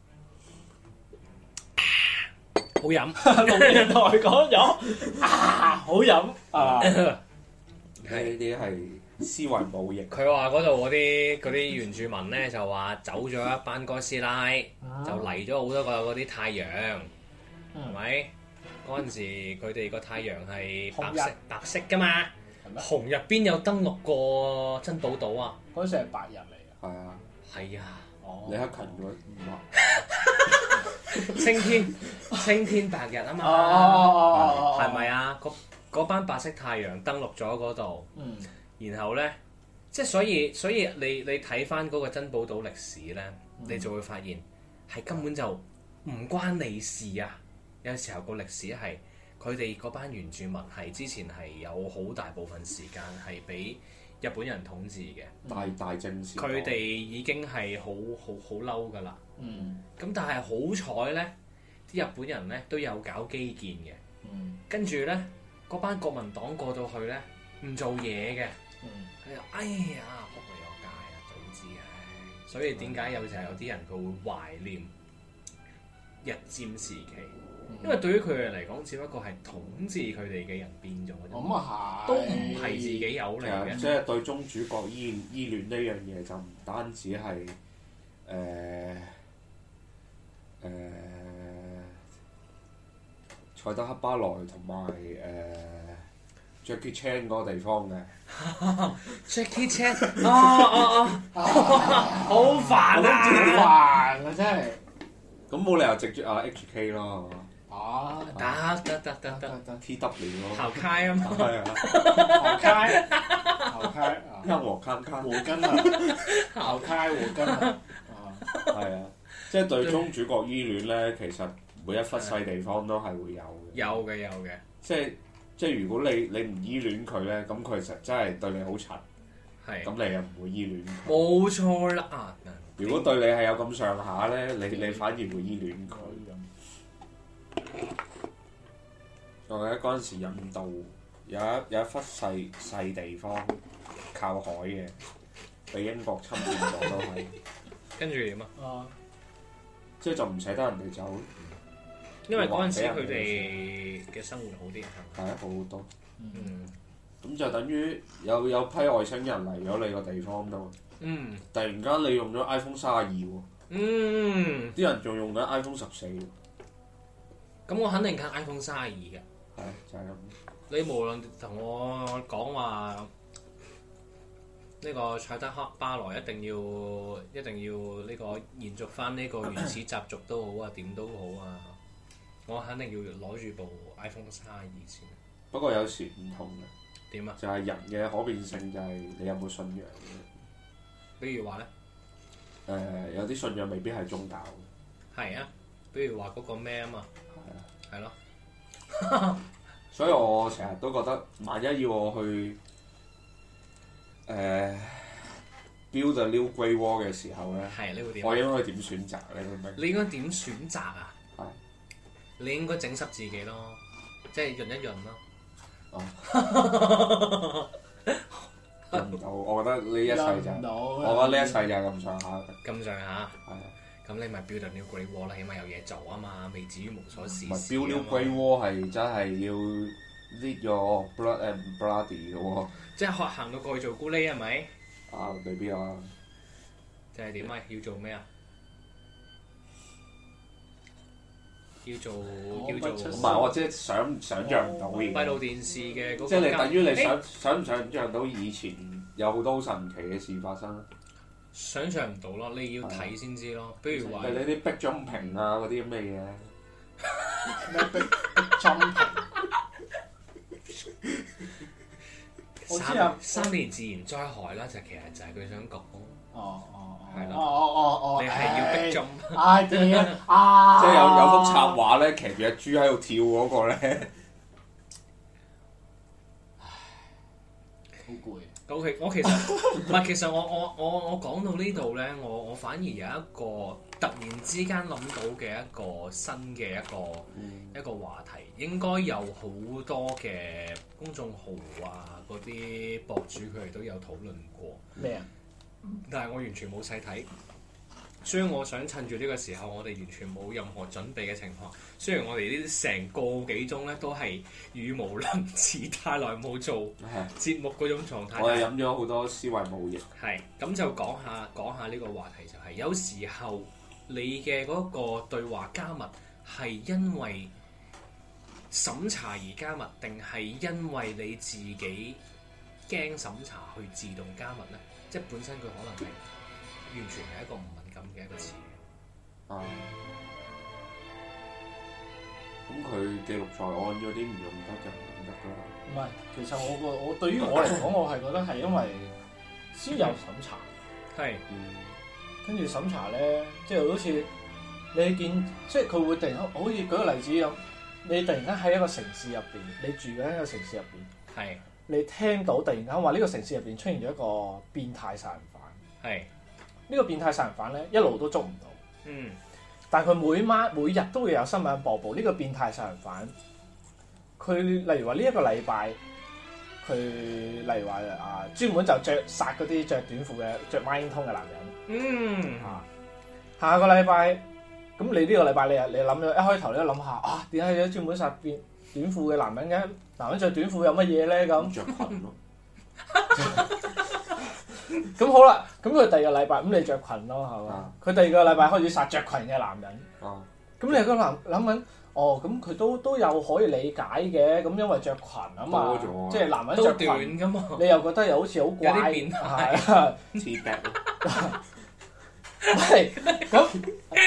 好飲。 龍應台講咗啊，好飲啊！ 呢啲係思維冇益。 佢話嗰度嗰啲嗰啲原住民咧就話走咗一班哥斯拉，就嚟咗好多個嗰啲太陽，係咪？嗰陣時佢哋個太陽係白色白色噶嘛，紅入邊有登陸過珍寶島啊！ 嗰時係白人嚟嘅。 係啊， 係啊， 哦李克勤嗰唔話青天青天白日啊嘛， 哦係咪啊？嗰嗰班白色太陽登陸咗嗰度， 嗯， 然後咧，即係所以所以你你睇翻嗰個珍寶島歷史咧，你就會發現係根本就唔關你事啊！有時候個歷史係佢哋嗰班原住民係之前係有好大部分時間係俾日本人統治嘅， 大大政事。 佢哋已經係好好好嬲㗎啦。 嗯， 咁但係好彩咧，啲日本人咧都有搞基建嘅， 嗯， 跟住咧嗰班國民黨過到去咧唔做嘢嘅， 嗯， 佢就哎呀仆你個街啊，早知唉！所以點解有時候有啲人佢會懷念日佔時期？因為對於佢哋嚟講，只不過係統治佢哋嘅人變咗啫， 咁啊係， 都唔係自己有嚟其實嘅。 即係對宗主國依依戀呢樣嘢就唔單止係誒誒賽德克巴萊同埋誒 Jackie Chan 嗰個地方嘅。 Jackie Chan，哦哦哦，好煩好啊！ 煩啊真係。 咁冇理由直接啊 H K 咯， 啊， 得得得得得， 得 T W 咯。 頭開啊嘛， 係啊， 好開，好開啊！ 音和卡卡。 和根啊，好開和根啊！ 係啊，即係對宗主國依戀咧，其實每一忽細地方都係會有嘅。 有嘅有嘅， 即係即係如果你你唔依戀佢咧，咁佢實真係對你好柒， 係咁你又唔會依戀佢。 冇錯啦啊！ 如果對你係有咁上下咧，你你反而會依戀佢。我記得嗰陣時印度有一有一忽細細地方靠海嘅，被英國侵佔咗都係， 跟住點啊？ 啊， 即係就唔捨得人哋走， 因為嗰陣時佢哋嘅生活好啲，係係啊好好多。 嗯咁就等於有有批外星人嚟咗你個地方度， 嗯突然間你用咗 iPhone 三十二喎， 嗯， 啲人仲用緊 iPhone 十四喎， 咁我肯定揀 iPhone 三十二嘅。 係就係咁。 你無論同我講話呢個賽德克巴萊一定要一定要呢個延續翻呢個原始習俗都好啊，點都好啊，我肯定要攞住部 iPhone 三十二先。 不過有時唔同嘅， 點啊？ 就係人嘅可變性就係你有冇信仰嘅。 比如話咧， 誒、呃、有啲信仰未必係宗教嘅， 係啊，比如話嗰個咩啊嘛， 係啊， 係咯。 所以我成日都覺得，萬一要我去誒、呃、build a new Great Wall 嘅時候咧， 係你會點？ 我應該點選擇咧？你明唔明？ 你應該點選擇啊？ 係你應該整濕自己咯，即係潤一潤咯。 哦，入唔到，我覺得呢一世就係， 入唔到我覺得呢一世就係咁上下。 咁上下， 係啊， 咁你咪 build a new great wall 啦，起碼有嘢做啊嘛，未至於無所事唔係事 Build New Great Wall 係真係要 lead your blood and bloody 嘅喎。 即係學行到過去做咕喱係咪？ 啊，未必啊。 即係點啊？要做咩啊？要做要做唔係，我即係想想像唔到嘅閉路電視嘅嗰個即係你等於你想誒想唔想像到以前有好多好神奇嘅事發生？ 想像唔到咯，你要睇先知咯。比如話係你啲壁中屏啊嗰啲咁嘅嘢。 咩逼逼針屏？我知啊三三年自然災害啦，就其實就係佢想講。 哦哦係啦哦哦哦哦， 你係要逼中， 唉屌啊！ 即係有有幅插畫咧，騎住隻豬喺度跳嗰個咧。 好攰。 O.K. 我其實唔係，其實我我我我講到呢度咧，我我反而有一個突然之間諗到嘅一個新嘅一個、 嗯、 一個話題，應該有好多嘅公眾號啊，嗰啲博主佢哋都有討論過。 咩啊？ 但係我完全冇細睇，所以我想趁住呢個時候，我哋完全冇任何準備嘅情況。雖然我哋呢啲成個幾鐘咧都係語無倫次，太耐冇做節目嗰種狀態。 我哋飲咗好多思維冇液。 係咁就講下講下呢個話題，就係有時候你嘅嗰個對話加密係因為審查而加密，定係因為你自己驚審查去自動加密咧？即係本身佢可能係完全係一個唔敏感嘅一個詞語。 啊！咁佢記錄在案嗰啲唔用得就唔用得㗎啦。 唔係，其實我個我對於我嚟講，我係覺得係因為先有審查， 係， 嗯， 跟住審查咧，即係好似你見，即係佢會突然間，好似舉個例子咁，你突然間喺一個城市入邊，你住緊一個城市入邊， 係， 你聽到突然間話呢個城市入邊出現咗一個變態殺人犯， 係， 呢個變態殺人犯咧一路都捉唔到， 嗯， 但係佢每晚每日都會有新聞播報呢個變態殺人犯。佢例如話呢一個禮拜，佢例如話啊，專門就着殺嗰啲着短褲嘅、着孖煙通嘅男人。 嗯， 啊，下個禮拜，咁你呢個禮拜你啊，你諗咗一開頭你都諗下啊，點解有專門殺變短褲嘅男人嘅？男人着短褲有乜嘢咧？咁着裙咯。 咁好啦，咁佢第二個禮拜咁你着裙咯，係嘛？佢、啊、第二個禮拜開始殺着裙嘅男人。 啊， 咁你個男諗緊？哦，咁佢都都有可以理解嘅，咁因為着裙啊嘛，即係男人着裙短噶嘛， 你又覺得又好似好怪， 有啲變態， 係啊 T-back 係咁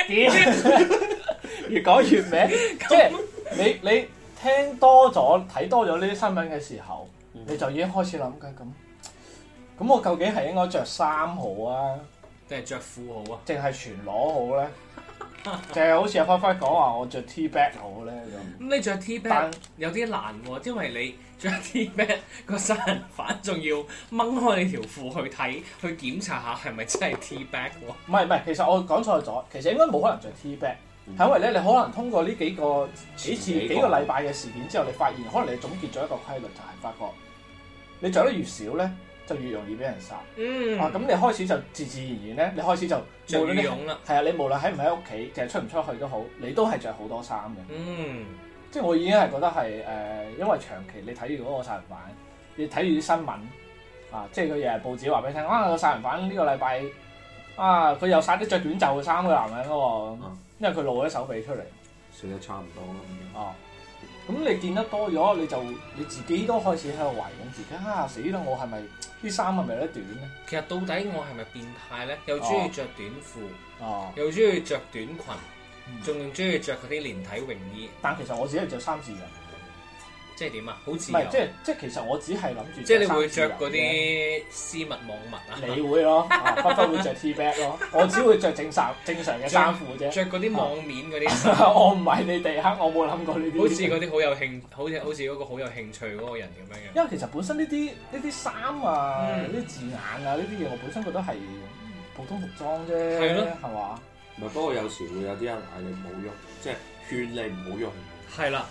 點？越講越歪，即係你你聽多咗睇多咗呢啲新聞嘅時候，嗯、你就已經開始諗緊咁，咁我究竟係應該着衫好啊， 定係着褲好啊？ 淨係全裸好咧？就係好似阿輝輝講話，我着 T-back 好咧咁。 咁你着 T-back 有啲難喎，因為你着 T-back 個殺人犯仲要掹開你條褲去睇，去檢查下係咪真係 T-back 喎？ 唔係唔係，其實我講錯咗，其實應該冇可能着 T-back，係因為咧你可能通過呢幾個幾次幾個禮拜嘅事件之後，你發現可能你總結咗一個規律，就係發覺你着得越少咧，就越容易俾人殺。 嗯。 啊，咁你開始就自自然然咧，你開始就着羽絨啦。 係啊，你無論喺唔喺屋企，定係出唔出去都好，你都係着好多衫嘅。 嗯。 即係我已經係覺得係誒、呃，因為長期你睇住嗰個殺人犯，你睇住啲新聞啊，即係佢日日報紙話俾你聽，啊個殺人犯呢個禮拜啊，佢又殺啲着短袖嘅衫嘅男人咯喎，嗯、因為佢露咗手臂出嚟。 死得差唔多啦。 哦。咁你見得多咗，你就你自己都開始喺度懷疑自己啊！死啦！我係咪啲衫係咪有得短咧？ 其實到底我係咪變態咧？又中意着短褲， 哦、 又中意着短裙，仲中意着嗰啲連體泳衣。 但其實我只係着三字嘅。 即係點啊？好自由。 唔係，即係即係其實我只係諗住。 即係你會着嗰啲絲襪網襪啊？ 你會咯，不不會着 T-back 咯。我只會着正常正常嘅衫褲啫。 着嗰啲網面嗰啲。 我唔係你哋黑，我冇諗過呢啲。 好似嗰啲好有興，好似好似嗰個好有興趣嗰個人咁樣嘅。 因為其實本身呢啲呢啲衫啊，呢啲、嗯、字眼啊，呢啲嘢我本身覺得係普通服裝啫，係咯，係嘛？ 唔係，不過有時會有啲人嗌你唔好用，即係勸你唔好用。 係啦。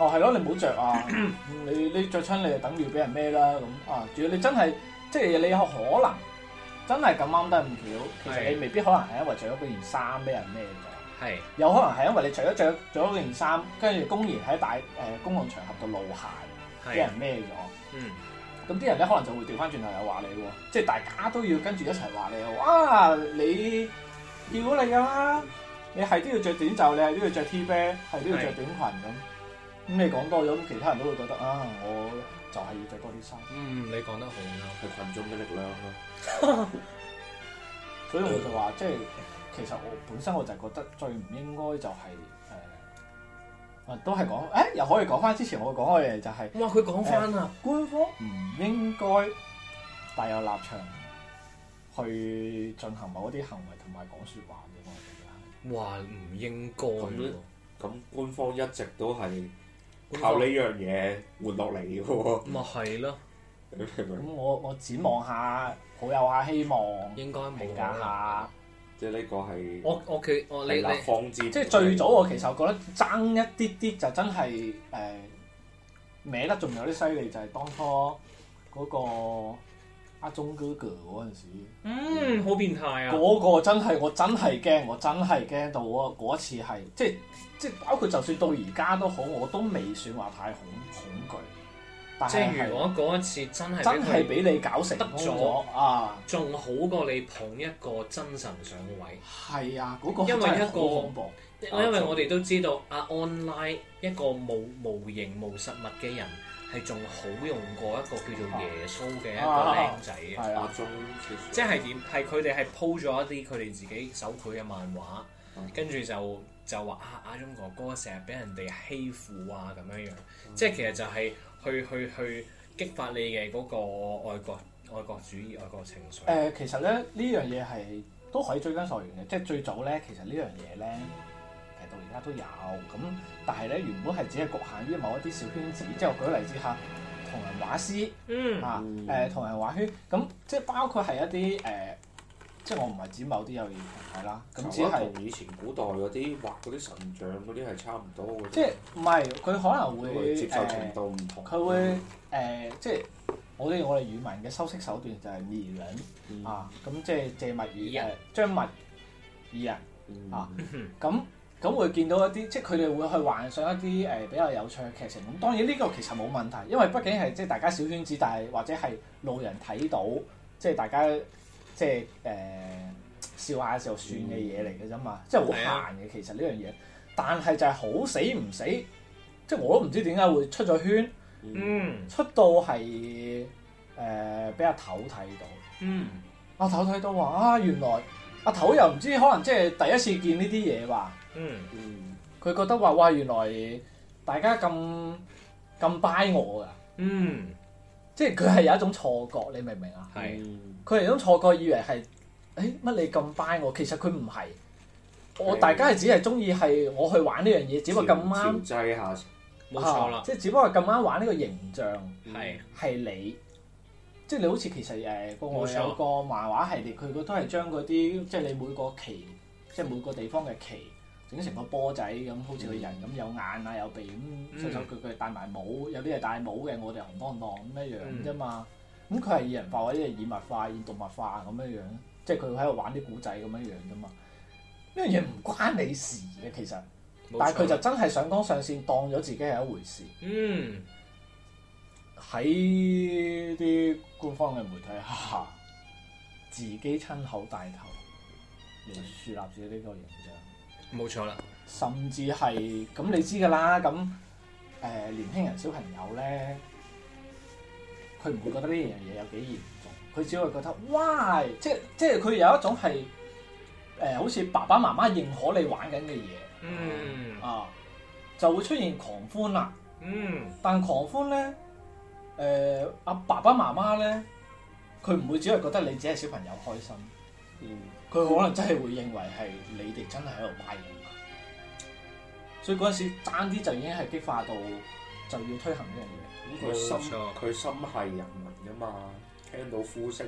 哦係咯，你唔好着啊！你你着親你就等於俾人孭啦咁啊！仲要你真係即係你有可能真係咁啱得咁巧，其實你未必可能係因為着咗嗰件衫俾人孭咗， 係有可能係因為你除咗着咗嗰件衫，跟住公然喺大誒、呃、公共場合度露鞋，俾人孭咗。 嗯。 咁啲人咧可能就會調翻轉頭又話你喎，即係大家都要跟住一齊話你喎。啊，你見到你㗎啦，你係都要着短袖，你係都要着 T 恤，係都要着短裙咁。咁你講多咗，咁其他人都會覺得啊，我就係要着多啲衫。 嗯，你講得好啱， 係群眾嘅力量咯。 所以我就話，即係其實我本身我就係覺得最唔應該就係、是、誒。啊，都係講，誒又可以講翻之前我講嘅嘢，就係、是， 哇！佢講翻啊， 官方唔應該帶有立場去進行某一啲行為同埋講説話嘅，我覺得係。 哇！唔應該喎。咁官方一直都係靠呢樣嘢活落嚟嘅喎。 咪係咯。 咁我我展望下，抱有下希望， 應該冇評價下。 即係呢個係我我佢我你立方之即係最早我其實我覺得爭一啲啲就真係誒、呃、歪得仲有啲犀利，就係、是、當初嗰個阿鐘哥哥嗰陣時， 嗯，好變態啊！ 嗰個真係我真係驚，我真係驚到嗰嗰一次係即係即係包括就算到而家都好，我都未算話太恐恐懼。 即係如果嗰一次真係真係俾你搞成功咗啊， 仲好過你捧一個真神上位。 係啊，嗰、嗰個因為一個恐怖， 因為我哋都知道啊 online 一個無無形無實物嘅人係仲好用過一個叫做耶穌嘅一個靚仔嘅。 係啊， 即係點？係佢哋係 po 咗一啲佢哋自己手繪嘅漫畫，跟住就就話啊阿鐘哥哥成日俾人哋欺負啊咁樣樣，嗯、即係其實就係、是。去去去激發你嘅嗰個愛國愛國主義愛國情緒。誒、 呃，其實咧呢樣嘢係都可以追根溯源嘅，即係最早咧，其實呢樣嘢咧，其實到而家都有咁，但係咧原本係只係局限於某一啲小圈子，即係我舉個例子下，同人畫師， 嗯啊誒同人畫圈，咁即係包括係一啲誒、呃，即係我唔係指某啲有意團體啦，咁只係同以前古代嗰啲畫嗰啲神像嗰啲係差唔多嘅。 即係唔係佢可能會接受程度唔同。 佢、呃、會誒、呃、即係我哋我哋語文嘅修飾手段就係擬人、嗯、啊，咁即係借物語誒將物擬人啊，咁咁會見到一啲即係佢哋會去幻想一啲誒、呃、比較有趣嘅劇情。咁當然呢個其實冇問題，因為畢竟係即係大家小圈子，但係或者係路人睇到，即係大家即係誒。呃笑下就算嘅嘢嚟嘅啫嘛，即係好閒嘅其實呢樣嘢，但係就係好死唔死，即係我都唔知點解會出咗圈， 嗯， 出到係誒俾阿頭睇到， 嗯， 阿頭睇到話啊原來阿頭又唔知可能即係第一次見呢啲嘢吧， 嗯嗯，佢覺得話哇原來大家咁咁 buy 我㗎， 嗯， 即係佢係有一種錯覺，你明唔明啊？ 係， 佢係有種錯覺，以為係。誒乜你咁 buy 我？其實佢唔係，我大家係只係中意係我去玩呢樣嘢，只不過咁啱。調劑下， 冇錯啦。 即係只不過咁啱玩呢個形象， 係係你，即係你好似其實誒國外有個漫畫系列，佢都係將嗰啲即係你每個旗，即係每個地方嘅旗整成個波仔咁，好似個人咁有眼啊有鼻咁，手手腳腳戴埋帽，有啲係戴帽嘅，我哋紅當當咁一樣啫嘛。咁佢係擬人化或者係擬物化、擬動物化咁樣樣。即係佢喺度玩啲古仔咁樣樣啫嘛，呢樣嘢唔關你事嘅其實，但係佢就真係上綱上線，當咗自己係一回事。 嗯， 喺啲官方嘅媒體下，自己親口帶頭嚟樹立自己呢個形象。 冇錯啦， 甚至係咁你知㗎啦，咁誒、呃、年輕人小朋友咧，佢唔會覺得呢樣嘢有幾嚴重。佢只會覺得，哇！即即係佢有一種係誒、呃，好似爸爸媽媽認可你玩緊嘅嘢， 嗯啊，就會出現狂歡啦。 嗯， 但狂歡咧，誒、呃、阿爸爸媽媽咧，佢唔會只係覺得你只係小朋友開心，嗯，佢可能真係會認為係你哋真係喺度拜緊佢，所以嗰陣時爭啲就已經係激化到就要推行呢樣嘢。 咁佢心佢心係人民㗎嘛。聽到呼聲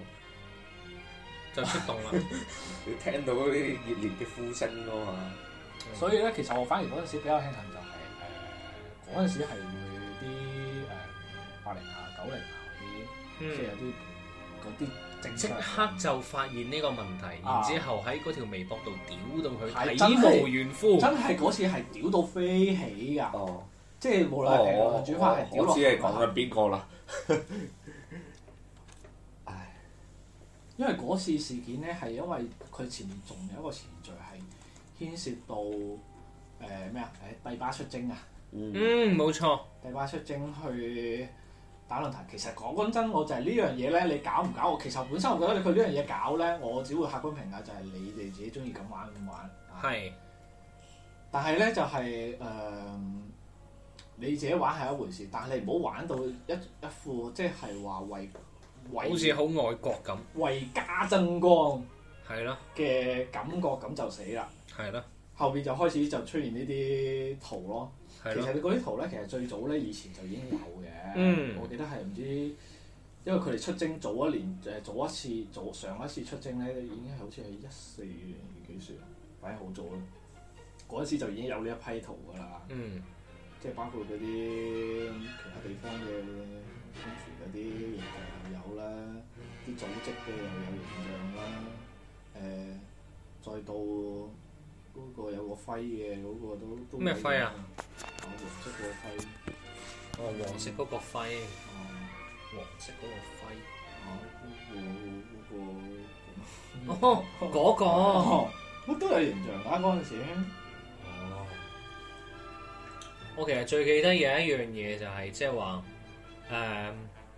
就就出動啦！ 你聽到嗰啲熱烈嘅呼聲咯嘛， 所以咧，其實我反而嗰陣時比較慶幸就係誒嗰陣時係會啲誒八零啊、九零啊嗰啲， 嗯即係有啲嗰啲正即常刻就發現呢個問題，然之後喺嗰條微博度屌到佢係體無完膚。 真係嗰次係屌到飛起㗎， 哦， 即係無論係評論轉發係屌落我知你講緊邊個啦。 唉，因為嗰次事件咧係因為佢前面仲有一個程序係牽涉到誒咩啊？誒帝巴出征啊！ 嗯， 嗯，冇錯。 帝巴出征去打論壇，其實講講真，我就係呢樣嘢咧，你搞唔搞？我其實本身我覺得佢呢樣嘢搞咧，我只會客觀評價就係你哋自己中意咁玩唔玩。 係。 但係咧就係、是、誒、呃，你自己玩係一回事，但係你唔好玩到一一副即係話為為好似好愛國咁。 為家爭光係咯。 嘅感覺咁就死啦。 係咯。 後邊就開始就出現呢啲圖咯。其係咯。 實你嗰啲圖咧，其實最早咧以前就已經有嘅。 嗯我記得係唔知，因為佢哋出征早一年誒早一次早上一次出征咧，已經係好似係一四年幾時啊，反正好早啦。嗰陣時就已經有呢一批圖㗎啦。 嗯。 即係包括嗰啲其他地方嘅宣傳嗰啲形象又有啦，啲組織嘅又有形象啦。誒、再到嗰個有個徽嘅嗰個都都咩徽啊？ 哦，黃色嗰個徽。 哦，黃色嗰個徽。 哦。 黃色嗰個徽。 哦，嗰個哦，嗰個。 哦，我都有形象㗎嗰陣時。 哦。我其實最記得有一樣嘢就係即係話誒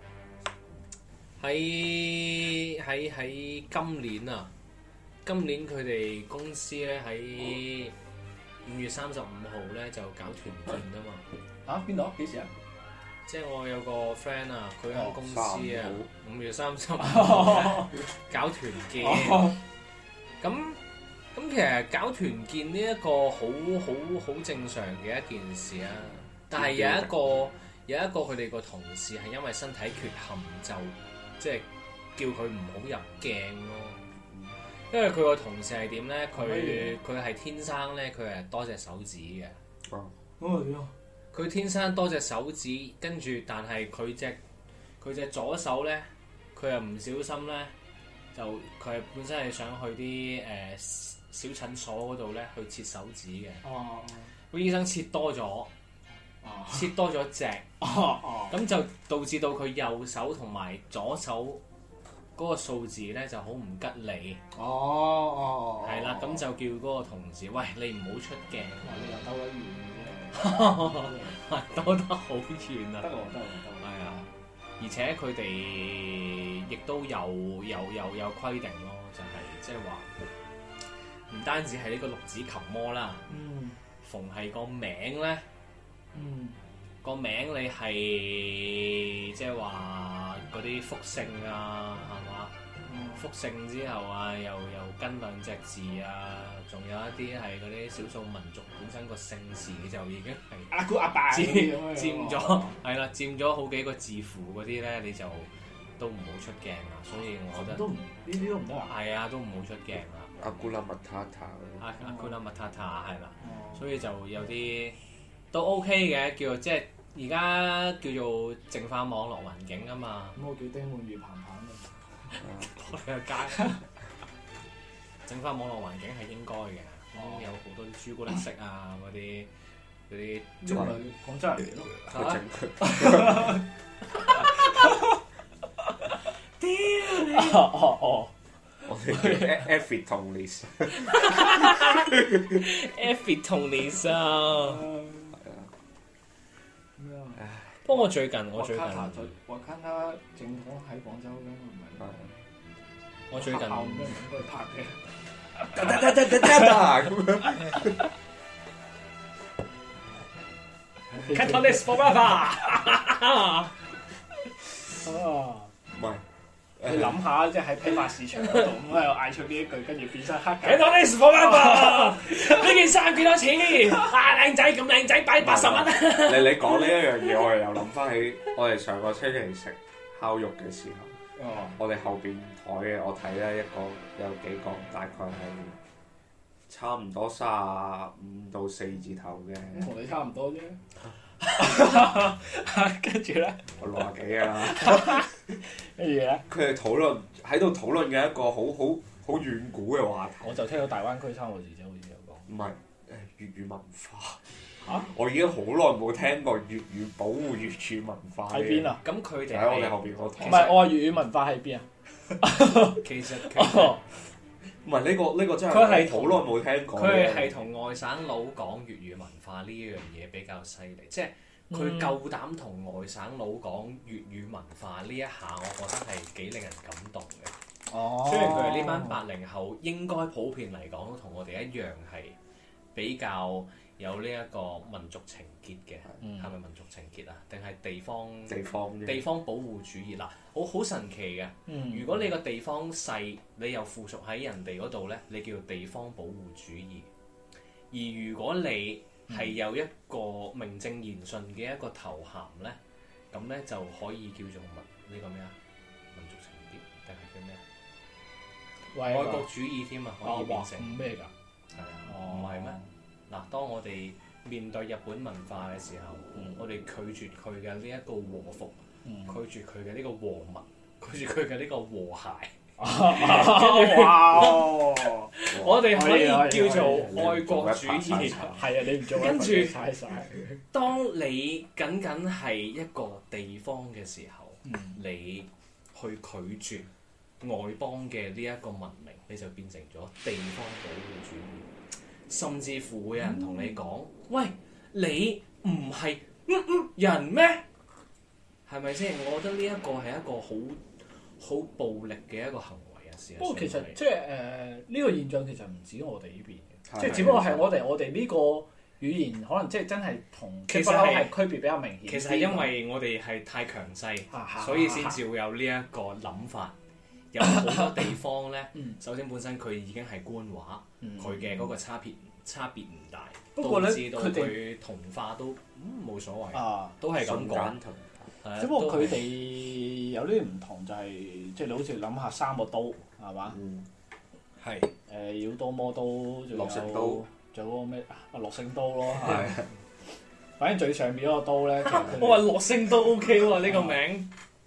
喺喺喺今年啊，今年佢哋公司咧喺五月三十五號咧就搞團建啊嘛。 啊？邊度？幾時啊？ 即係我有個 friend 啊，佢間公司啊，五月三十五搞團建。咁咁其實搞團建呢一個好好好正常嘅一件事啊，但係有一個有一個佢哋個同事係因為身體缺陷就即係叫佢唔好入鏡咯。因為佢個同事係點咧？佢佢係天生咧，佢係多隻手指嘅。 哦。 咁啊點啊？ 佢天生多隻手指，跟住但係佢隻佢隻左手咧，佢又唔小心咧，就佢係本身係想去啲誒、呃、小診所嗰度咧去切手指嘅。 哦。 個醫生切多咗， 哦。 切多咗隻， 哦哦。 咁就導致到佢右手同埋左手嗰個數字咧就好唔吉利。 哦哦。 係啦，咁就叫嗰個同事，喂，你唔好出鏡。 你又兜得遠嘅兜得好遠啊！ 得喎，得喎，得喎。 係啊，而且佢哋亦都有有有有規定咯，就係即係話唔單止係呢個六指琴魔啦， 嗯。 逢係個名咧， 嗯。 個名你係即係話嗰啲複姓啊，係嘛？複姓之後啊，又又跟兩隻字啊，仲有一啲係嗰啲少數民族本身個姓氏就已經係阿姑阿爸佔佔咗，係啦，佔咗好幾個字符嗰啲咧，你就都唔好出鏡啦。所以我覺得都唔呢啲都唔得啊。 係啊，都唔好出鏡啦。 阿古拉麥塔塔阿阿 Kuna Matata 係啦， 哦。 所以就有啲都 OK 嘅，叫做即係而家叫做淨化網絡環境啊嘛。 咁我叫丁滿如彭彭嘅。 我哋個街整翻網絡環境係應該嘅，咁、 哦、 有好多啲朱古力色啊，嗰啲嗰啲呢個係廣州人嚟咯。 佢整屌你！哦哦， 我哋叫 Effie Tony's。 Effie Tony's 啊！ 係啊。 咩啊？ 不過我最近我最近瓦卡塔正統喺廣州㗎嘛，唔係？ 我最近學校應該唔應該拍嘅。 得得得得得得咁樣。 Catalyst forever。 啊！ 唔係。 你諗下，即係喺批發市場嗰度咁喺度嗌出呢一句，跟住變身黑狗。 Catalyst forever。呢件衫幾多錢？啊，靚仔咁靚仔，擺八十蚊。 你你講呢一樣嘢，我又諗翻起我哋上個星期食烤肉嘅時候。 哦。 我哋後邊台嘅，我睇咧一個有幾個，大概係差唔多三十五到四字頭嘅。 同你差唔多啫。 跟住咧， 我六廿幾啊。 跟住咧， 佢哋討論喺度討論嘅一個好好好遠古嘅話題。 我就聽到大灣區三個字啫，好似有講。 唔係誒粵語文化。 嚇！ 我已經好耐冇聽過粵語保護粵語文化。 喺邊啊？ 咁佢哋喺我哋後邊嗰堂。 唔係，我話粵語文化喺邊啊？ 其實其實唔係呢個呢個真係佢係好耐冇聽過。 佢係同外省佬講粵語文化呢樣嘢比較犀利，即係佢夠膽同外省佬講粵語文化呢一下，我覺得係幾令人感動嘅。 哦。 雖然佢哋呢班八零後應該普遍嚟講，同我哋一樣係比較有呢一個民族情結嘅，係咪、嗯、民族情結啊？定係地方地方地方保護主義嗱？好好神奇嘅。 嗯、 如果你個地方細，你又附屬喺人哋嗰度咧，你叫地方保護主義。而如果你係有一個名正言順嘅一個頭銜咧，咁咧就可以叫做民呢個咩啊？民族情結定係叫咩啊？ 喂愛國主義添啊，可以變成咩㗎？ 係啊，唔係咩？嗱，當我哋面對日本文化嘅時候，嗯、我哋拒絕佢嘅呢一個和服，嗯、拒絕佢嘅呢個和睦，拒絕佢嘅呢個和諧。 哇！ 我哋可以叫做愛國主義。 係啊，你唔做跟住曬曬。 當你僅僅係一個地方嘅時候，嗯、你去拒絕外邦嘅呢一個文明，你就變成咗地方保護主義。甚至乎會有人同你講：嗯、喂，你唔係嗯嗯人咩？係咪先？我覺得呢一個係一個好好暴力嘅一個行為啊！事實上， 不過其實即係誒呢個現象其實唔止我哋呢邊嘅，即係只不過係我哋我哋呢個語言可能即係真係同其實係區別比較明顯。 其實係因為我哋係太強勢，所以先至會有呢一個諗法。有好多地方咧，首先本身佢已經係官話，佢嘅嗰個差別差別唔大， 不過咧導致到佢同化都冇所謂，都係咁講。 只不過佢哋有啲唔同，就係即係你好似諗下三個都係嘛？係誒妖刀魔刀，仲有仲有嗰個咩啊？樂聖刀咯，係。反正最上邊嗰個刀咧， 我話樂聖刀 OK 喎，呢個名。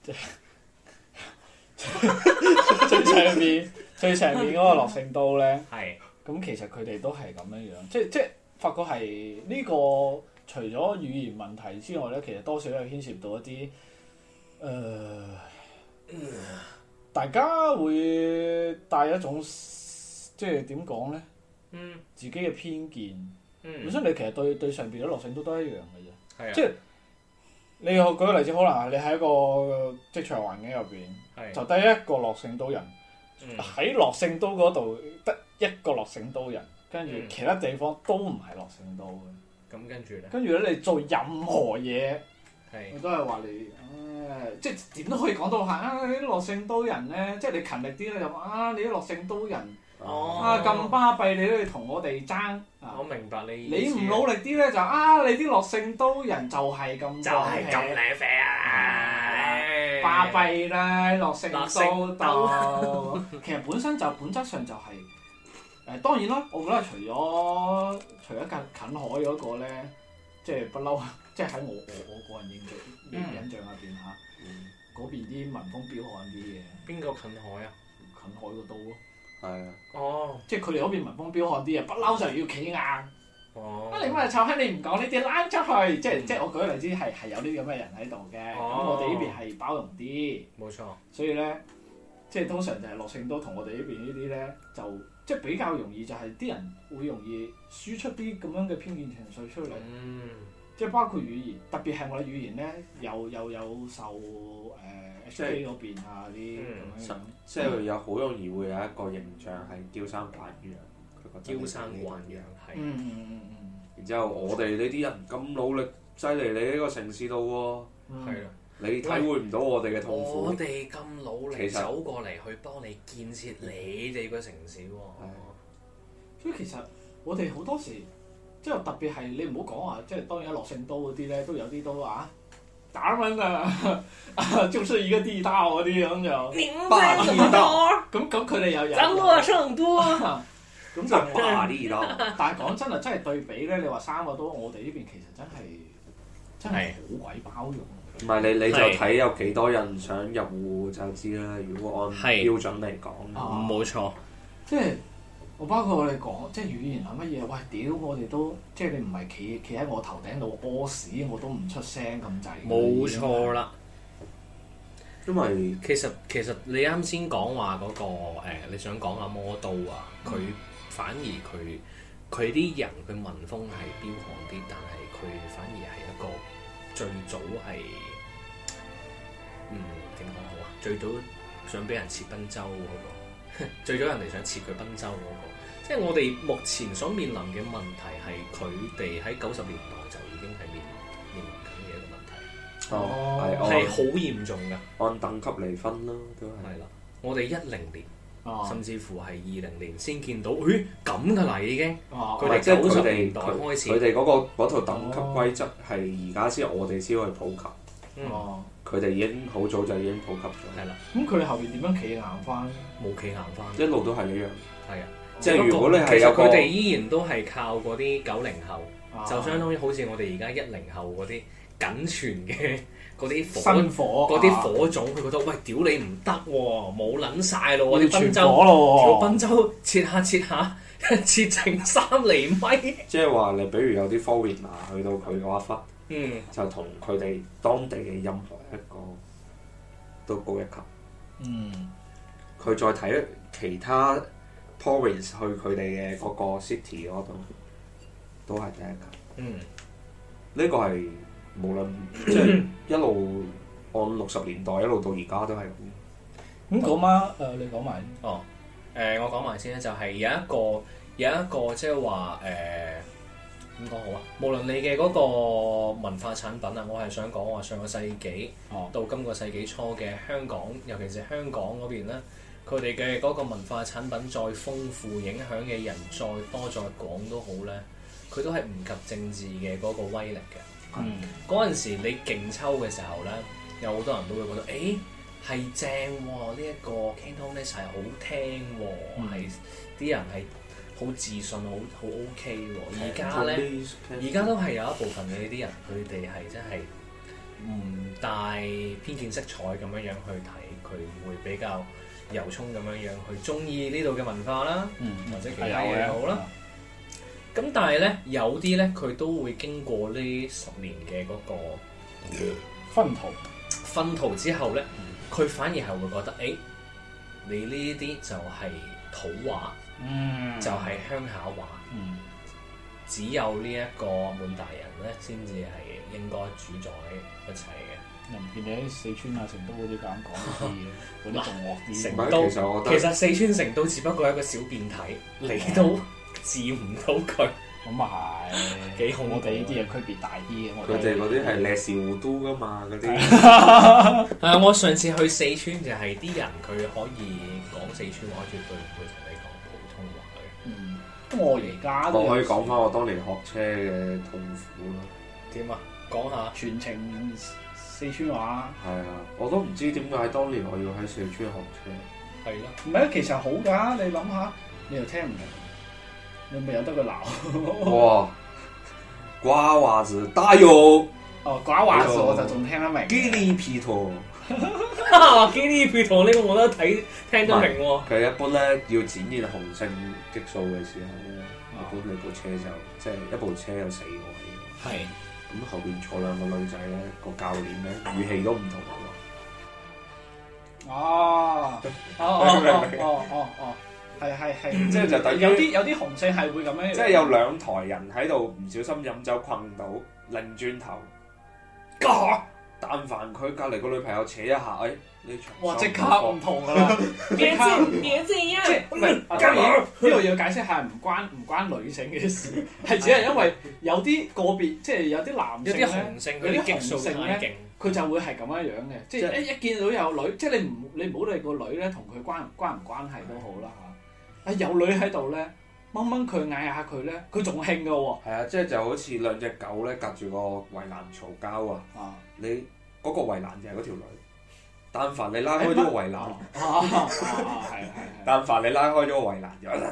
最上面最上面嗰個樂聖刀咧， 係咁其實佢哋都係咁樣樣，即即發覺係呢個除咗語言問題之外咧，其實多少都有牽涉到一啲誒、呃，大家會帶一種即係點講咧，嗯，自己嘅偏見，嗯，本身你其實對對上邊嘅樂聖刀都一樣嘅啫，係啊，即係。你舉個例子，可能你喺一個職場環境入邊，就得一個樂聖刀人，喺樂聖刀嗰度得一個樂聖刀人，跟住其他地方都唔係樂聖刀嘅。 咁跟住咧？跟住咧，你做任何嘢，我都係話你，誒，即係點都可以講到係啊！你啲樂聖刀人咧，即係你勤力啲咧，就啊，你啲樂聖刀人。哦、啊咁巴閉，你都要同我哋爭。 我明白你。 你唔努力啲咧，就啊，你啲樂聖刀人就係咁。 就係咁靚啡啊！ 巴閉啦，樂聖刀刀。其實本身就本質上就係、是、誒、呃，當然啦，我覺得除咗除咗近近海嗰個咧，即係不嬲，即係喺我我我個人印象印象入邊嚇，嗰、嗯、邊啲民風彪悍啲嘅。 邊個近海啊？ 近海個刀咯。 係啊， 哦， 即係佢哋嗰邊民風彪悍啲啊，不嬲就要企硬。 哦， 啊你乜臭閪，你唔講呢啲拉出去，即係即係我舉個例子係係有啲咁嘅人喺度嘅，咁、哦、我哋呢邊係包容啲。冇錯。所以咧，即係通常就係樂聖刀同我哋呢邊呢啲咧，就即係比較容易就係啲人會容易輸出啲咁樣嘅偏見情緒出嚟。嗯。即係包括語言，特別係我哋語言咧，又又有受誒 H K 嗰邊啊啲咁樣。 即係有好容易會有一個形象係嬌生慣養，佢覺得嬌生慣養係。 嗯嗯嗯嗯。 然之後我哋呢啲人咁努力擠嚟你呢個城市度喎，係啊，你體會唔到我哋嘅痛苦。 我哋咁努力走過嚟去幫你建設你哋個城市喎。 所以其實我哋好多時。即係特別係你唔好講話，即係當然樂聖刀嗰啲咧，都有啲都啊打蚊啊，就是一個地道嗰啲咁就霸地道。 咁咁佢哋又有。 爭樂聖多。 咁就霸地道。但係講真啊，真係對比咧，你話三個都，我哋呢邊其實真係真係好鬼包容。 唔係你你就睇有幾多人想入戶就知啦。如果按標準嚟講， 冇錯。 即係我包括我哋講，即係語言係乜嘢？喂，屌我哋都即係你唔係企企喺我頭頂度屙屎，我都唔出聲咁滯。 冇錯啦。 因為其實其實你啱先講話嗰個、呃、你想講阿魔都啊，佢、嗯、反而佢佢啲人佢文風係彪悍啲，但係佢反而係一個最早係嗯點講好啊？最早想俾人切賓州嗰、嗰個，最早人哋想切佢賓州嗰、嗰個，即係我哋目前所面臨嘅問題係佢哋喺九十年代就已經係面面臨緊嘅一個問題。 哦， 係好嚴重㗎， 按等級嚟分咯，都係。係啦，我哋一零年， 哦、 甚至乎係二零年先見到，咦咁㗎啦已經。佢哋即係九十年代開始， 佢哋嗰個嗰套等級規則係而家先，我哋先可以普及。 哦， 佢哋已經好早就已經普及咗。 係啦。 咁佢哋後邊點樣企硬翻？ 冇企硬翻。 一路都係一樣。 係啊。 即係如果你係有個， 佢哋依然都係靠嗰啲九零後， 啊、 就相當於好似我哋而家一零後嗰啲僅存嘅。嗰啲新火， 嗰啲火種，佢覺得喂，屌你唔得喎，冇撚晒咯喎！啲賓州， 條賓州切下切下，切成三厘米。 即係話你，比如有啲 foreigner 去到佢嗰一忽， 嗯， 就同佢哋當地嘅任何一個都高一級。 嗯， 佢再睇其他 province 去佢哋嘅嗰個 city 嗰度，都係第一級。 嗯， 呢個係。無論即係一路按六十年代一路到而家都係咁。 咁嗰晚誒，你講埋哦。誒、呃，我講埋先咧，就係、是、有一個有一個即係話誒點講好啊？無論你嘅嗰個文化產品啊，我係想講話上個世紀、哦、到今個世紀初嘅香港，尤其是香港嗰邊咧，佢哋嘅嗰個文化產品再豐富，影響嘅人再多再廣都好咧，佢都係唔及政治嘅嗰個威力嘅。 嗯， 嗰陣時你勁抽嘅時候咧，有好多人都會覺得，誒係正喎，呢、這、一個 Cantonese 係好聽喎，係啲、嗯、人係好自信，好好 OK 喎。而家咧，而家都係有一部分嘅呢啲人，佢哋係真係唔帶偏見色彩咁樣樣去睇，佢會比較由衷咁樣樣去中意呢度嘅文化啦，嗯、或者其他嘢好啦。咁但係咧，有啲咧佢都會經過呢十年嘅嗰個薰陶， 薰陶之後咧，佢、嗯、反而係會覺得，誒、欸，你呢啲就係土話， 嗯、就係鄉下話， 嗯、 只有呢一個滿大人咧，先至係應該主宰一切嘅。 又唔見你喺四川啊、成都嗰啲咁講啲嘢，嗰啲仲惡啲。 成都其實，其實四川成都只不過係一個小變體，你都治唔到佢， 咁啊係幾好。我哋呢啲嘢區別大啲嘅， 佢哋嗰啲係歷史糊都噶嘛，嗰啲。 係啊，我上次去四川就係啲人佢可以講四川話，絕對唔會同你講普通話嘅。 嗯，咁我而家我可以講翻我當年學車嘅痛苦咯。 點啊？講下全程四川話。 係啊，我都唔知點解當年我要喺四川學車。 係咯。 唔係啊，其實好㗎，你諗下，你又聽唔明。你咪有得佢鬧？ 哇！瓜娃子大有哦，瓜娃子我就仲聽得明。 基利皮托， 基利皮托呢個我都睇聽得明喎。 佢一般咧要展現雄性激素嘅時候咧，一般你部車就即係一部車有四個位。 係。 咁後邊坐兩個女仔咧，個教練咧語氣都唔同喎。哦哦哦哦哦哦。係係係，即係就等於有啲有啲雄性係會咁樣， 即係有兩台人喺度唔小心飲酒困到，擰轉頭，嘎！但凡佢隔離個女朋友扯一下，誒呢場哇即刻唔同㗎啦！ 別這別這樣， 即係唔係？當然呢度要解釋下，唔關唔關女性嘅事，係只係因為有啲個別，即係有啲男性有啲雄性，有啲激素太勁， 佢就會係咁樣樣嘅，即係一一見到有女，即係你唔你唔好理個女咧，同佢關關唔關係都好啦嚇。啊有女喺度咧，掹掹佢嗌下佢咧，佢仲興㗎喎。 係啊，即係就好似兩隻狗咧，隔住個圍欄嘈交啊！啊你嗰個圍欄就係嗰條女，但凡你拉開咗個圍欄， 啊係係但凡你拉開咗個圍欄就啊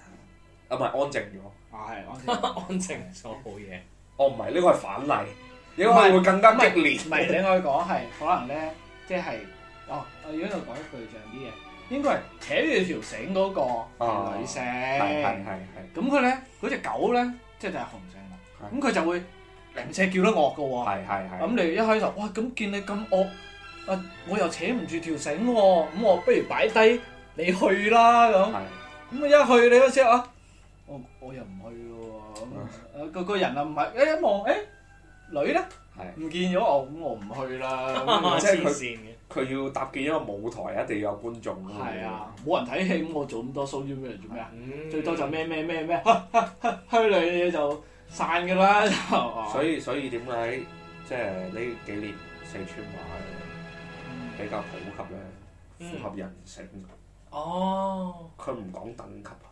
唔係安靜咗。 啊係安靜安靜咗好嘢。 哦唔係呢個係反例。 應該會更加激烈。 唔係，你可以講係可能咧，即係哦，我如果度講一具象啲嘢，應該係扯住條繩嗰個係女性， 係係係係。 咁佢咧嗰隻狗咧，即係就係雄性啦。咁佢就會零舍叫得惡嘅喎。 係係係。 咁你一開頭，哇！咁見你咁惡，啊，我又扯唔住條繩喎，咁我不如擺低你去啦咁。咁啊一去你嗰時啊，我我又唔去喎。咁啊個個人啊唔係，一一望誒女咧。唔見咗我，咁我唔去啦。 即係佢佢要搭建一個舞台，一定要有觀眾。 係啊，冇人睇戲，咁我做咁多 show 要咩嚟做咩啊？ 嗯、 最多就咩咩咩咩，虛擬嘢就散㗎啦。 所以所以點解即係呢幾年四川話比較普及咧？符合人性。 哦。 佢唔講等級啊。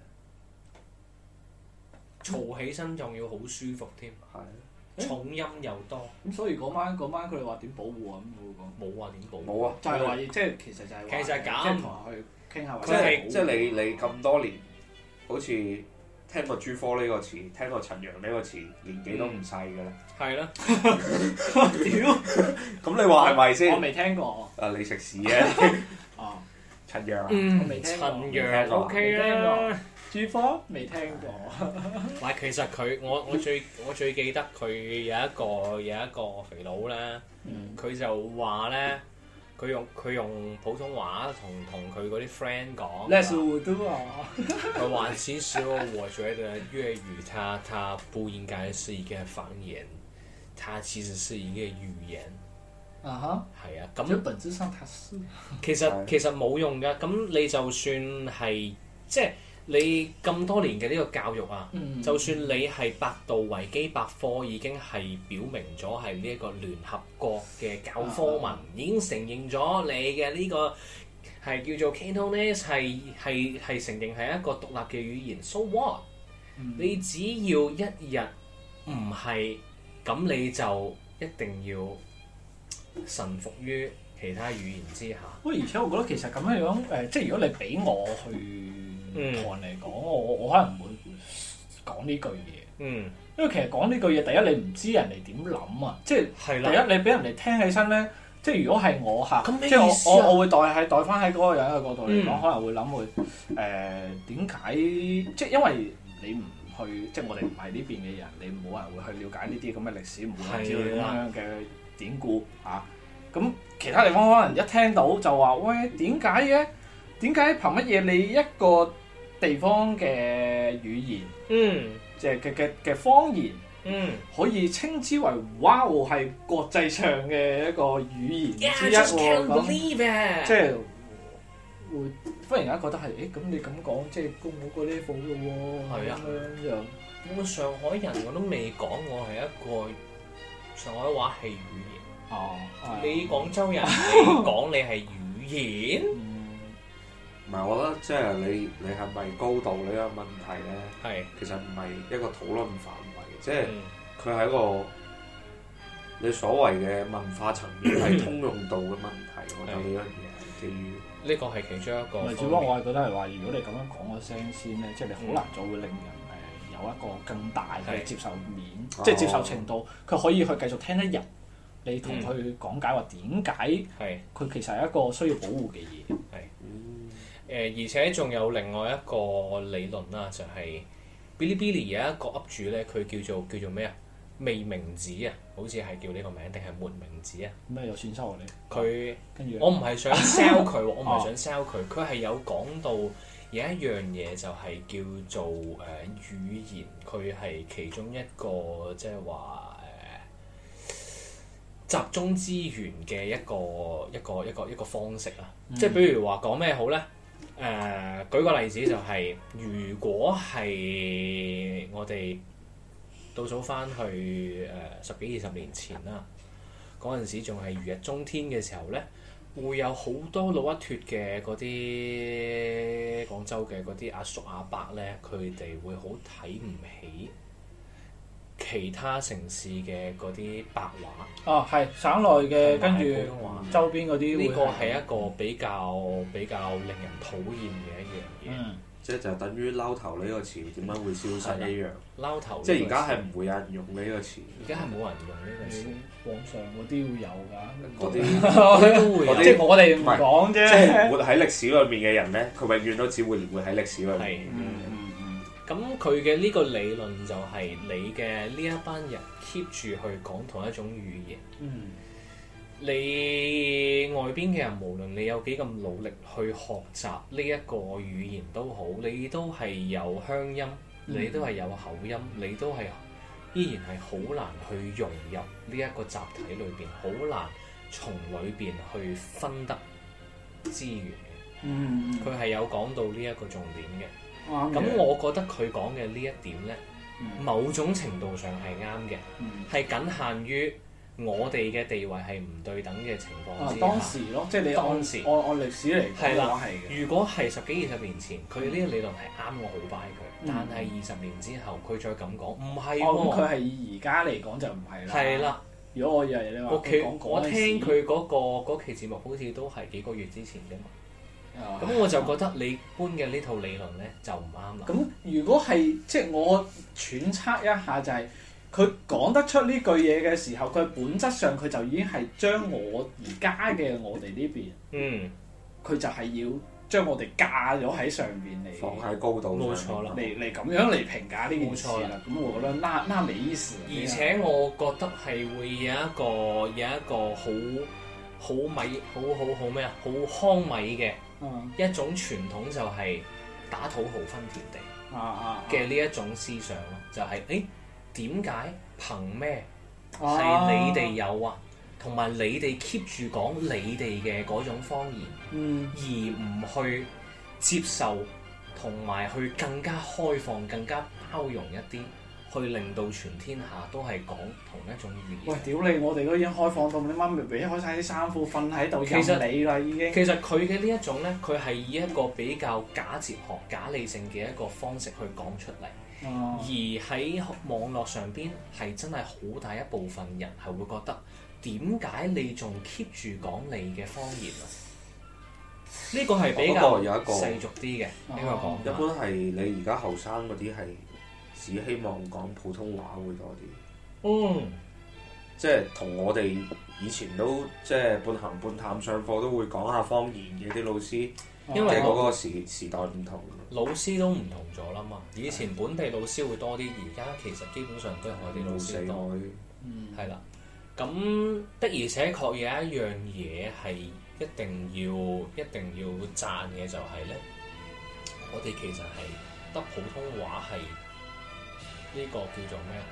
嘈起身仲要好舒服添。係。重音又多， 咁所以嗰晚嗰晚佢哋話點保護啊？咁我講冇話點保護， 冇啊， 就係話即係其實就係其實咁， 即係同佢去傾下。 即係即係你你咁多年，好似聽過朱科呢個詞，聽過陳陽呢個詞，年紀都唔細㗎啦。係啦。屌！咁你話係咪先？ 我未聽過。 誒，你食屎啊！ 哦， 陳陽啊， 我未聽過。 陳陽 OK 啦。 朱科未聽過， 唔係其實佢我我最我最記得佢有一個有一個肥佬咧，佢、嗯、就話咧，佢用佢用普通話同同佢嗰啲 friend 講。 那是我都啊。 佢話其實我覺得粵語它它不應該是一個方言，它其實是一個語言。 啊哈。係啊，咁。 本質上它是。 其實其實冇用㗎，咁你就算係即係。你咁多年嘅呢個教育啊，嗯、就算你係百度維基百科已經係表明咗係呢一個聯合國嘅教科文，啊、已經承認咗你嘅呢個係叫做 Cantonese 係係係承認係一個獨立嘅語言。So what？、嗯、你只要一日唔係咁，你就一定要臣服於其他語言之下。 喂，而且我覺得其實咁樣樣誒、呃，即係如果你俾我去。同人嚟講，我我可能唔會講呢句嘢。嗯，因為其實講呢句嘢，第一你唔知人哋點諗啊，即係第一你俾人哋聽起身咧，即係如果係我嚇，即係我我我會代係代翻喺嗰個人嘅角度嚟講，嗯、可能會諗會誒點解？即係因為你唔去，即係我哋唔係呢邊嘅人，你冇人會去了解呢啲咁嘅歷史，唔會知道咁樣嘅典故嚇。咁、啊、其他地方可能一聽到就話喂，點解嘅？點解憑乜嘢你一個地方嘅語言，嗯，即係嘅嘅嘅方言，嗯，可以稱之為哇係國際上嘅一個語言之一喎，咁即係會忽然間覺得係，誒咁你咁講，即係高我個 level 嘅喎，係啊，咁樣。 我上海人我都未講我係一個上海話係語言，哦，你廣州人你講你係語言。 唔係，我覺得即係你你係咪高度呢個問題咧？係是其實唔係一個討論範圍，即係佢係一個你所謂嘅文化層面係通用度嘅問題。是我覺得呢樣嘢係基於呢個係其中一個。 唔係，只不過我係覺得係話，如果你咁樣講個聲先咧，即係你好難再會令人誒有一個更大嘅接受面，是即係接受程度，佢可以去繼續聽得入。你同佢講解話點解佢其實係一個需要保護嘅嘢。係。 誒、呃、而且仲有另外一個理論啦，就係 Bilibili 有一個 up 主咧，佢叫做叫做咩啊？未名子啊，好似係叫呢個名定係沒名子啊？ 咩有錢收啊你？ 佢跟住我唔係想 sell 佢，我唔係想 sell 佢，佢係有講到有一樣嘢就係叫做誒、呃、語言，佢係其中一個即係話誒集中資源嘅一個一個一個一個方式啊！嗯、即係比如話講咩好咧？誒、呃，舉個例子就係、是，如果係我哋倒數翻去誒、呃、十幾二十年前啦，嗰陣時仲係如日中天嘅時候咧，會有好多老一脱嘅嗰啲廣州嘅嗰啲阿叔阿伯咧，佢哋會好睇唔起其他城市嘅嗰啲白話。 哦，係省內嘅，跟住周邊嗰啲。 呢個係一個比較比較令人討厭嘅一樣嘢。嗯、 即係就等於撈頭呢個詞點解會消失一樣。 撈頭即係而家係唔會有人用呢個詞。 而家係冇人用呢個詞。 網上嗰啲會有㗎， 嗰啲嗰啲都會有。 即係我哋唔講啫。 即係活喺歷史裏面嘅人咧，佢永遠都只會活喺歷史裏面。 係。 嗯嗯嗯。 咁佢嘅呢個理論就係你嘅呢一班人 keep 住去講同一種語言。 嗯。 你外邊嘅人，無論你有幾咁努力去學習呢一個語言都好，你都係有鄉音，你都係有口音，你都係依然係好難去融入呢一個集體裏邊，好難從裏邊去分得資源嘅。 嗯。 佢係有講到呢一個重點嘅。咁、 啱嘅。 我覺得佢講嘅呢一點呢， 嗯某種程度上係啱嘅， 嗯係僅限於我哋嘅地位係唔對等嘅情況啊之下。 當時咯，即係你按當時按按歷史嚟講嘅係啦話係嘅。 如果係十幾二十年前，佢呢個理論係啱，我好 buy 佢。 嗯但係二十年之後，佢再咁講，唔係哦，咁佢喎。 係以而家嚟講就唔係啦。 係啦， 如果我以為你話我佢講我嗰陣時聽佢嗰、個嗰期節目，好似都係幾個月之前啫嘛。 啊咁我就覺得你搬嘅呢套理論咧就唔啱啦。 咁如果係即係我揣測一下，就係佢講得出呢句嘢嘅時候，佢本質上佢就已經係將我而家嘅我哋呢邊， 嗯， 佢就係要將我哋架咗喺上邊嚟， 放喺高度冇上錯啦嚟嚟咁樣嚟評價呢件事冇錯啦。咁我覺得那那沒意思。 而且我覺得係會有一個有一個好好米好好好咩啊，好糠米嘅嗯一種傳統，就係打土豪分田地啊啊嘅呢一種思想咯，就係誒點解憑咩係啊你哋有啊，同埋你哋 keep 住講你哋嘅嗰種方言， 嗯而唔去接受同埋去更加開放、更加包容一啲，去令到全天下都係講同一種語喂， 言。 屌你！我哋都已經開放到，你媽咪俾開晒啲衫褲瞓喺度其實任你啦，已經。 其實佢嘅呢一種呢，佢係以一個比較假哲學、假理性嘅一個方式去講出嚟。 哦而喺網絡上邊係真係好大一部分人係會覺得點解你仲 keep 住講你嘅方言啊？呢個係比不較過有一個世俗啲嘅呢個講一法。 般係你而家後生嗰啲係只希望講普通話會多啲， 嗯， 即係同我哋以前都即係半行半探上課都會講下方言嘅啲老師， 因為即係嗰個時時代唔同。 老師都唔同咗啦嘛。以前本地老師會多啲，而家其實基本上都係外地老師多。 外嗯係啦，咁的而且確有一樣嘢係一定要一定要讚嘅，就係咧，我哋其實係得普通話係呢個叫做咩啊？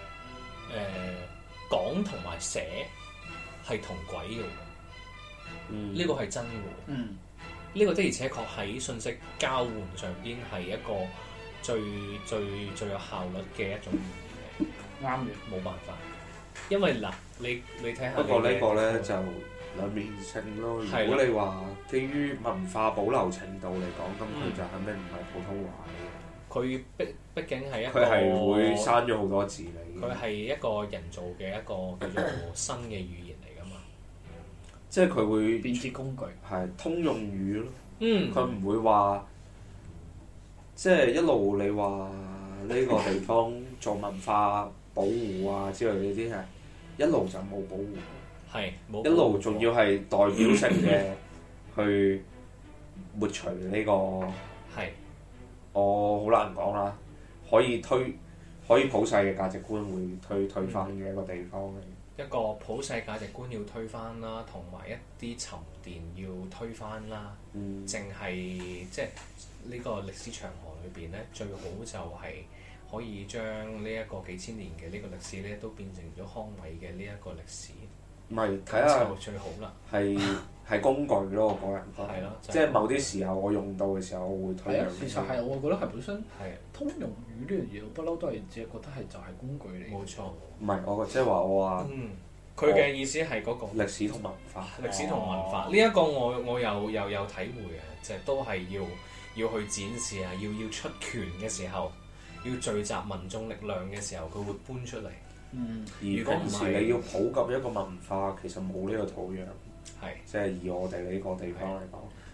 誒、講同埋寫係同軌嘅喎， 嗯呢個係真嘅喎。 嗯呢個的而且確喺信息交換上邊係一個最最最有效率嘅一種語言嚟， 啱嘅。 冇辦法。因為嗱，你你睇下， 不過呢個咧就兩面性咯。 係啦如果你話基於文化保留程度嚟講，咁佢嗯就肯定唔係普通話嘅。 佢畢畢竟係一個佢係會刪咗好多字嚟嘅。 佢係一個人造嘅一個叫做新嘅語言嚟㗎嘛。 即係佢會便捷工具。 係通用語咯。 嗯， 佢唔會話即係一路你話呢個地方做文化保護啊之類呢啲係一路就冇保護， 係冇一路仲要係代表性嘅去抹除呢、這個， 係我好難講啦。可以推可以普世嘅價值觀會推推翻嘅一個地方嚟。 一個普世價值觀要推翻啦，同埋一啲沉澱要推翻啦。 嗯， 淨係即係呢個歷史長河裏邊咧，最好就係可以將呢一個幾千年嘅呢個歷史咧，都變成咗康美嘅呢一個歷史。 唔係睇咁下就最好啦。 係係工具咯，我個人覺得。 係咯就係即係某啲時候我用到嘅時候，我會推係啊兩， 其實係我覺得係本身係通用語呢樣嘢，我不嬲都係只係覺得係就係工具嚟。 冇錯。 唔係我即係話我話嗯，佢嘅意思係嗰個歷史同文化。 歷史同文化哦呢一個我我又又有體會嘅，就係都係要要去展示啊，要要出拳嘅時候，要聚集民眾力量嘅時候，佢會搬出嚟。 嗯， 而如果唔平時係你要普及一個文化，其實冇呢個土壤， 係即係以我哋呢個地方嚟講，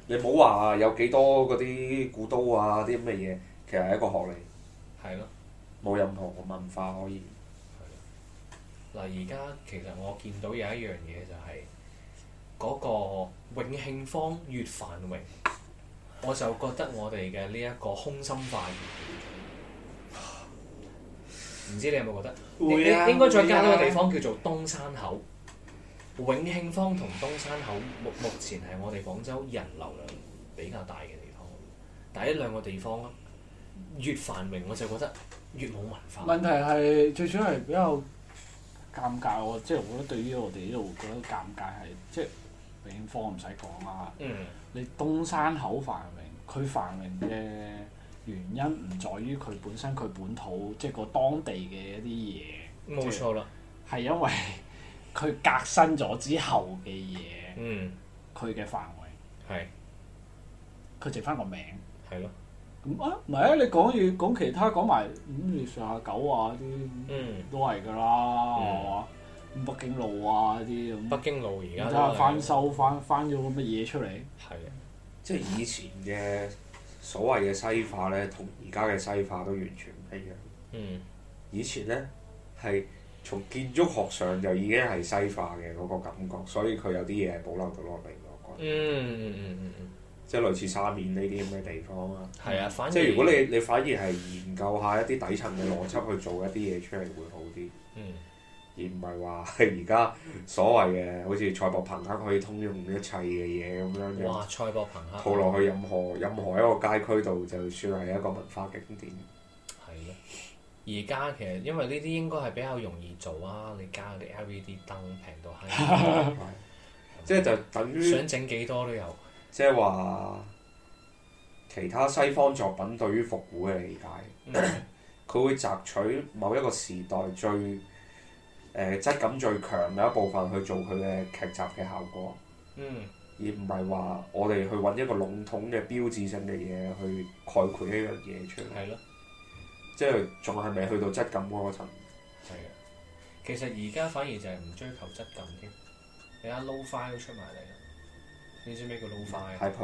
你冇話有幾多嗰啲古刀啊啲咁嘅嘢，其實係一個學嚟， 係咯。 冇任何文化可以。 嗱，而家其實我見到有一樣嘢就係、嗰個永慶坊越繁榮，我就覺得我哋嘅呢一個空心化越唔知你有冇覺得？ 會啊應應該再加多個會啊地方叫做東山口。永慶坊同東山口目目前係我哋廣州人流量比較大嘅地方，但係呢兩個地方越繁榮，我就覺得越冇文化。 問題係最主要係比較尷尬喎，即係我覺得對於我哋呢度覺得尷尬係即係永慶坊唔使講啦。 嗯。 你東山口繁榮，佢繁榮嘅原因唔在於佢本身佢本土即係個當地嘅一啲嘢。 冇錯啦。 係因為佢革新咗之後嘅嘢， 嗯。 佢嘅繁榮。 係。 佢剩翻個名。 係咯。 咁啊，唔係啊！你講要講其他講埋咁你上下九啊啲， 嗯都係㗎啦，係嘛？咁北京路啊啲咁， 北京路而家而家翻修翻翻咗個乜嘢出嚟？ 係啊。 即係以前嘅所謂嘅西化咧，同而家嘅西化都完全唔一樣。 嗯。 以前咧係從建築學上就已經係西化嘅嗰個感覺，所以佢有啲嘢係保留到落嚟，我覺得。 嗯嗯嗯嗯嗯。 即係類似沙面呢啲咁嘅地方啊。 係啊，反而即係如果你你反而係研究下一啲底層嘅邏輯去做一啲嘢出嚟會好啲。 嗯。 而唔係話係而家所謂嘅好似賽博朋克可以通用一切嘅嘢咁樣哇！賽博朋克套落去任何任何一個街區度，就算係一個文化景點。 係咯。而家其實因為呢啲應該係比較容易做啊！你加啲 L E D 燈平到閪， 即係就等於想整幾多都有。 即係話其他西方作品對於復古嘅理解，佢、嗯、會摘取某一個時代最誒、呃、質感最強嘅一部分去做佢嘅劇集嘅效果， 嗯、 而唔係話我哋去揾一個籠統嘅標誌性嘅嘢去概括呢樣嘢出嚟。 係咯。 即係仲係未去到質感嗰個層。 係啊。其實而家反而就係唔追求質感添。你睇 Lo-Fi 都出埋嚟啦。你知咩叫 Lo-Fi 啊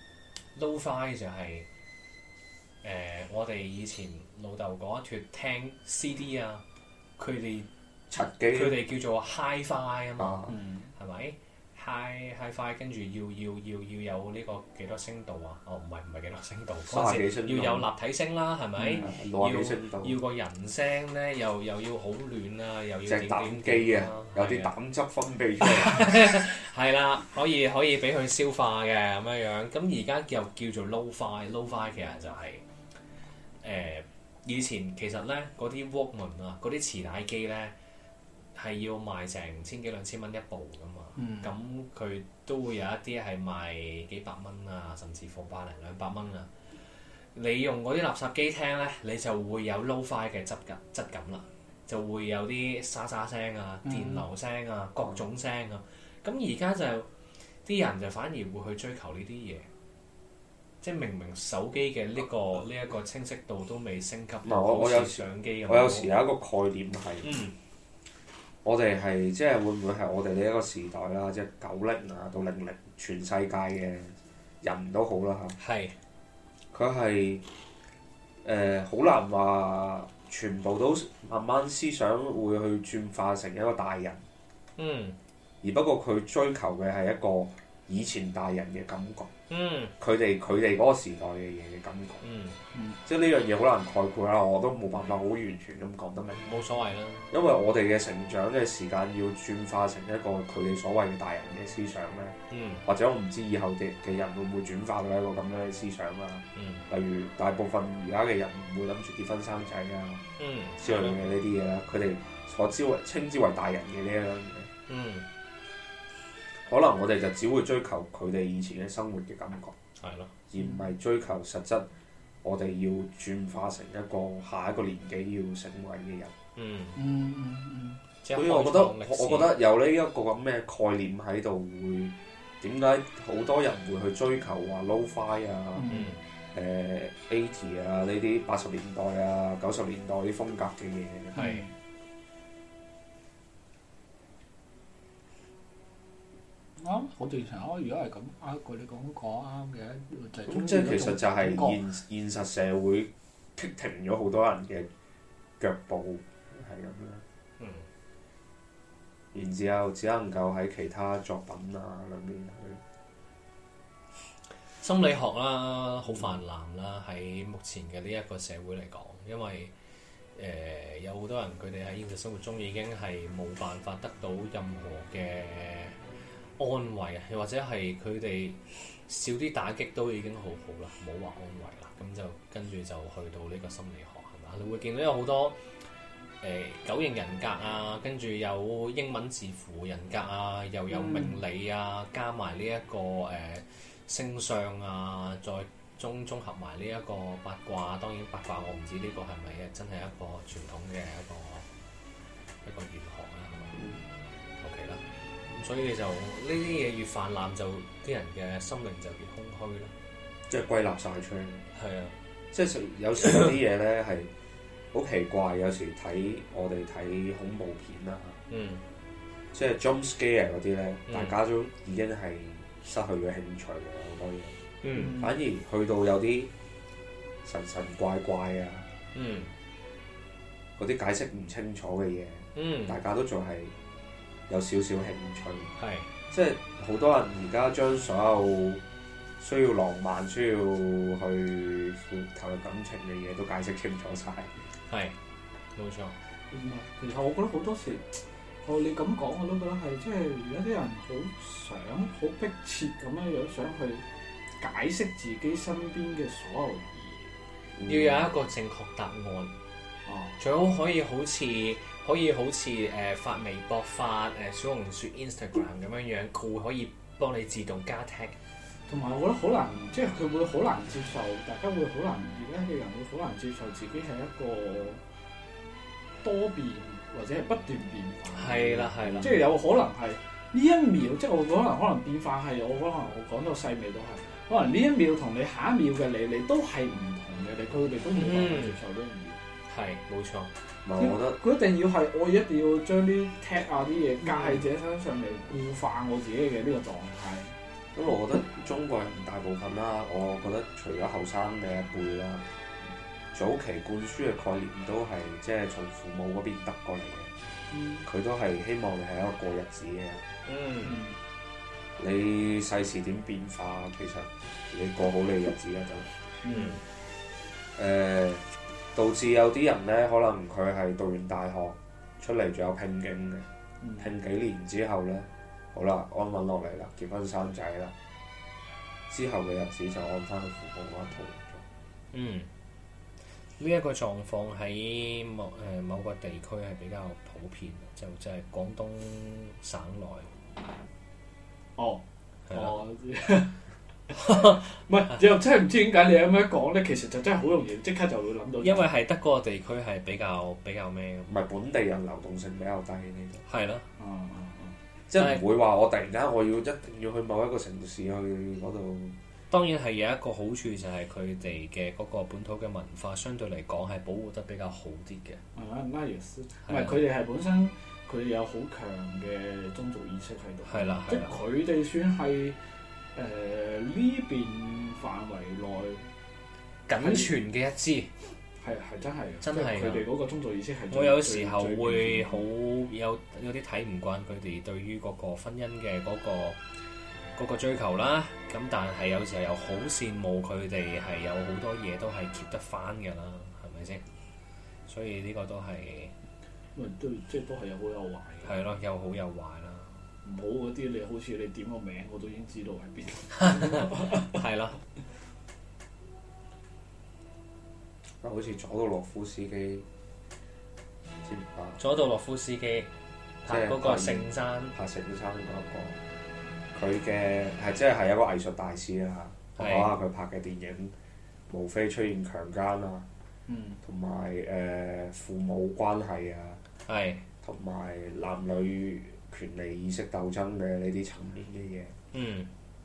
？Lo-Fi 就係、是、誒、呃、我哋以前老豆嗰一脱聽 C D 啊，佢哋柒機， 佢哋叫做 Hi-Fi 啊嘛，係咪、 嗯、 ？Hi Hi-Fi 跟住要要要要有呢個幾多聲道啊？哦，唔係唔係幾多聲道， 三十幾聲道要有立體聲啦，係咪？ 嗯、六十幾聲道要要個人聲咧，又又要好暖啊，又要隻點膽點機啊，有啲膽汁分泌出嚟。 係啦，可以可以俾佢消化嘅咁樣樣。咁而家又叫做 Lo-Fi，Lo-Fi 其實就係、是、誒、呃、以前其實咧嗰啲 Walkman 啊，嗰啲磁帶機咧係要賣成千幾兩千蚊一部噶嘛。咁佢、嗯、都會有一啲係賣幾百蚊啊，甚至乎百零兩百蚊啊。你用嗰啲垃圾機聽咧，你就會有 Lo-Fi 嘅質感質感啦，就會有啲沙沙聲啊、電流聲啊、各種聲啊。咁而家就啲人就反而會去追求呢啲嘢，即係明明手機嘅呢個呢一個清晰度都未升級到好似相機咁。 我有時有一個概念係， 嗯、 我哋係即係會唔會係我哋呢一個時代啦，即係九零啊到零零全世界嘅人都好啦嚇。係是。佢係誒好難話全部都慢慢思想會去轉化成一個大人。嗯。而不過佢追求嘅係一個以前大人嘅感覺，佢哋佢哋嗰個時代嘅嘢嘅感覺，嗯嗯、即係呢樣嘢好難概括啦，我都冇辦法好完全咁講得明。 冇所謂啦， 因為我哋嘅成長嘅時間要轉化成一個佢哋所謂嘅大人嘅思想咧，嗯、或者我唔知以後嘅嘅人會唔會轉化到一個咁樣嘅思想啦。嗯、例如大部分而家嘅人唔會諗住結婚生仔啊，嗯、之類嘅呢啲嘢啦，佢哋所之為稱之為大人嘅呢一樣嘢。嗯可能我哋就只會追求佢哋以前嘅生活嘅感覺，係咯，而唔係追求實質。我哋要轉化成一個下一個年紀要成為嘅人。嗯嗯嗯嗯。所以我覺得，我覺得有呢一個咁嘅概念喺度，會點解好多人會去追求話 Lo-Fi 啊、誒 eighty 啊呢啲八十年代啊、九十年代啲風格嘅嘢。係。 啱，好正常啊！如果係咁，啊佢你講講啱嘅，就係咁即係其實就係現現實社會棘停咗好多人嘅腳步，係咁樣。 嗯。 然之後只能夠喺其他作品啊裏面去。 心理學啦，好泛濫啦，喺目前嘅呢一個社會嚟講，因為誒、呃、有好多人佢哋喺現實生活中已經係冇辦法得到任何嘅安慰啊，又或者係佢哋少啲打擊都已經好好啦，冇話安慰啦，咁就跟住就去到呢個心理學係嘛？你會見到有好多誒、呃、九型人格啊，跟住有英文字符人格啊，又有命理啊，加埋呢一個誒。呃星相啊，再綜綜合埋呢一個八卦，當然八卦我唔知呢個係咪真係一個傳統嘅一個一個玄學啦，係咪？OK 啦，咁所以就呢啲嘢越泛濫，就啲人嘅心靈就越空虛啦。 即係歸納晒出嚟。 係啊， 即係有時有啲嘢咧係好奇怪，有時睇我哋睇恐怖片啊， 嗯， 即係 jump scare 嗰啲咧， 嗯大家都已經係失去咗興趣嘅好多嘢， 嗯， 反而去到有啲神神怪怪啊， 嗯， 嗰啲解釋唔清楚嘅嘢， 嗯， 大家都仲係有少少興趣。 係， 即係好多人而家將所有需要浪漫、需要去投入感情嘅嘢都解釋清楚晒。 係，冇錯。 唔係，其實我覺得好多時，我你咁講我都覺得係，即係而家啲人好想、好迫切咁樣樣想去解釋自己身邊嘅所有嘢， 嗯、 要有一個正確答案。 哦， 最好可以好似可以好似誒、呃、發微博、發誒、呃、小紅書、Instagram 咁樣樣，佢會可以幫你自動加 tag。 同埋我覺得好難，即係佢會好難接受，大家會好難，而家嘅人會好難接受自己係一個多變或者係不斷變化。 係啦，係啦。 即係有可能係呢一秒，即係我可能可能變化係我可能我講到細微都係，可能呢一秒同你下一秒嘅你，你都係唔同嘅，你佢哋都冇辦法接受呢樣嘢。 係，冇錯。 唔係，我覺得佢一定要係我一定要將啲 tag 啊啲嘢加喺自己身上嚟固化我自己嘅呢個狀態。 咁我覺得中國人大部分啦，我覺得除咗後生嘅一輩啦，早期灌輸嘅概念都係即係從父母嗰邊得過嚟嘅。佢、嗯、都係希望你係一個過日子嘅。 嗯。 你世事點變化，其實你過好你日子啦就。 嗯。 誒、呃，導致有啲人咧，可能佢係讀完大學出嚟仲有拼勁嘅， 嗯、 拼幾年之後咧。好啦，安穩落嚟啦，結婚生仔啦，之後嘅日子就按翻佢父母嗰一套嚟做。 嗯，呢、這、一個狀況喺某誒、呃、某個地區係比較普遍，就就係、是、廣東省內。 哦， 係啦。 我知。唔係，又真係唔知點解你咁樣講咧，其實就真係好容易即刻就會諗到。 因為係得嗰個地區係比較比較咩嘅。 唔係本地人流動性比較低呢度。 係咯。 嗯。 即係唔會話我突然間我要一定要去某一個城市去嗰度。 當然係有一個好處就係佢哋嘅嗰個本土嘅文化相對嚟講係保護得比較好啲嘅。 係啊，那也是。唔係佢哋係本身佢哋有好強嘅宗族意識喺度。 係啦， 即係佢哋算係誒呢邊範圍內僅存嘅一支。 係係真係， 真係佢哋嗰個宗族意識係。 我有時候會好有有啲睇唔慣佢哋對於嗰個婚姻嘅嗰、嗰個嗰個追求啦。咁但係有時候又好羨慕佢哋係有好多嘢都係 keep 得翻㗎啦，係咪先？所以呢個都係， 因為都即係都係有好有壞嘅。 係咯，有好有壞啦。 唔好嗰啲你好似你點個名我都已經知道喺邊。係啦。 好似佐杜洛夫斯基，知唔知啊？ 佐杜洛夫斯基拍嗰個聖山， 拍聖山嗰一個，佢嘅係即係係一個藝術大師啦。我講下佢拍嘅電影，無非出現強姦啊，同埋誒父母關係啊，同埋男女權利意識鬥爭嘅呢啲層面嘅嘢。嗯。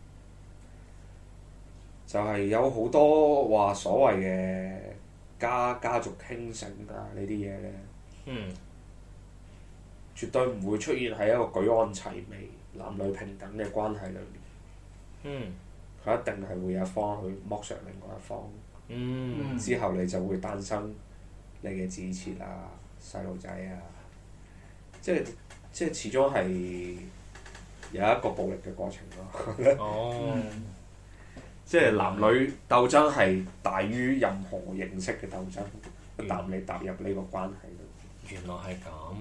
就係有好多話所謂嘅。家家族興盛啊！呢啲嘢咧，嗯，絕對唔會出現喺一個舉案齊眉男女平等嘅關係裏面， 嗯佢一定係會有一方去剝削另外一方， 嗯之後你就會誕生你嘅子設啊、細路仔啊，即係即係始終係有一個暴力嘅過程咯。 哦， 即係男女鬥爭係大於任何形式嘅鬥爭，一旦你踏入呢個關係度。 原來係咁。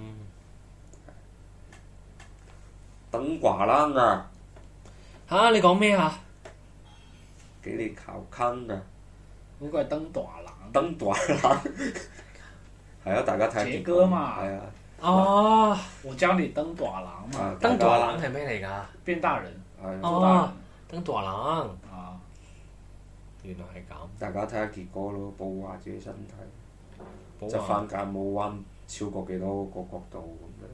等寡郎啊！ 嚇！你講咩啊？ 給你考坑啊！ 嗰個係登大郎。 登寡郎係啊！大家睇下傑哥嘛係啊！ 哦， 我教你登大郎嘛， 啊登大郎係咩嚟㗎？ 變大人。 係啊！ 哦，登大郎。 啊！ 原來係咁。 大家睇下傑哥咯，保護下自己身體， 保側翻架冇彎超過幾多個角度咁樣。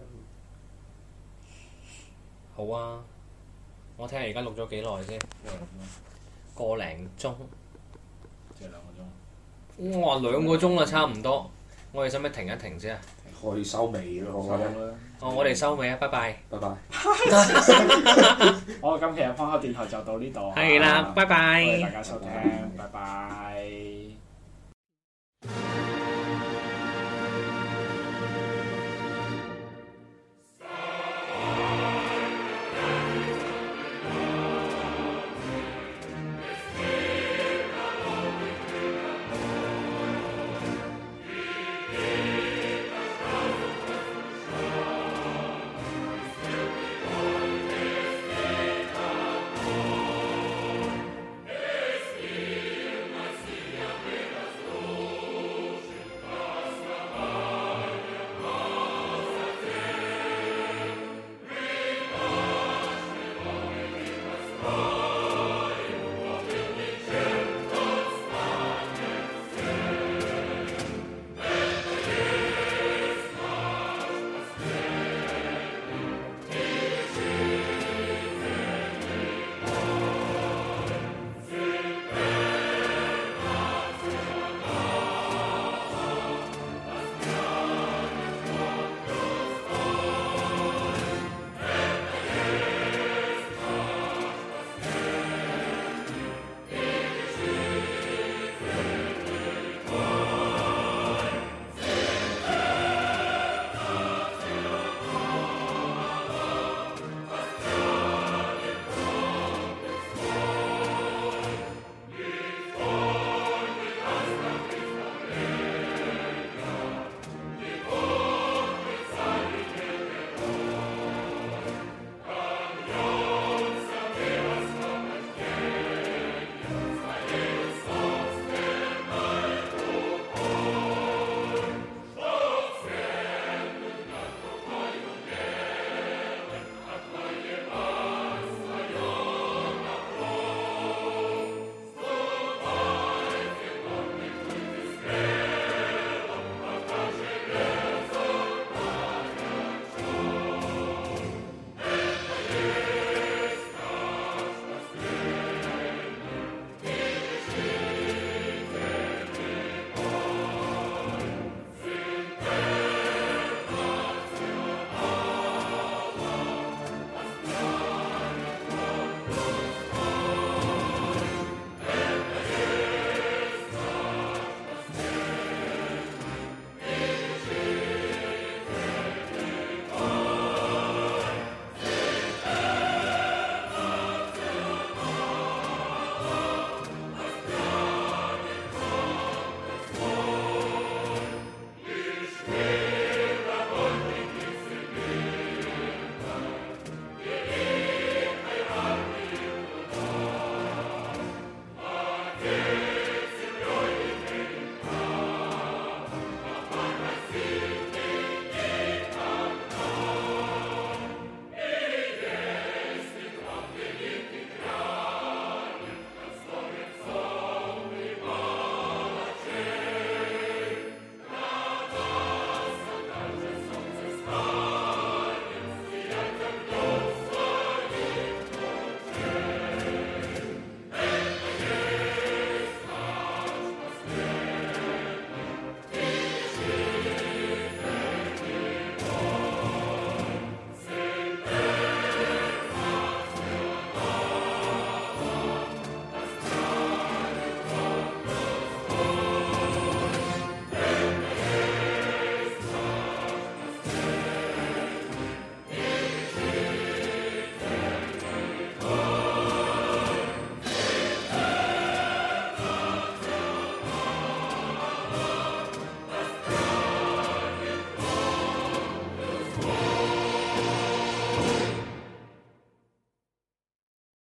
好啊！我睇下而家錄咗幾耐先，個零鐘。 即係兩個鐘。 哇！兩個鐘啦，差唔多。我哋使唔使停一停先啊？ 可以收尾咯，我覺得。 哦，我哋收尾啊！拜拜。 拜拜。 好，今期嘅方口電台就到呢度。 係啦，拜拜。 多謝大家收聽，拜拜。